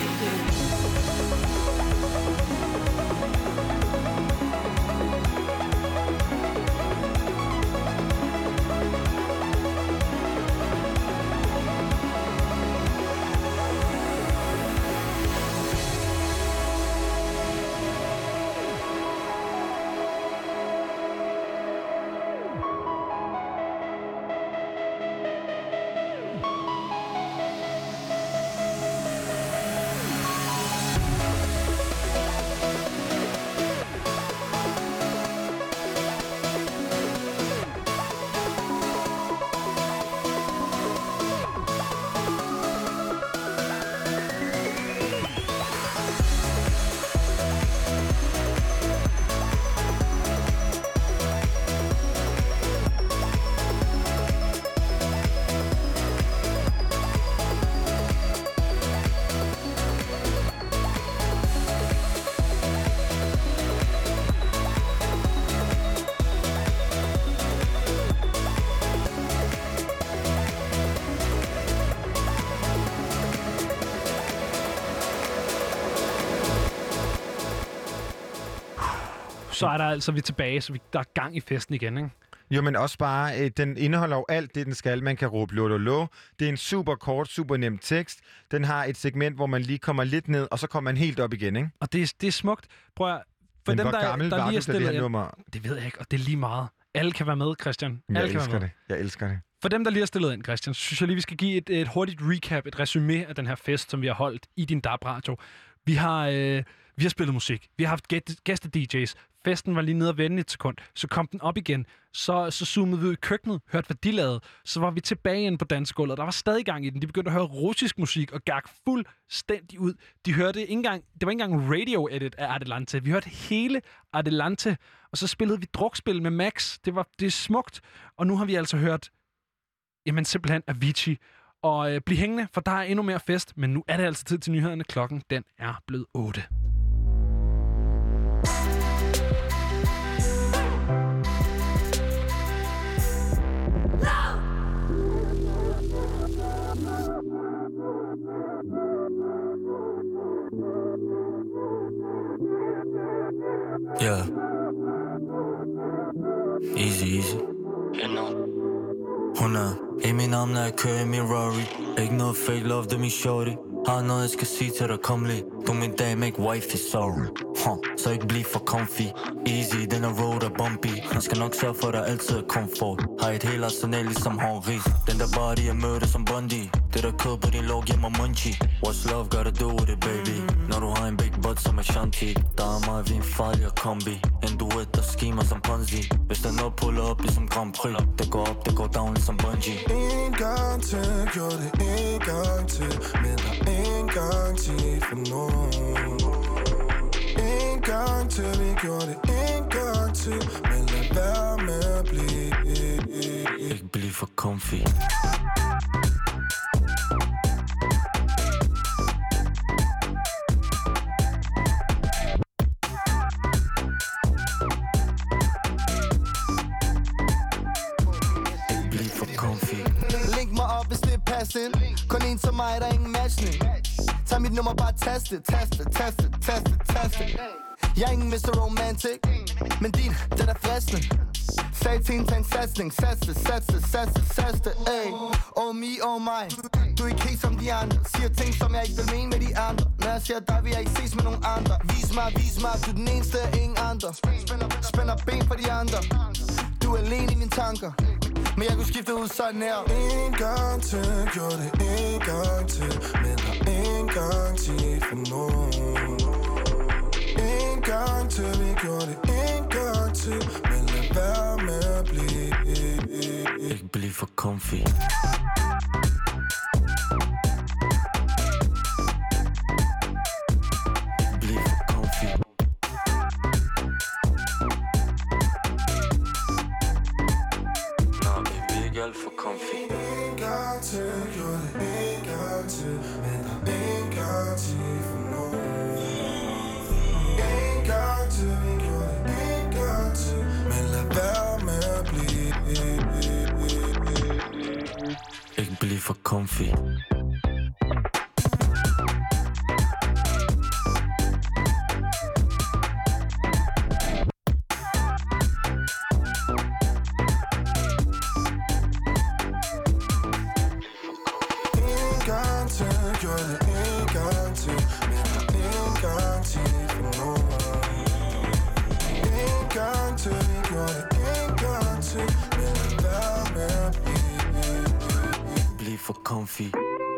Så er der altså, vi er tilbage, så der er gang i festen igen, ikke? Jo, men også bare, den indeholder jo alt det, den skal. Man kan råbe lo. Det er en super kort, super nem tekst. Den har et segment, hvor man lige kommer lidt ned, og så kommer man helt op igen, ikke? Og det er smukt. Prøv at... For men dem, hvor gammel der var lige du, da det her nummer? Det ved jeg ikke, og det er lige meget. Alle kan være med, Christian. Jeg elsker det. Jeg elsker det. For dem, der lige har stillet ind, Christian, så synes jeg lige, vi skal give et hurtigt recap, et resume af den her fest, som vi har holdt i din DAB-radio. Vi har spillet musik. Vi har haft gæste-DJ's. Festen var lige nede og vende et sekund. Så kom den op igen. Så zoomede vi ud i køkkenet, hørte, hvad de lavede. Så var vi tilbage inde på dansegulvet. Der var stadig gang i den. De begyndte at høre russisk musik og gak fuldstændig ud. De hørte ikke engang, det var ikke engang radio-edit af Adelante. Vi hørte hele Adelante. Og så spillede vi drukspil med Max. Det er smukt. Og nu har vi altså hørt, jamen simpelthen Avicii. Og bliv hængende, for der er endnu mere fest. Men nu er det altså tid til nyhederne. Klokken, den er blevet 8. Yeah. Easy. Hun er i min arm, når jeg kører i min Rari. Ikke noget fake love, det er min shorty. Har noget, jeg skal sige til dig, kom lige. Du er min dame, ikke wifey, sorry. Så ikke bliv for comfy. Easy, den er road er bumpy. Han skal nok sørge for, at der altid er komfort. Har et helt arsenal ligesom Henri. Den der body, jeg mødte som Bundy. Det der kød på din lov, giver mig munchie. What's love gotta do with it, baby? Når du har en big butt som Ashanti. Der er mig, vi en farlig kombi. En duet, der skimer som Ponzi. Hvis den op, puller op ligesom Grand Prix. Det går op, det går down ligesom Bungie. En gang til, gjorde det en gang til. Men der er en garanti for nogen. En gang til, vi gjorde det en gang til. Men lad være med at blive. Ikke bliv for comfy. Link mig op, hvis det er passende. Kun en som mig, der er ingen matchning. Tag mit nummer, bare taste. Jeg er ingen Mr. Romantic, men din, den er fristende. Sag til en, tag en satsning. Satse, ey. Oh me, oh my. Du er ikke helt som de andre. Siger ting, som jeg ikke vil mene med de andre. Når jeg siger dig, vil jeg ikke ses med nogen andre. Vis mig, du er den eneste af ingen andre. Spænder ben for de andre. Du er alene i mine tanker. Men jeg kunne skifte ud sådan her. En gang til, gjorde det en gang til. Men der er en garanti for nogen. En gang til, vi gjorde det en gang til. Men lad være med at blive. Ikke bliv for comfy. Bliv for comfy. Nå, baby, ikke alt for comfy. En gang til, gjorde det en gang til. Men der er en garanti for nogen. En gang til, vi gjorde det en gang til. Men lad være med at blive. Ikke bliv for comfy. For comfy.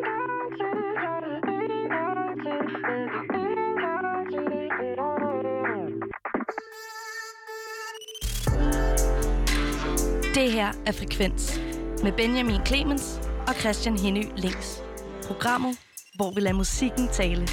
Det her er Frekvens med Benjamin Clemens og Christian Henny Links. Programmet, hvor vi lader musikken tale.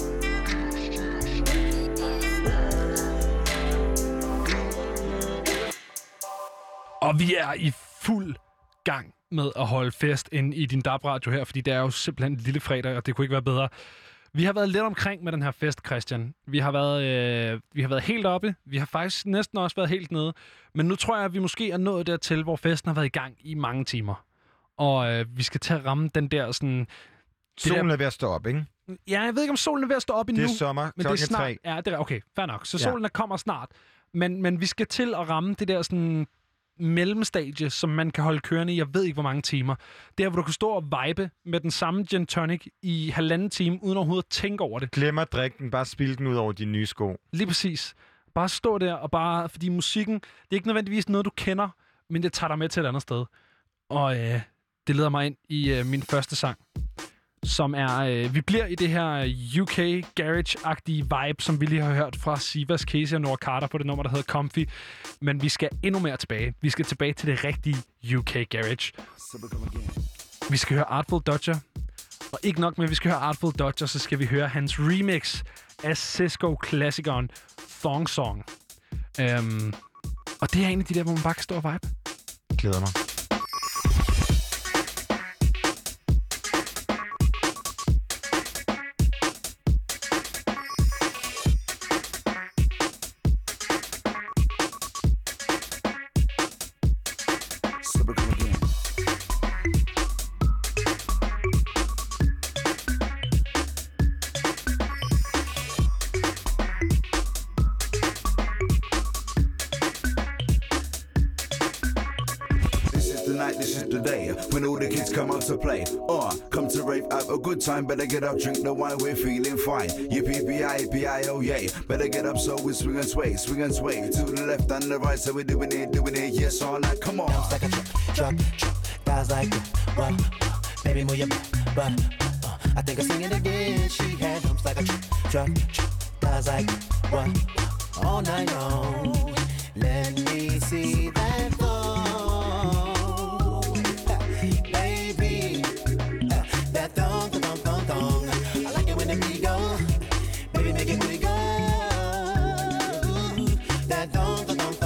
Og vi er i fuld gang med at holde fest inde i din DAB-radio her, fordi det er jo simpelthen en lille fredag, og det kunne ikke være bedre. Vi har været lidt omkring med den her fest, Christian. Vi har været helt oppe. Vi har faktisk næsten også været helt nede. Men nu tror jeg, at vi måske er nået dertil, hvor festen har været i gang i mange timer. Og vi skal til at ramme den der sådan... Solen er ved at stå op, ikke? Ja, jeg ved ikke, om solen er ved at stå op endnu. Det er sommer, men det er snart. 3. Ja, det er okay, fair nok. Så solen kommer snart. Men vi skal til at ramme det der sådan... mellemstadie, som man kan holde kørende i, jeg ved ikke, hvor mange timer. Der, hvor du kan stå og vibe med den samme gin tonic i 1,5 time, uden overhovedet at tænke over det. Glem at drikke den, bare spil den ud over dine nye sko. Lige præcis. Bare stå der, og bare, fordi musikken, det er ikke nødvendigvis noget, du kender, men det tager dig med til et andet sted. Og det leder mig ind i min første sang, som er, vi bliver i det her UK garage-agtige vibe, som vi lige har hørt fra Sivas, Casey og Nora Carter på det nummer, der hedder Comfy. Men vi skal endnu mere tilbage. Vi skal tilbage til det rigtige UK garage. Vi skal høre Artful Dodger. Og ikke nok med, at vi skal høre Artful Dodger, så skal vi høre hans remix af Cisco-klassikeren Thong Song. Og det er en af de der, hvor man bare kan stå og vibe. Glæder mig. the night, this is the day. When all the kids come out to play. Come to rave, have a good time. Better get up, drink the wine, we're feeling fine. Yippee-yi-yi-yi, oh yay. Better get up so we swing and sway. To the left and the right, so we're doing it, yes all night, come on. Like a truck, guys like what? Baby, move your butt. I think I'm singing again. She had humps like a truck, guys like what? All night long. Let me see that thong, baby. That thong. I like it when the beat go, baby, make it booty go. That thong.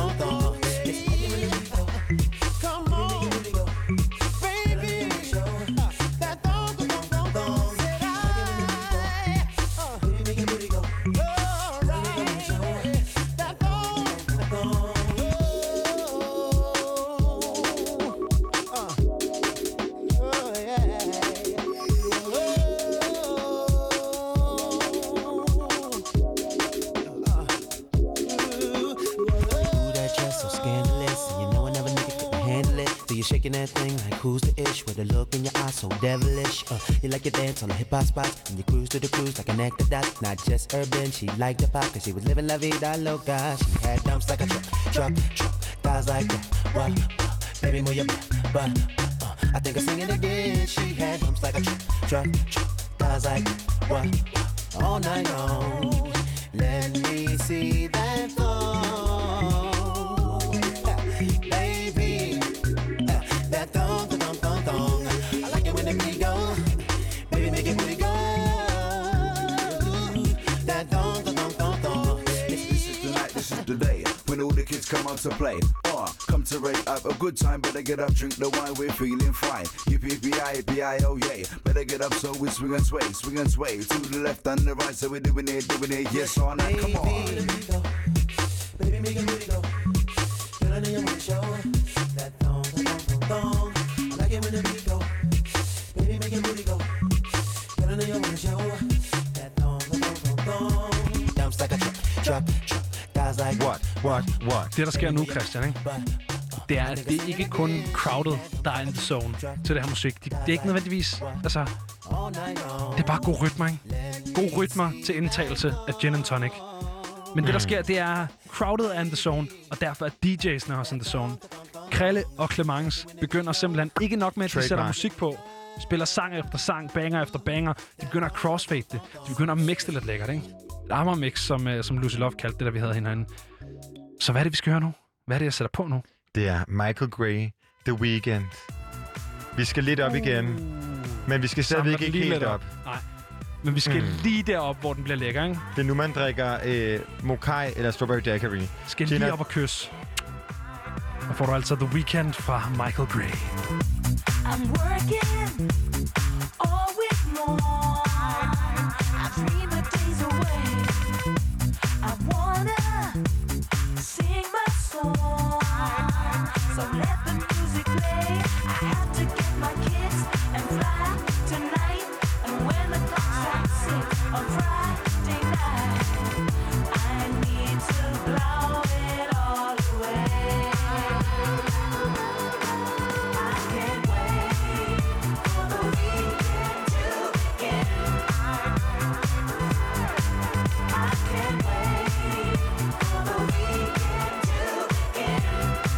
Come on, baby. That thong. Baby, make it booty go. That thong. Shaking that thing like who's the ish? With a look in your eyes so devilish. You like your dance on the hip hop spot, and you cruise to the cruise like an actor dot. Not just urban, she liked the pop, cause she was living la vida loca. She had dumps like a truck, guys like that. What? Baby, move your butt. I think I'm singing again. She had dumps like a truck, guys like that. What? All night long. Let me see that thong, baby. That thong. I like it when the beat go, baby, make it booty go. That thong. This is the night, this is the day. When all the kids come out to play. Come to rave, have a good time. Better get up, drink the wine, we're feeling fine. Yippee-yi-yi, oh yay. Better get up so we swing and sway. To the left and the right, so we're doing it, yes all night, come on. Baby, make it booty go. Girl, I know you wanna show that thong. I like it when the beat go. Baby, make it booty go. Girl, I know you wanna show that thong. Dumps like a truck. Guys like what? Det, der sker nu, Christian, ikke? Det er, at det er ikke kun crowded, der er in the zone til det her musik. Det er ikke nødvendigvis, altså... Det er bare gode rytmer, ikke? Gode rytmer til indtagelse af gin and tonic. Men det, der sker, det er crowded er in the zone, og derfor er DJ'sne også in the zone. Krille og Clemence begynder simpelthen ikke nok med, at de sætter musik på. Spiller sang efter sang, banger efter banger. De begynder at crossfade det. De begynder at mixe det lidt lækkert, ikke? Et Amager-mix, som Lucy Love kaldte det, der vi havde hinanden. Så hvad er det, vi skal høre nu? Hvad er det, jeg sætter på nu? Det er Michael Gray, The Weeknd. Vi skal lidt op igen, men vi skal stadigvæk ikke helt op. Nej, men vi skal lige derop, hvor den bliver lækker, ikke? Det er nu, man drikker Mokai eller Strawberry Daiquiri. Skal lige op og kysse. Og får du altså The Weeknd fra Michael Gray. I'm working all week long. I dream the days away. I wanna sing my song. So let the music play. I have to get my kids and fly tonight. And when the clock strikes 6 on Friday night, I need to blow it all away. I can't wait for the weekend to begin. I can't wait for the weekend to begin.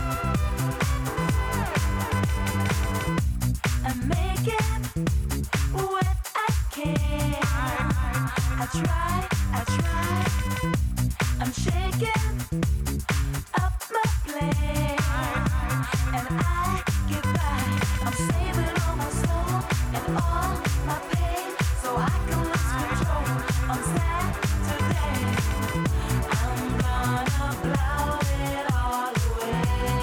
I'm making what I can. I try. I'm shaking up my plan, and I get by. I'm saving all my soul and all my pain, so I can lose control on Saturday. I'm gonna blow it all away.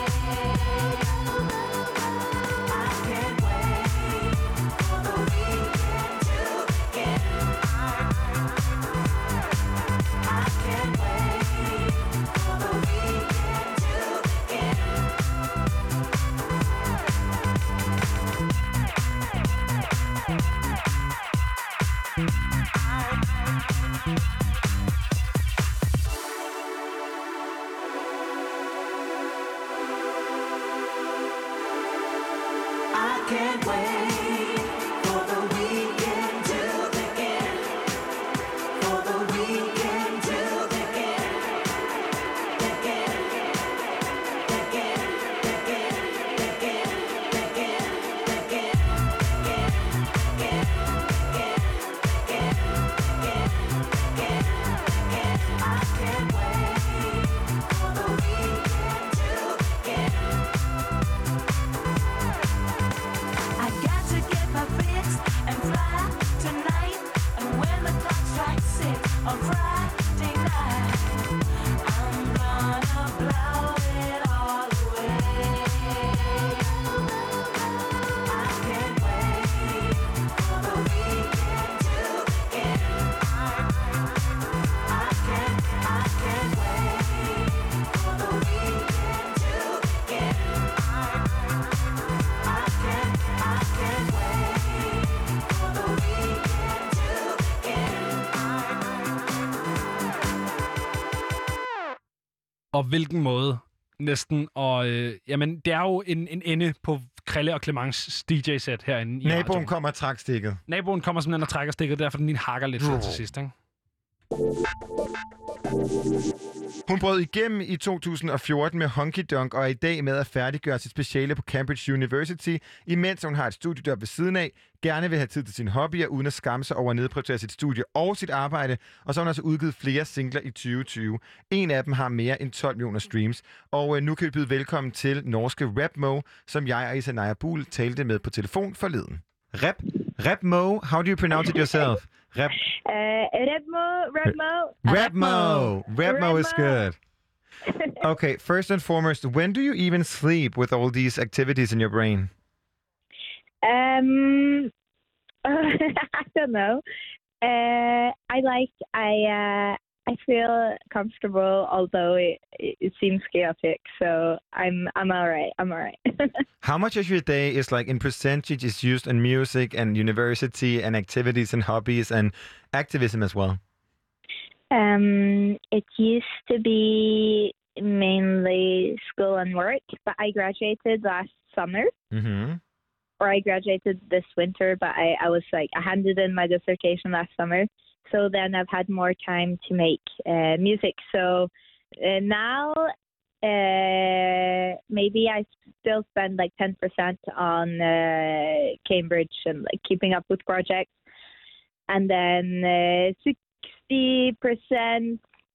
I can't wait for the weekend to begin. I can't wait for the weekend to begin. can't wait for the weekend to begin. For the weekend to begin. Begin. Begin. Begin. Begin. Begin. Begin. I can't wait for the weekend to begin. I got to get my fix and fly tonight. And when the clock strikes 6 on Friday night, I'm gonna blow it all away. I can't wait for the weekend to begin. I can't wait for the weekend to begin. I can't wait for the weekend to begin. Og hvilken måde næsten. Og jamen, det er jo en ende på Krille og Clemens DJ-sæt herinde i Naboen radioen. kommer og trækker stikket. Naboen kommer simpelthen og trækker stikket, derfor den lige hakker lidt til sidst, ikke? Hun brød igennem i 2014 med Honky Donk og er i dag med at færdiggøre sit speciale på Cambridge University, imens hun har et studiejob ved siden af, gerne vil have tid til sine hobbyer, uden at skamme sig over at nedprioritere sit studie og sit arbejde, og så har hun altså udgivet flere singler i 2020. En af dem har mere end 12 millioner streams, og nu kan vi byde velkommen til norske Rap Mo, som jeg og Isanaya Buhl talte med på telefon forleden. Rap Mo, how do you pronounce it yourself? Rap Mo is good. Okay, first and foremost, when do you even sleep with all these activities in your brain? I don't know. I feel comfortable, although it seems chaotic. So I'm all right. I'm all right. How much of your day is like in percentage is used in music and university and activities and hobbies and activism as well? It used to be mainly school and work, but I graduated last summer. Mm-hmm. Or I graduated this winter, but I handed in my dissertation last summer. So then I've had more time to make music. So now maybe I still spend like 10% on Cambridge and like keeping up with projects. And then 50%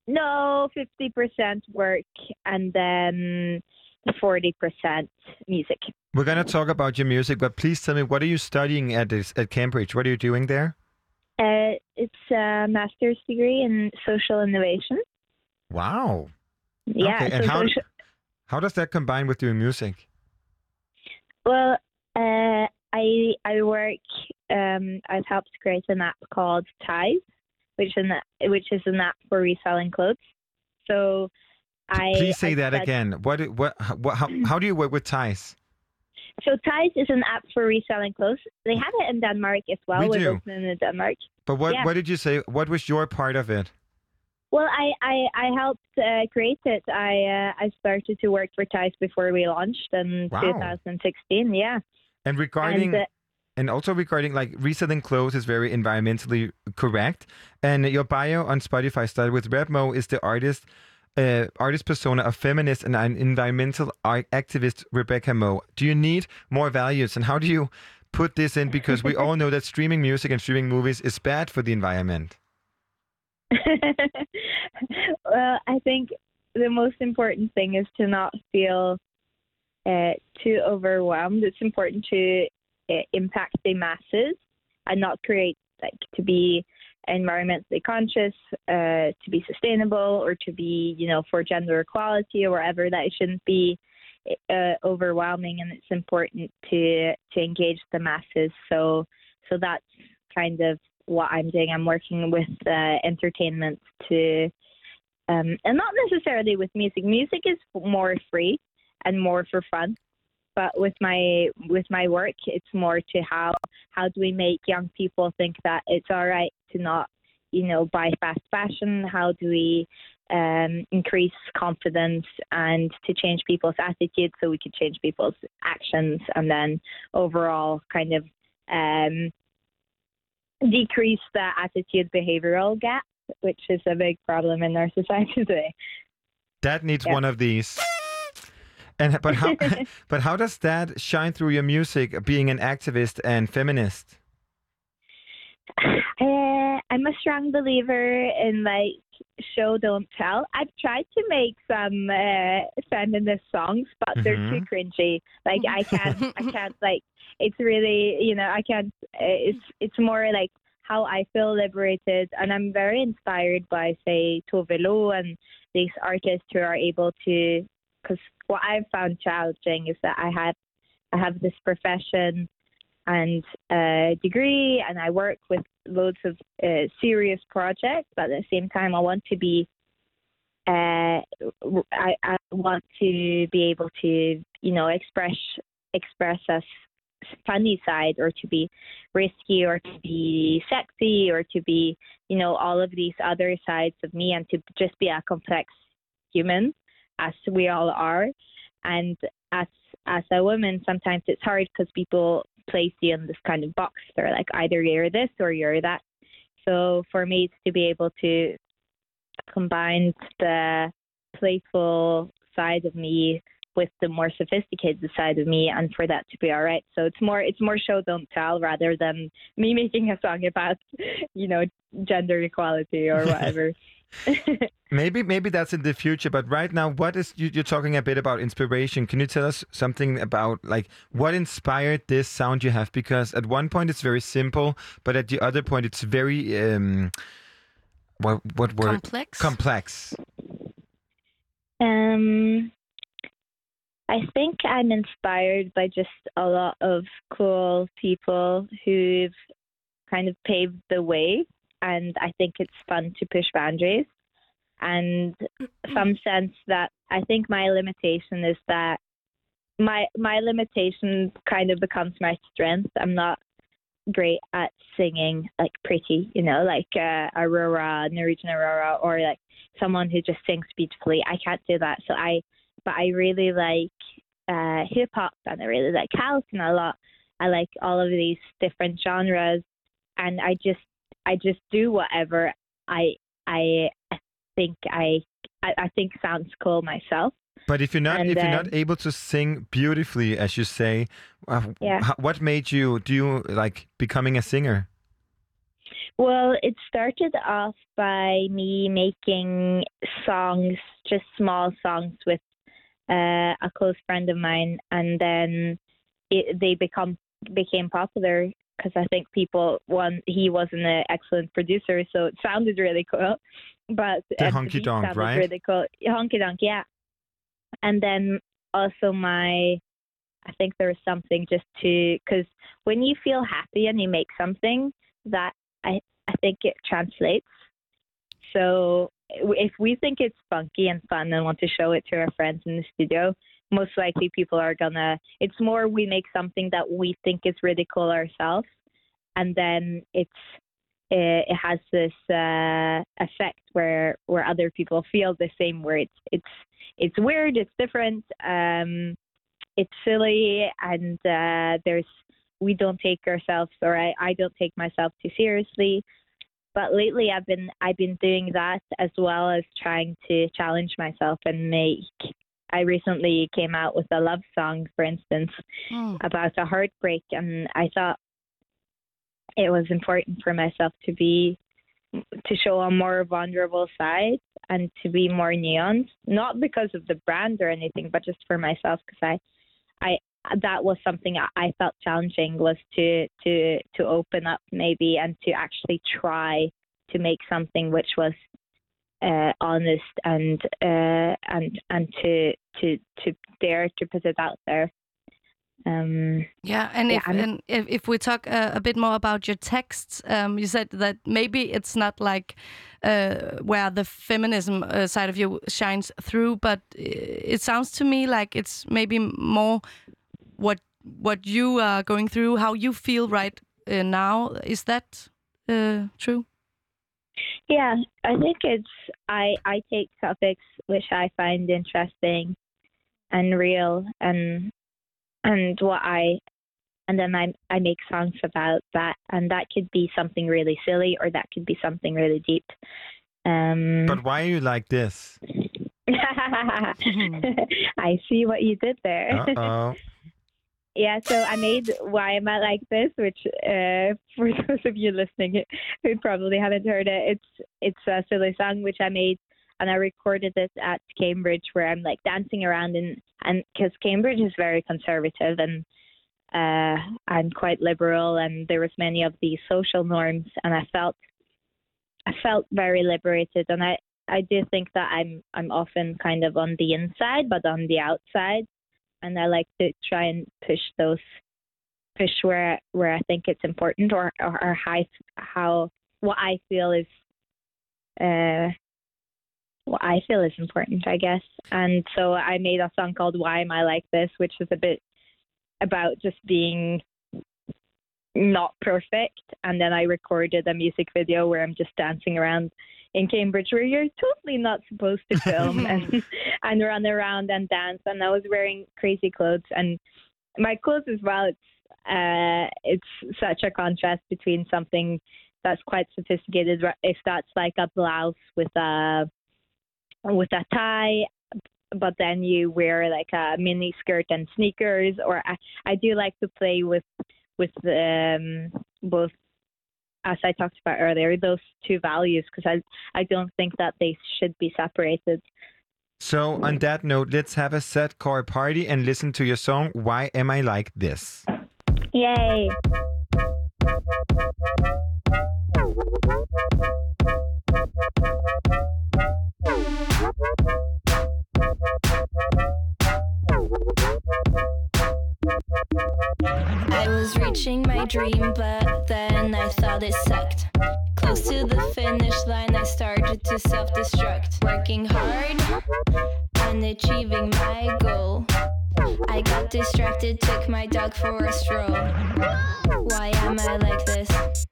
work, and then 40% music. We're going to talk about your music, but please tell me, what are you studying at Cambridge? What are you doing there? It's a master's degree in social innovation. Wow. Yeah. Okay. And how does that combine with doing music? Well, I work. I've helped create an app called Ties, which is an app for reselling clothes. So Please say that again. How do you work with Ties? So Ties is an app for reselling clothes. They have it in Denmark as well. We're open in Denmark. But what did you say? What was your part of it? Well, I helped create it. I started to work for Ties before we launched in 2016. Yeah. And also regarding like reselling clothes is very environmentally correct. And your bio on Spotify started with Rap Mo is the artist persona of feminist and an environmental activist Rebecca Mo. Do you need more values, and how do you put this in? Because we all know that streaming music and streaming movies is bad for the environment. Well, I think the most important thing is to not feel too overwhelmed. It's important to impact the masses and not create to be environmentally conscious, to be sustainable, or to be, for gender equality or whatever. That it shouldn't be overwhelming, and it's important to engage the masses. So that's kind of what I'm doing. I'm working with entertainment to, and not necessarily with music. Music is more free and more for fun. But with my work, it's more to how do we make young people think that it's all right to not, buy fast fashion? How do we increase confidence and to change people's attitudes so we could change people's actions and then overall kind of decrease the attitude behavioral gap, which is a big problem in our society today. That needs one of these. And but how does that shine through your music, being an activist and feminist? I'm a strong believer in like show don't tell. I've tried to make some feminist songs, but they're too cringy. Like I can't like. It's really, I can't. It's more like how I feel liberated, and I'm very inspired by, say, Tove Lo and these artists who are able to. Because what I've found challenging is that I have this profession and degree, and I work with loads of serious projects, but at the same time I want to be I want to be able to express a funny side, or to be risky, or to be sexy, or to be all of these other sides of me, and to just be a complex human as we all are. And as a woman, sometimes it's hard because people place you in this kind of box. They're like, either you're this or you're that. So for me, it's to be able to combine the playful side of me with the more sophisticated side of me, and for that to be all right. So it's more show don't tell rather than me making a song about gender equality or whatever. Maybe that's in the future, but right now, what is you're talking a bit about inspiration? Can you tell us something about like what inspired this sound you have? Because at one point it's very simple, but at the other point it's very what word? Complex. I think I'm inspired by just a lot of cool people who've kind of paved the way, and I think it's fun to push boundaries. And some sense that I think my limitation is that my limitation kind of becomes my strength. I'm not great at singing like pretty, like Aurora, Norwegian Aurora, or like someone who just sings beautifully. I can't do that. But I really like hip hop, and I really like house, and I like all of these different genres, and I just do whatever I think sounds cool myself. But if you're not able to sing beautifully, as you say, what made you like becoming a singer? Well, it started off by me making songs, just small songs with a close friend of mine, and then they became popular because I think he was an excellent producer, so it sounded really cool. But the Honky Donk, right? Really cool. Honky Donk, yeah. And then also I think there was something just because when you feel happy and you make something, that I think it translates. So if we think it's funky and fun and want to show it to our friends in the studio, most likely people are it's more we make something that we think is really cool ourselves, and then it has this effect where other people feel the same, where it's weird, it's different, it's silly, and we don't take ourselves, or I don't take myself too seriously. But lately I've been doing that as well as trying to challenge myself and I recently came out with a love song, for instance, about a heartbreak, and I thought it was important for myself to show a more vulnerable side and to be more nuanced, not because of the brand or anything, but just for myself, because I that was something I felt challenging, was to open up maybe and to actually try to make something which was honest and to dare to put it out there. If we talk a bit more about your texts, you said that maybe it's not like where the feminism side of you shines through, but it sounds to me like it's maybe more what you are going through, how you feel right now. Is that true? Yeah, I think I take topics which I find interesting and real and then I make songs about that, and that could be something really silly or that could be something really deep. But why are you like this? I see what you did there. Uh-oh. Yeah, so I made Why Am I Like This, which for those of you listening who probably haven't heard it, it's a silly song which I made, and I recorded it at Cambridge, where I'm like dancing around, and because Cambridge is very conservative and I'm quite liberal, and there was many of these social norms, and I felt very liberated, and I do think that I'm often kind of on the inside but on the outside, and I like to try and push where I think it's important, or how what I feel is important, I guess. And so I made a song called Why Am I Like This, which is a bit about just being not perfect, and then I recorded a music video where I'm just dancing around in Cambridge, where you're totally not supposed to film and run around and dance, and I was wearing crazy clothes, and my clothes as well, it's such a contrast between something that's quite sophisticated, if that's like a blouse with a tie, but then you wear like a mini skirt and sneakers, or I do like to play with both, as I talked about earlier, those two values, because I don't think that they should be separated. So on that note, let's have a set core party and listen to your song, Why Am I Like This? Yay! I was reaching my dream, but then I thought it sucked. Close to the finish line, I started to self-destruct. Working hard and achieving my goal. I got distracted, took my dog for a stroll. Why am I like this?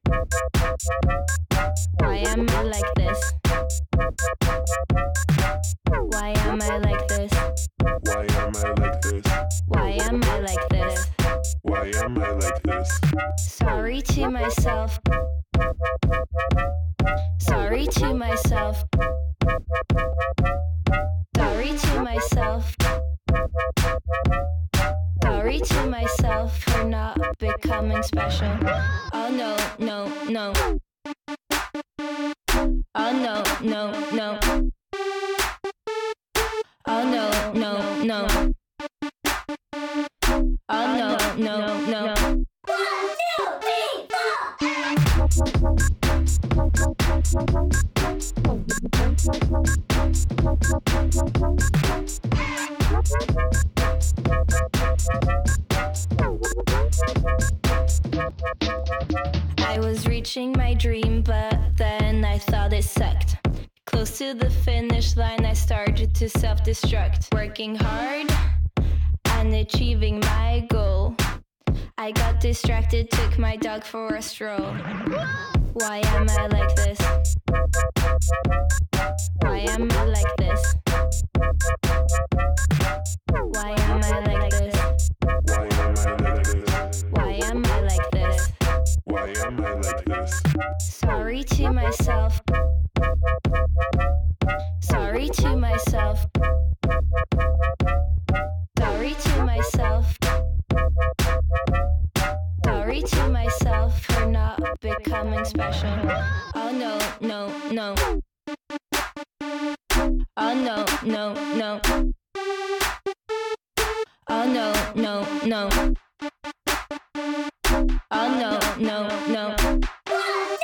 Why am I like this? Why am I like this? Why am I like this? Why am I like this? Why am I like this? Sorry to myself. Sorry to myself. Sorry to myself. Sorry to myself for not becoming special. Oh no, no, no. Oh no, no, no. Oh no, no, no. Oh no, no, no. 1, 2, 3, 4. I was reaching my dream, but then I thought it sucked. Close to the finish line, I started to self-destruct. Working hard and achieving my goal. I got distracted, took my dog for a stroll. Why am I like this? Why am I like this? Why am I like this? Why am I like this? Why am I like this? Why am I like this? Sorry to myself. Sorry to myself. Sorry to myself. Sorry to myself for not becoming special. Oh no, no, no. Oh no, no, no. Oh no, no, no. Oh no, no, no. 1,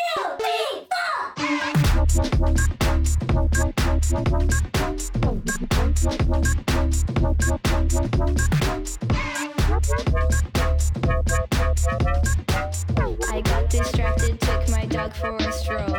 2, 3, 4. I got distracted, took my dog for a stroll.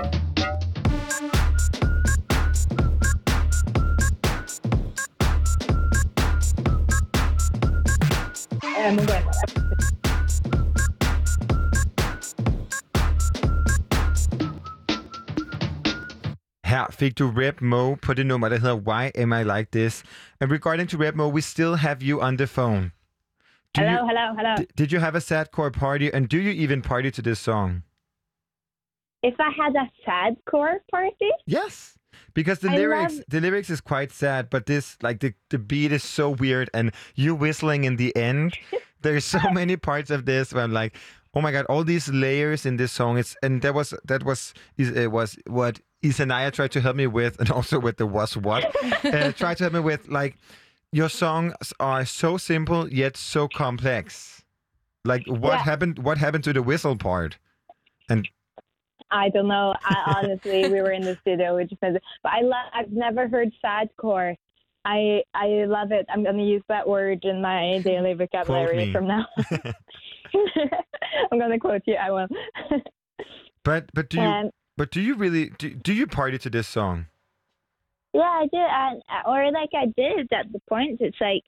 Her fik du Reb Mo på det nummer, der hedder Why Am I Like This? And regarding to Reb Mo, we still have you on the phone. Hello. Did you have a sadcore party, and do you even party to this song? If I had a sadcore party? Yes. Because the lyrics is quite sad, but this, like, the beat is so weird, and you whistling in the end. There's so many parts of this where I'm like, oh my god, all these layers in this song. That was what Isanaya tried to help me with, and also with the was what tried to help me with. Like, your songs are so simple yet so complex. Like, what happened? What happened to the whistle part? And I don't know. Honestly, we were in the studio. We just but I've never heard sadcore. I love it. I'm going to use that word in my daily vocabulary from now. I'm going to quote you. I will. But do you really do you party to this song? Yeah, I do. Or like I did at the point. It's like,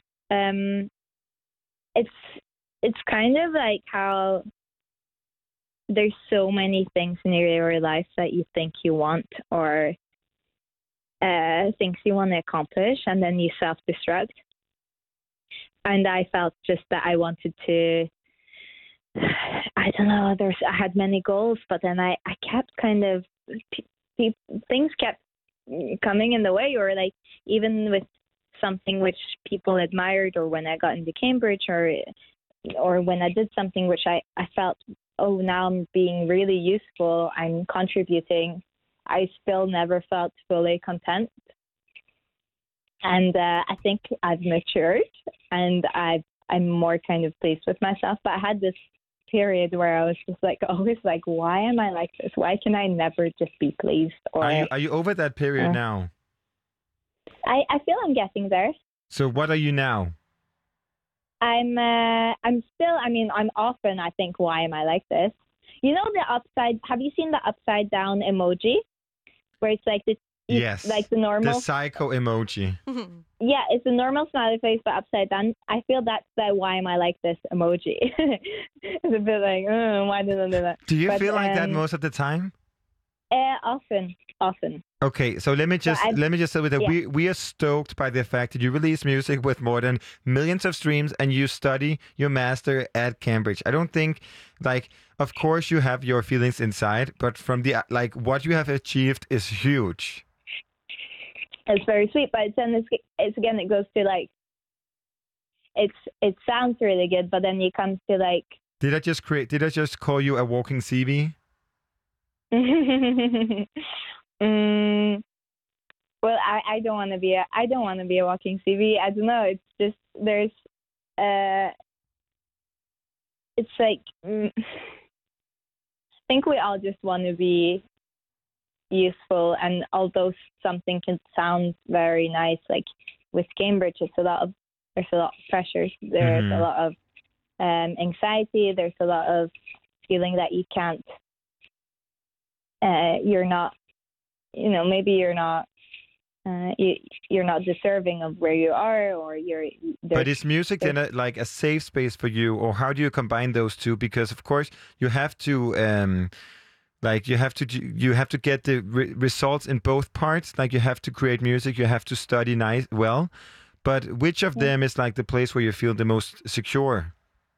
it's kind of like how there's so many things in your life that you think you want or things you want to accomplish, and then you self-destruct. And I felt just that I wanted to, I don't know, I had many goals, but then I kept kind of, things kept coming in the way, or like even with something which people admired, or when I got into Cambridge, or when I did something which I felt, oh, now I'm being really useful, I'm contributing, I still never felt fully content. And I think I've matured, and I'm more kind of pleased with myself. But I had this period where I was just like, always like, why am I like this? Why can I never just be pleased? Or are you over that period now? I feel I'm getting there. So what are you now? I'm still, I mean, I'm often, I think, why am I like this? You know, have you seen the upside down emoji? Where it's like this, yes, like the normal. The psycho emoji. Yeah, it's a normal smiley face, but upside down. I feel that's the why am I like this emoji. It's a bit like, why did I do that? Do you feel like that most of the time? Often. Okay, so let me just say with that, we are stoked by the fact that you release music with more than millions of streams, and you study your master at Cambridge. I don't think, like, of course you have your feelings inside, but from the what you have achieved is huge. It's very sweet, but then it's again, it goes to like, it sounds really good, but then you come to like. Did I just call you a walking CV? Well, I don't want to be a walking CV. I don't know. It's just there's it's like I think we all just want to be useful, and although something can sound very nice, like with Cambridge, there's a lot of pressures. There's a lot of anxiety. There's a lot of feeling that you can't. You're not, maybe you're not deserving of where you are, or But is music then a safe space for you, or how do you combine those two? Because of course you have to, you have to get the results in both parts. Like, you have to create music, you have to study well. But which of them is like the place where you feel the most secure?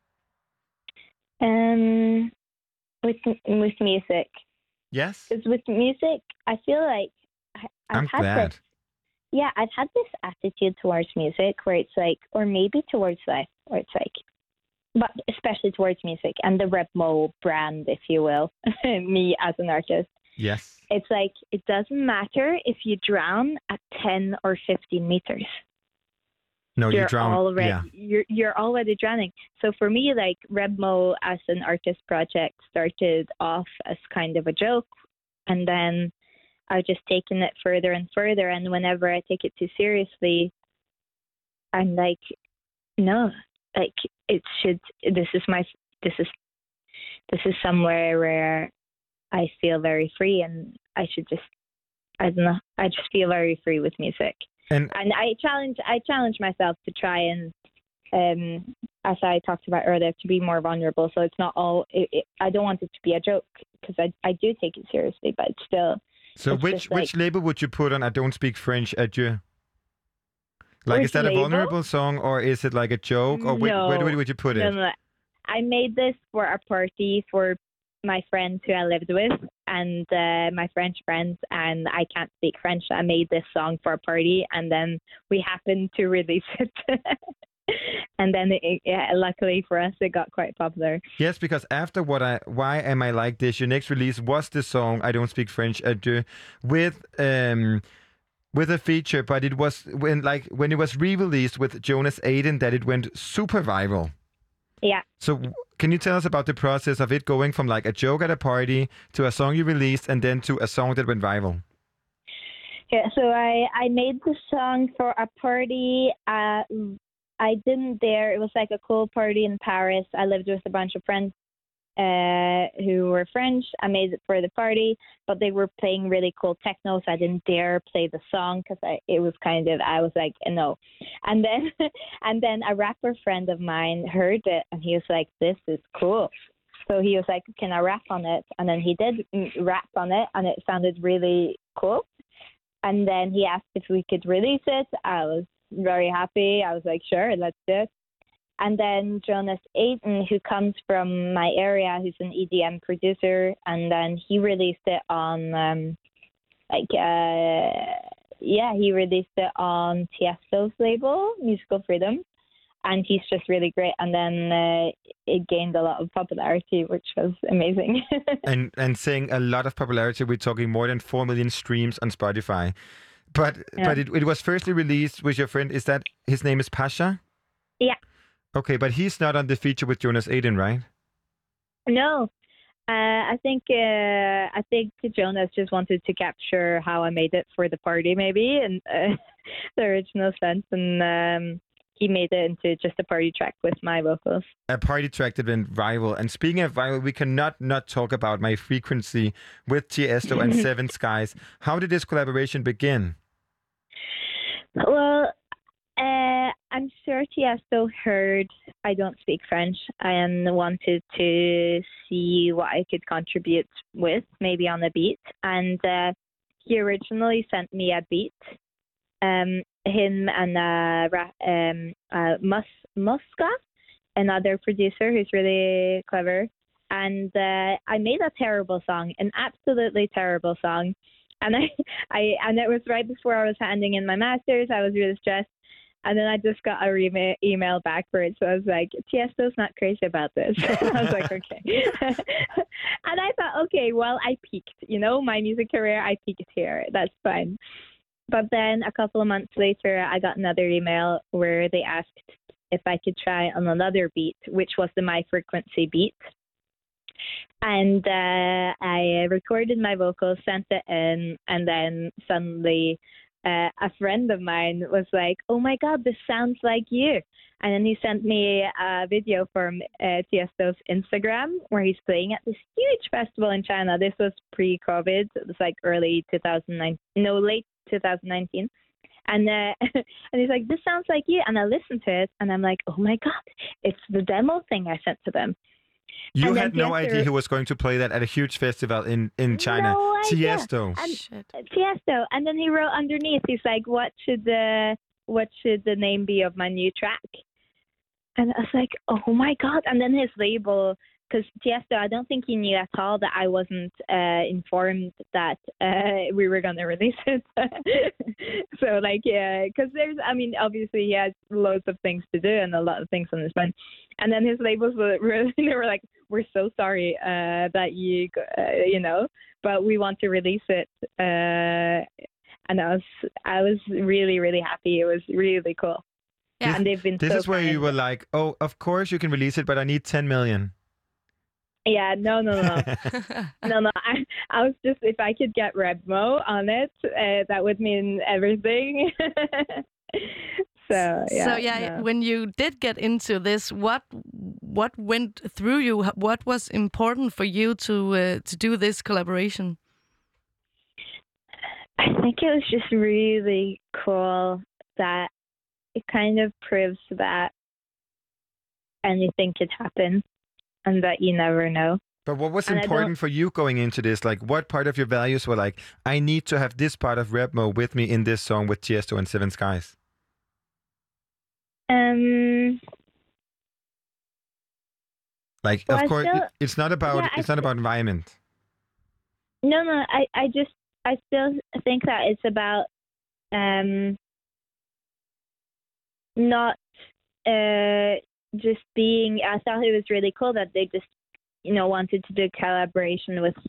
With music. Yes. Because with music, I feel like I'm glad. I've had this attitude towards music where it's like, or maybe towards life, where it's like, but especially towards music and the Reb Mo brand, if you will, me as an artist. Yes. It's like, it doesn't matter if you drown at 10 or 15 meters. No, you drown. You're already drowning. So for me, like, Reb Mo as an artist project started off as kind of a joke, and then I've just taken it further and further. And whenever I take it too seriously, I'm like, no, like, it should. This is somewhere where I feel very free, and I just feel very free with music. And I challenge myself to try and, as I talked about earlier, to be more vulnerable. So it's not all. I don't want it to be a joke, because I do take it seriously, but it's still. So It's which just like- which label would you put on I Don't Speak French, Adieu? Like, Which is that label? a vulnerable song, or is it like a joke, or where would you put it? No. I made this for a party for my friends who I lived with and my French friends, and I can't speak French. I made this song for a party, and then we happened to release it. And then, luckily for us, it got quite popular. Yes, because after Why Am I Like This, your next release was the song I Don't Speak French, Adieu, with a feature, but it was when it was re-released with Jonas Aiden that it went super viral. Yeah. So can you tell us about the process of it going from like a joke at a party to a song you released and then to a song that went viral? Yeah, so I made the song for a party. I didn't dare. It was like a cool party in Paris. I lived with a bunch of friends who were French. I made it for the party, but they were playing really cool techno, so I didn't dare play the song because I was like, no. And then a rapper friend of mine heard it, and he was like, this is cool. So he was like, can I rap on it? And then he did rap on it, and it sounded really cool. And then he asked if we could release it. I was very happy. I was like, sure, let's do it. And then Jonas Aiden, who comes from my area, who's an EDM producer, and then he released it on, he released it on Tiesto's label, Musical Freedom, and he's just really great. And then it gained a lot of popularity, which was amazing. and saying a lot of popularity, we're talking more than 4 million streams on Spotify. But it was firstly released with your friend. Is that his name is Pasha? Yeah. Okay, but he's not on the feature with Jonas Aiden, right? No, I think Jonas just wanted to capture how I made it for the party, maybe, and the original sense, and he made it into just a party track with my vocals. A party track that went viral. And speaking of viral, we cannot not talk about My Frequency with Tiesto and Seven Skies. How did this collaboration begin? Well, I'm sure Tiesto heard I Don't Speak French and wanted to see what I could contribute with, maybe on a beat. And he originally sent me a beat. Him and Muska, another producer who's really clever. And I made a terrible song, an absolutely terrible song. And and it was right before I was handing in my master's. I was really stressed. And then I just got a email back for it. So I was like, Tiesto's not crazy about this. I was like, okay. And I thought, okay, well, I peaked. My music career, I peaked here. That's fine. But then a couple of months later, I got another email where they asked if I could try on another beat, which was the My Frequency beat. And I recorded my vocals, sent it in, and then suddenly a friend of mine was like, oh my God, this sounds like you. And then he sent me a video from Tiesto's Instagram where he's playing at this huge festival in China. This was pre-COVID. It was like late 2019. And he's like, this sounds like you. And I listened to it and I'm like, oh my God, it's the demo thing I sent to them. You had no idea who was going to play that at a huge festival in China. No idea. Tiesto. Tiesto. And then he wrote underneath, he's like, what should the name be of my new track? And I was like, oh my God. And then his label, because Tiesto, I don't think he knew at all that I wasn't informed that we were going to release it. So, because obviously he has loads of things to do and a lot of things on his mind. And then his labels were like, we're so sorry that you, but we want to release it. And I was really, really happy. It was really cool. Yeah. And they've been This so is where kind. you were like, oh, of course you can release it, but I need 10 million. Yeah, no. No. I was just, if I could get Redmo on it, that would mean everything. So yeah. When you did get into this, what went through you? What was important for you to do this collaboration? I think it was just really cool that it kind of proves that anything could happen and that you never know. But what was And I important for you going into this? Like, what part of your values were like, I need to have this part of Repmo with me in this song with Tiesto and Seven Skies? Like, Well, of I course, still- it's not about yeah, I it's not about environment. No, I still think that it's about not just being. I thought it was really cool that they just, wanted to do collaboration with,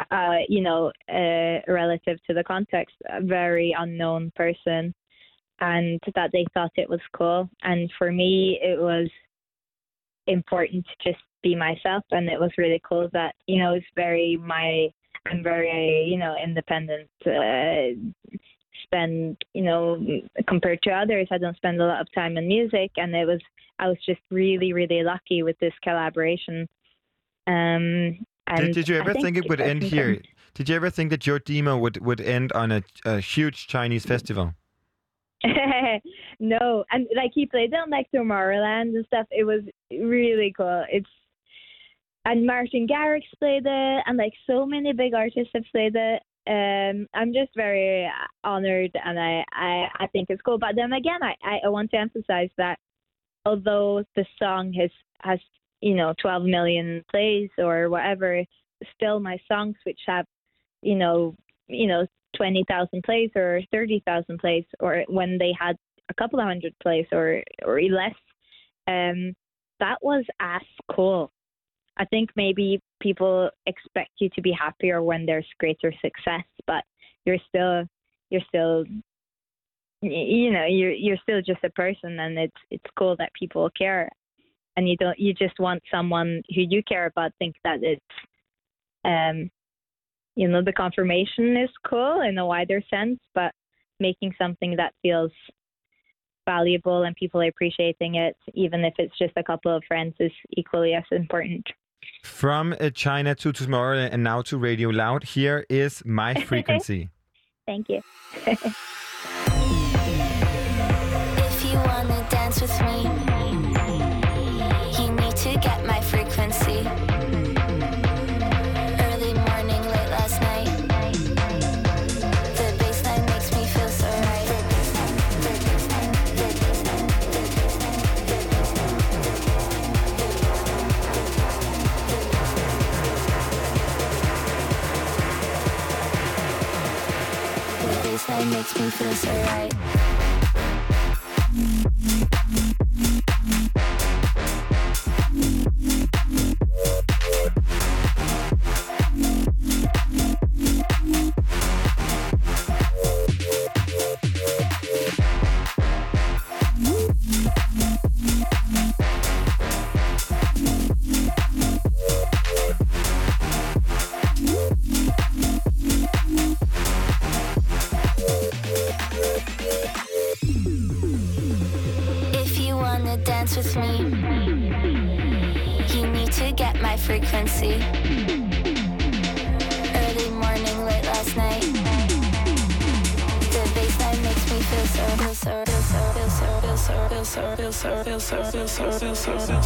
relative to the context, a very unknown person, and that they thought it was cool. And for me, it was important to just be myself, and it was really cool that, it's very I'm very, independent. Spend, compared to others, I don't spend a lot of time in music, and I was just really, really lucky with this collaboration. And Did you ever I think it would end here? important. Did you ever think that your demo would end on a huge Chinese festival? No, and he played it on Tomorrowland and stuff. It was really cool. And Martin Garrix played it, and so many big artists have played it. I'm just very honored, and I think it's cool. But then again, I want to emphasize that although the song has 12 million plays or whatever, still my songs which have 20,000 plays or 30,000 plays, or when they had a couple of hundred plays or less, that was as cool. I think maybe people expect you to be happier when there's greater success, but you're still just a person, and it's cool that people care, and you just want someone who you care about think that it's the confirmation is cool in a wider sense, but making something that feels valuable and people appreciating it, even if it's just a couple of friends, is equally as important. From China to Tomorrowland and now to Radio Loud, here is My Frequency. Thank you. If you wanna dance with me, you need to get my frequency. Early morning, late last night. The bassline makes me feel so right. The bassline makes me feel so right. If you wanna dance with me, you need to get my frequency. Early morning, late last night. The bassline makes me feel so, feel so, feel so, feel so, feel so, feel so, feel so, feel so, feel so, feel so, feel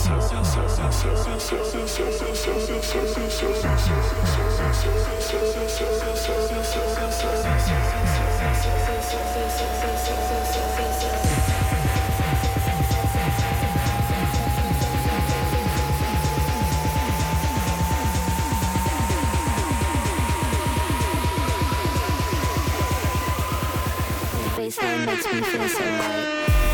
bassline makes me feel so right.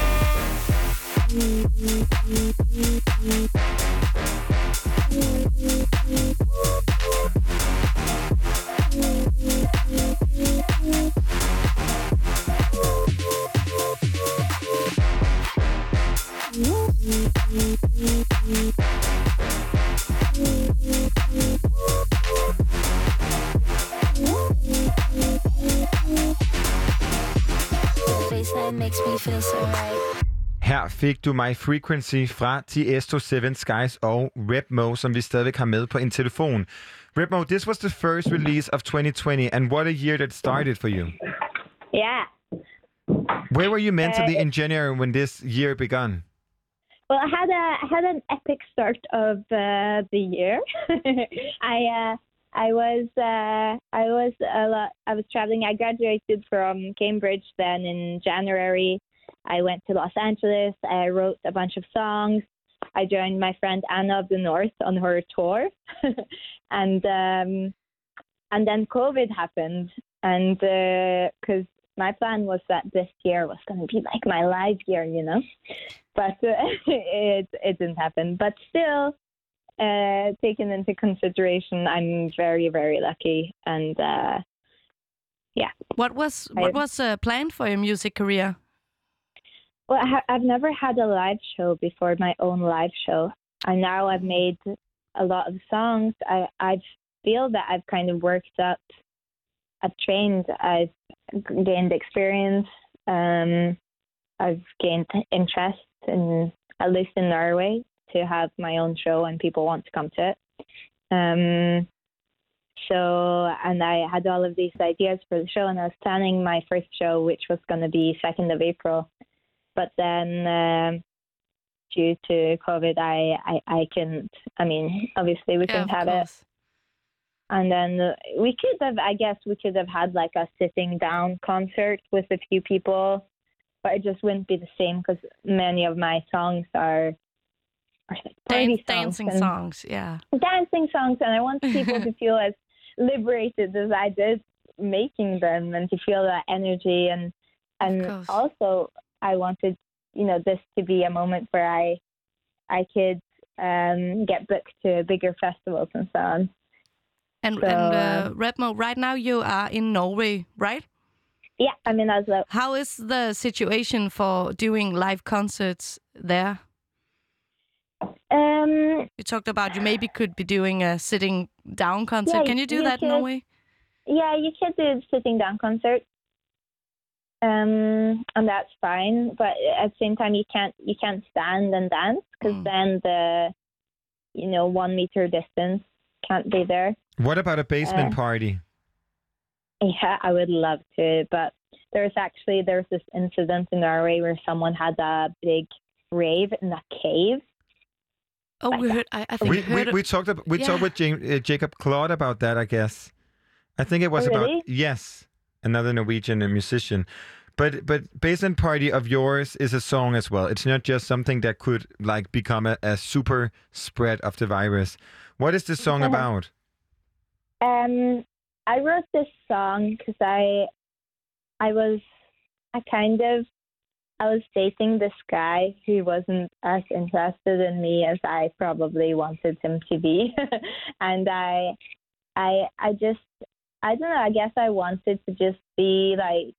Bassline makes me feel so right. Her fik du My Frequency fra Tiesto, Seven Skies og Repmo, som vi stadigvæk har med på en telefon. Repmo, this was the first release of 2020, and what a year that started for you. Yeah. Where were you mentally in January when this year began? Well, I had an epic start of the year. I was traveling. I graduated from Cambridge then in January. I went to Los Angeles. I wrote a bunch of songs. I joined my friend Anna of the North on her tour, and then COVID happened. And because my plan was that this year was going to be like my live year, you know, but it didn't happen. But still, taken into consideration, I'm very, very lucky. And yeah. What was planned for your music career? Well, I've never had a live show before, my own live show. And now I've made a lot of songs. I feel that I've kind of worked up. I've trained. I've gained experience. I've gained interest in, at least in Norway, to have my own show and people want to come to it. And I had all of these ideas for the show, and I was planning my first show, which was going to be 2nd of April. But then due to COVID, I couldn't. I mean, obviously we couldn't have it. And then we could have had like a sitting down concert with a few people, but it just wouldn't be the same because many of my songs are dancing songs, yeah. Dancing songs, and I want people to feel as liberated as I did making them, and to feel that energy, and also I wanted, you know, this to be a moment where I could get booked to bigger festivals and so on. And Redmo, right now you are in Norway, right? Yeah, I'm in Oslo. How is the situation for doing live concerts there? You talked about you maybe could be doing a sitting down concert. Yeah, can you do that in Norway? Yeah, you could do sitting down concert. And that's fine, but at the same time you can't stand and dance because then the 1 meter distance can't be there. What about a basement party? Yeah, I would love to, but there's this incident in Norway where someone had a big rave in a cave. Oh, we heard. I think we talked with Jacob Claude about that. I guess. I think it was about another Norwegian musician. But Basement Party of yours is a song as well. It's not just something that could like become a super spread of the virus. What is this song about? I wrote this song because I was dating this guy who wasn't as interested in me as I probably wanted him to be. And I don't know, I guess I wanted to just be like,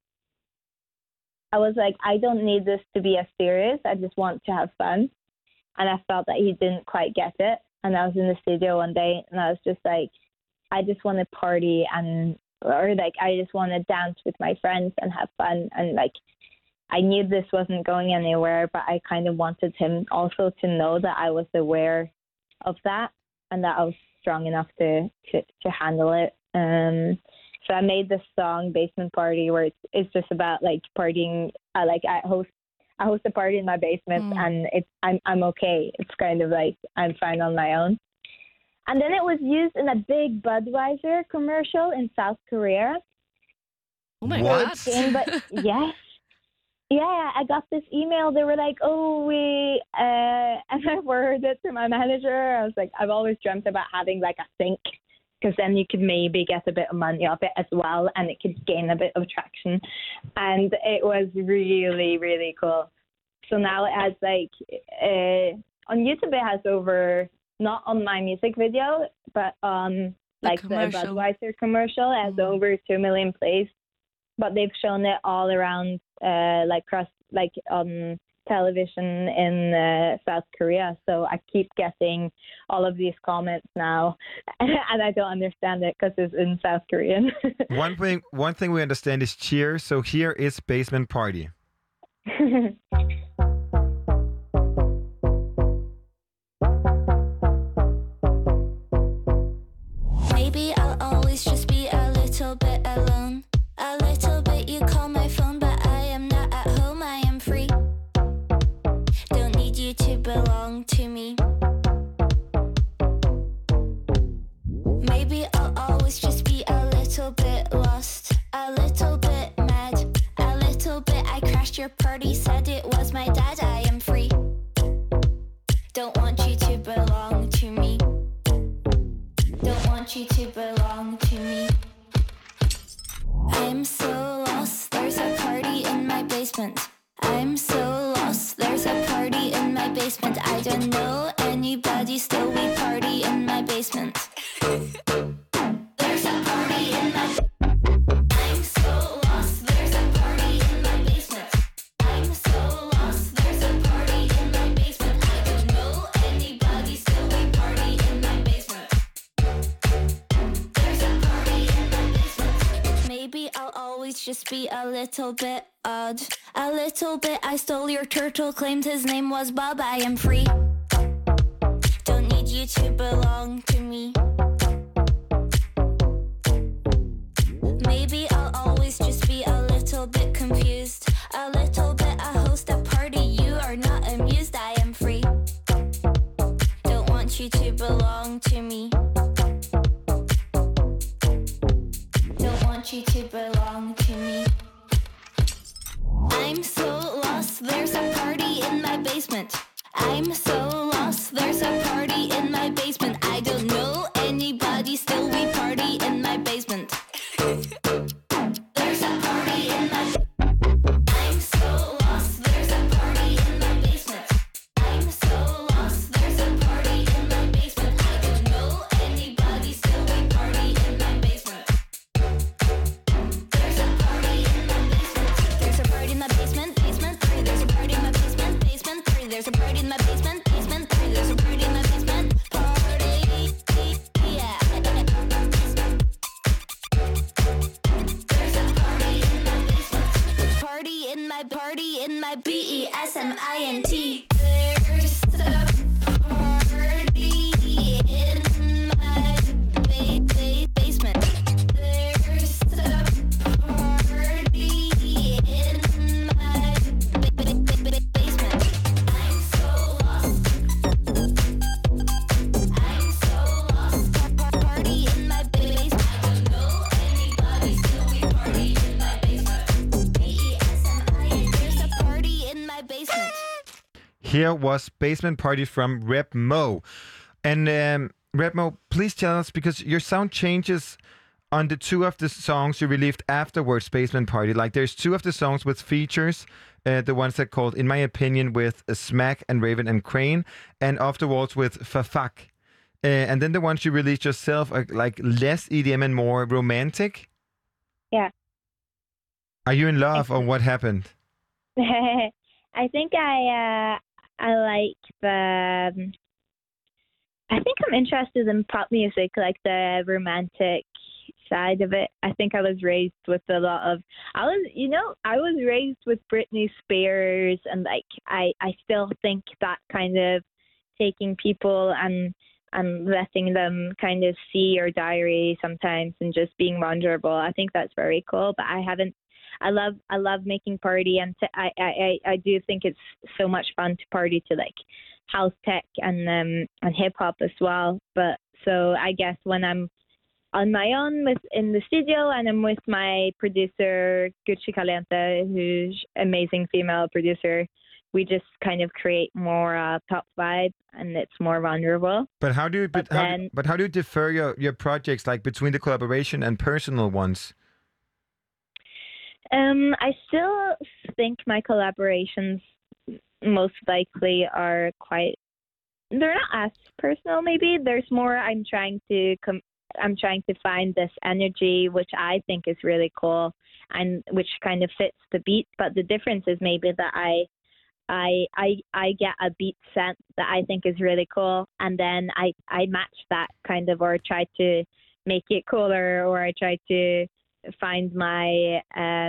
I was like, I don't need this to be as serious. I just want to have fun. And I felt that he didn't quite get it. And I was in the studio one day and I was just like, I just want to party I just want to dance with my friends and have fun. And like, I knew this wasn't going anywhere, but I kind of wanted him also to know that I was aware of that and that I was strong enough to handle it. So I made this song Basement Party where it's just about like partying. I host a party in my basement and I'm okay. It's kind of like I'm fine on my own. And then it was used in a big Budweiser commercial in South Korea. Oh my God. Yes. Yeah, I got this email. They were like, and I forwarded it to my manager. I was like, I've always dreamt about having like a sink because then you could maybe get a bit of money off it as well and it could gain a bit of traction. And it was really, really cool. So now it has like, on YouTube it has over, not on my music video, but on like the Budweiser commercial, it has over 2 million plays. But they've shown it all around, on television in South Korea. So I keep getting all of these comments now, and I don't understand it because it's in South Korean. One thing we understand is cheer. So here is Basement Party. Maybe I'll always just be a little bit alone. A little bit, you call my phone, but I am not at home, I am free. Don't need you want you to belong to me. I'm so lost, there's a party in my basement. I'm so lost, there's a party in my basement. I don't know anybody, still we party in my basement. There's a party in my I'm so lost, there's a party in my basement. I'm so lost, there's a party in my basement. I don't know anybody, still we party in my basement. There's a party in my basement. Maybe I'll always just be a little bit odd. A little bit, I stole your turtle, claimed his name was Bob. I am free. Don't need you to belong to me. Maybe I'll always just be a little bit confused. A little bit, I host a party, you are not amused. I am free. Don't want you to belong to me. Don't want you to belong to me. I'm so lost, there's a party in my basement. I'm so lost, there's a party in my basement. I don't know anybody, still we party in my basement. There's a party in my I'm so lost, there's a party in my basement. I'm so lost, there's a party in my basement. I don't know anybody, still we party in my basement. There's a party in my basement. There's a party in my basement, basement 3. There's a party in my basement, basement 3. There's a party in my basement, basement 3. There's a party in my basement, party, yeah. There's a party in my basement. Party in my BESMINT. There's a party in my basement. There's a party in my basement. I'm so lost. I'm so lost. Party in my basement. I don't know anybody, still we party in my basement. BESMINT. There's a party in my basement. Here was Basement Party from Reb Mo. And Reb Mo, please tell us, because your sound changes on the two of the songs you released afterwards, Basement Party. Like, there's two of the songs with features, the ones that called, in my opinion, with Smack and Raven and Crane, and afterwards with Fafak. And then the ones you released yourself are like less EDM and more romantic. Yeah. Are you in love, or what happened? I think I like the. I think I'm interested in pop music, like the romantic side of it. I think I was raised with a lot of. I was raised with Britney Spears, and like I still think that kind of taking people and letting them kind of see your diary sometimes and just being vulnerable. I think that's very cool. But I haven't. I love making party, and I do think it's so much fun to party to like house tech and hip hop as well. But so I guess when I'm on my own in the studio and I'm with my producer Gucci Caliente, who's amazing female producer, we just kind of create more pop vibe, and it's more vulnerable. But how do you differ your projects, like between the collaboration and personal ones? I still think my collaborations most likely are they're not as personal. Maybe there's more. I'm trying to find this energy, which I think is really cool, and which kind of fits the beat. But the difference is maybe that I get a beat sense that I think is really cool, and then I match that kind of, or try to make it cooler, or I try to find my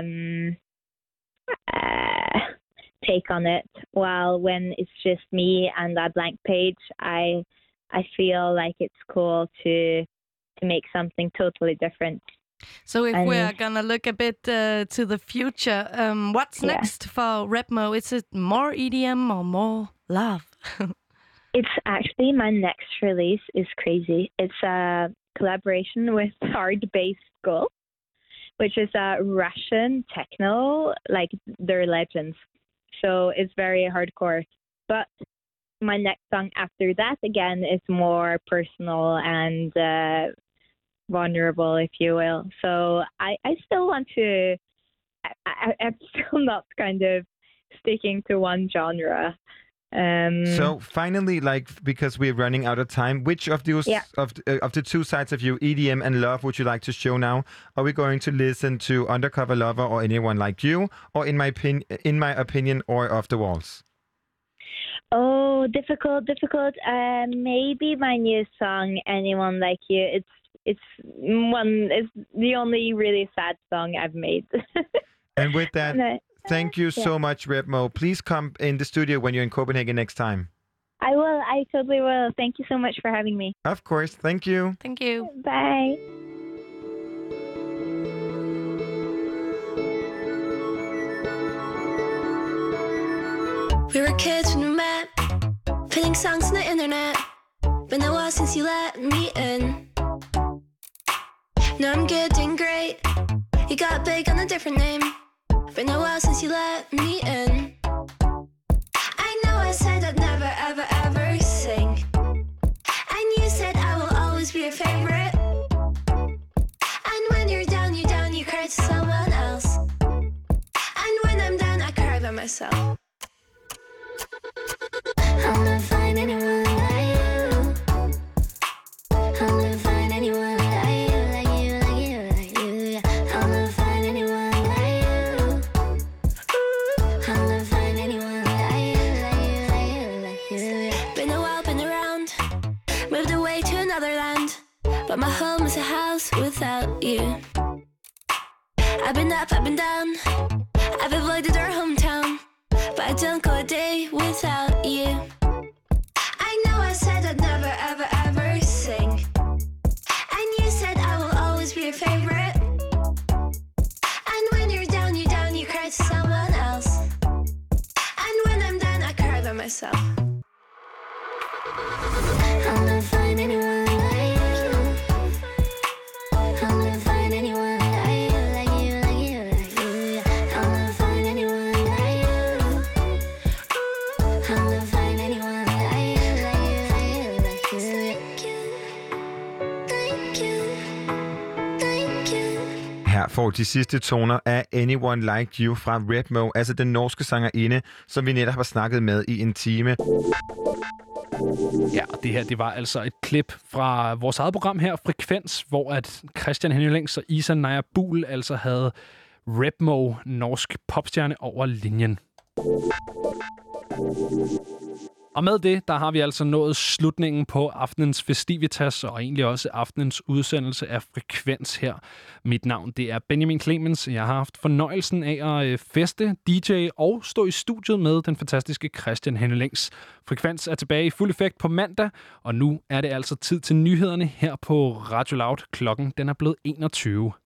take on it. While when it's just me and a blank page, I feel like it's cool to make something totally different. So if we're gonna look a bit to the future, what's next for Reb Mo? Is it more EDM or more love? It's actually, my next release is crazy. It's a collaboration with Hard Bass Skull, which is a Russian techno, like they're legends. So it's very hardcore. But my next song after that, again, is more personal and vulnerable, if you will. So I still want to. I'm still not kind of sticking to one genre. So finally, because we're running out of time, which of those of the two sides of you, EDM and Love, would you like to show now? Are we going to listen to Undercover Lover or Anyone Like You, or in my opinion, or Off the Walls? Oh, difficult. Maybe my new song, Anyone Like You. It's the only really sad song I've made. And with that, thank you so much, Repmo. Please come in the studio when you're in Copenhagen next time. I will. I totally will. Thank you so much for having me. Of course. Thank you. Thank you. Bye. We were kids when we met, putting songs on the internet. Been a while since you let me in. Now I'm good, doing great. You got big on a different name. Been a while since you let me in. I know I said I'd never, ever, ever sing. And you said I will always be your favorite. And when you're down, you cry to someone else. And when I'm down, I cry by myself. I'll never find anyone like you. I'll never find anyone like you, like you, like you, like you. I'll never find anyone like you. I'll never find anyone like you, like you, like you, like you. Been a while, been around, moved away to another land, but my home is a house without you. I've been up, I've been down, I've avoided our hometown, but I don't go a day without you. I know I said I'd never, ever, ever sing. And you said I will always be your favorite. And when you're down, you cry to someone else. And when I'm done, I cry by myself. I'll never find anyone like you. I'll never find anyone like you, like you, like you, like you. I'll never find anyone like you. I'll never find anyone like you, like you, like you, like you. Thank you, thank you. Her får de sidste toner af Anyone Like You fra Repmo, altså den norske sangerinde, som vi netop har snakket med i en time. Ja, det her, det var altså et klip fra vores eget program her, Frekvens, hvor at Christian Henning Længs og Isa Naja Buhl altså havde Repmo, norsk popstjerne, over linjen. Og med det, der har vi altså nået slutningen på aftenens festivitas, og egentlig også aftenens udsendelse af Frekvens her. Mit navn, det er Benjamin Clemens. Jeg har haft fornøjelsen af at feste, DJ og stå i studiet med den fantastiske Christian Henning Længs. Frekvens er tilbage i fuld effekt på mandag, og nu er det altså tid til nyhederne her på Radio Loud. Klokken den er blevet 21.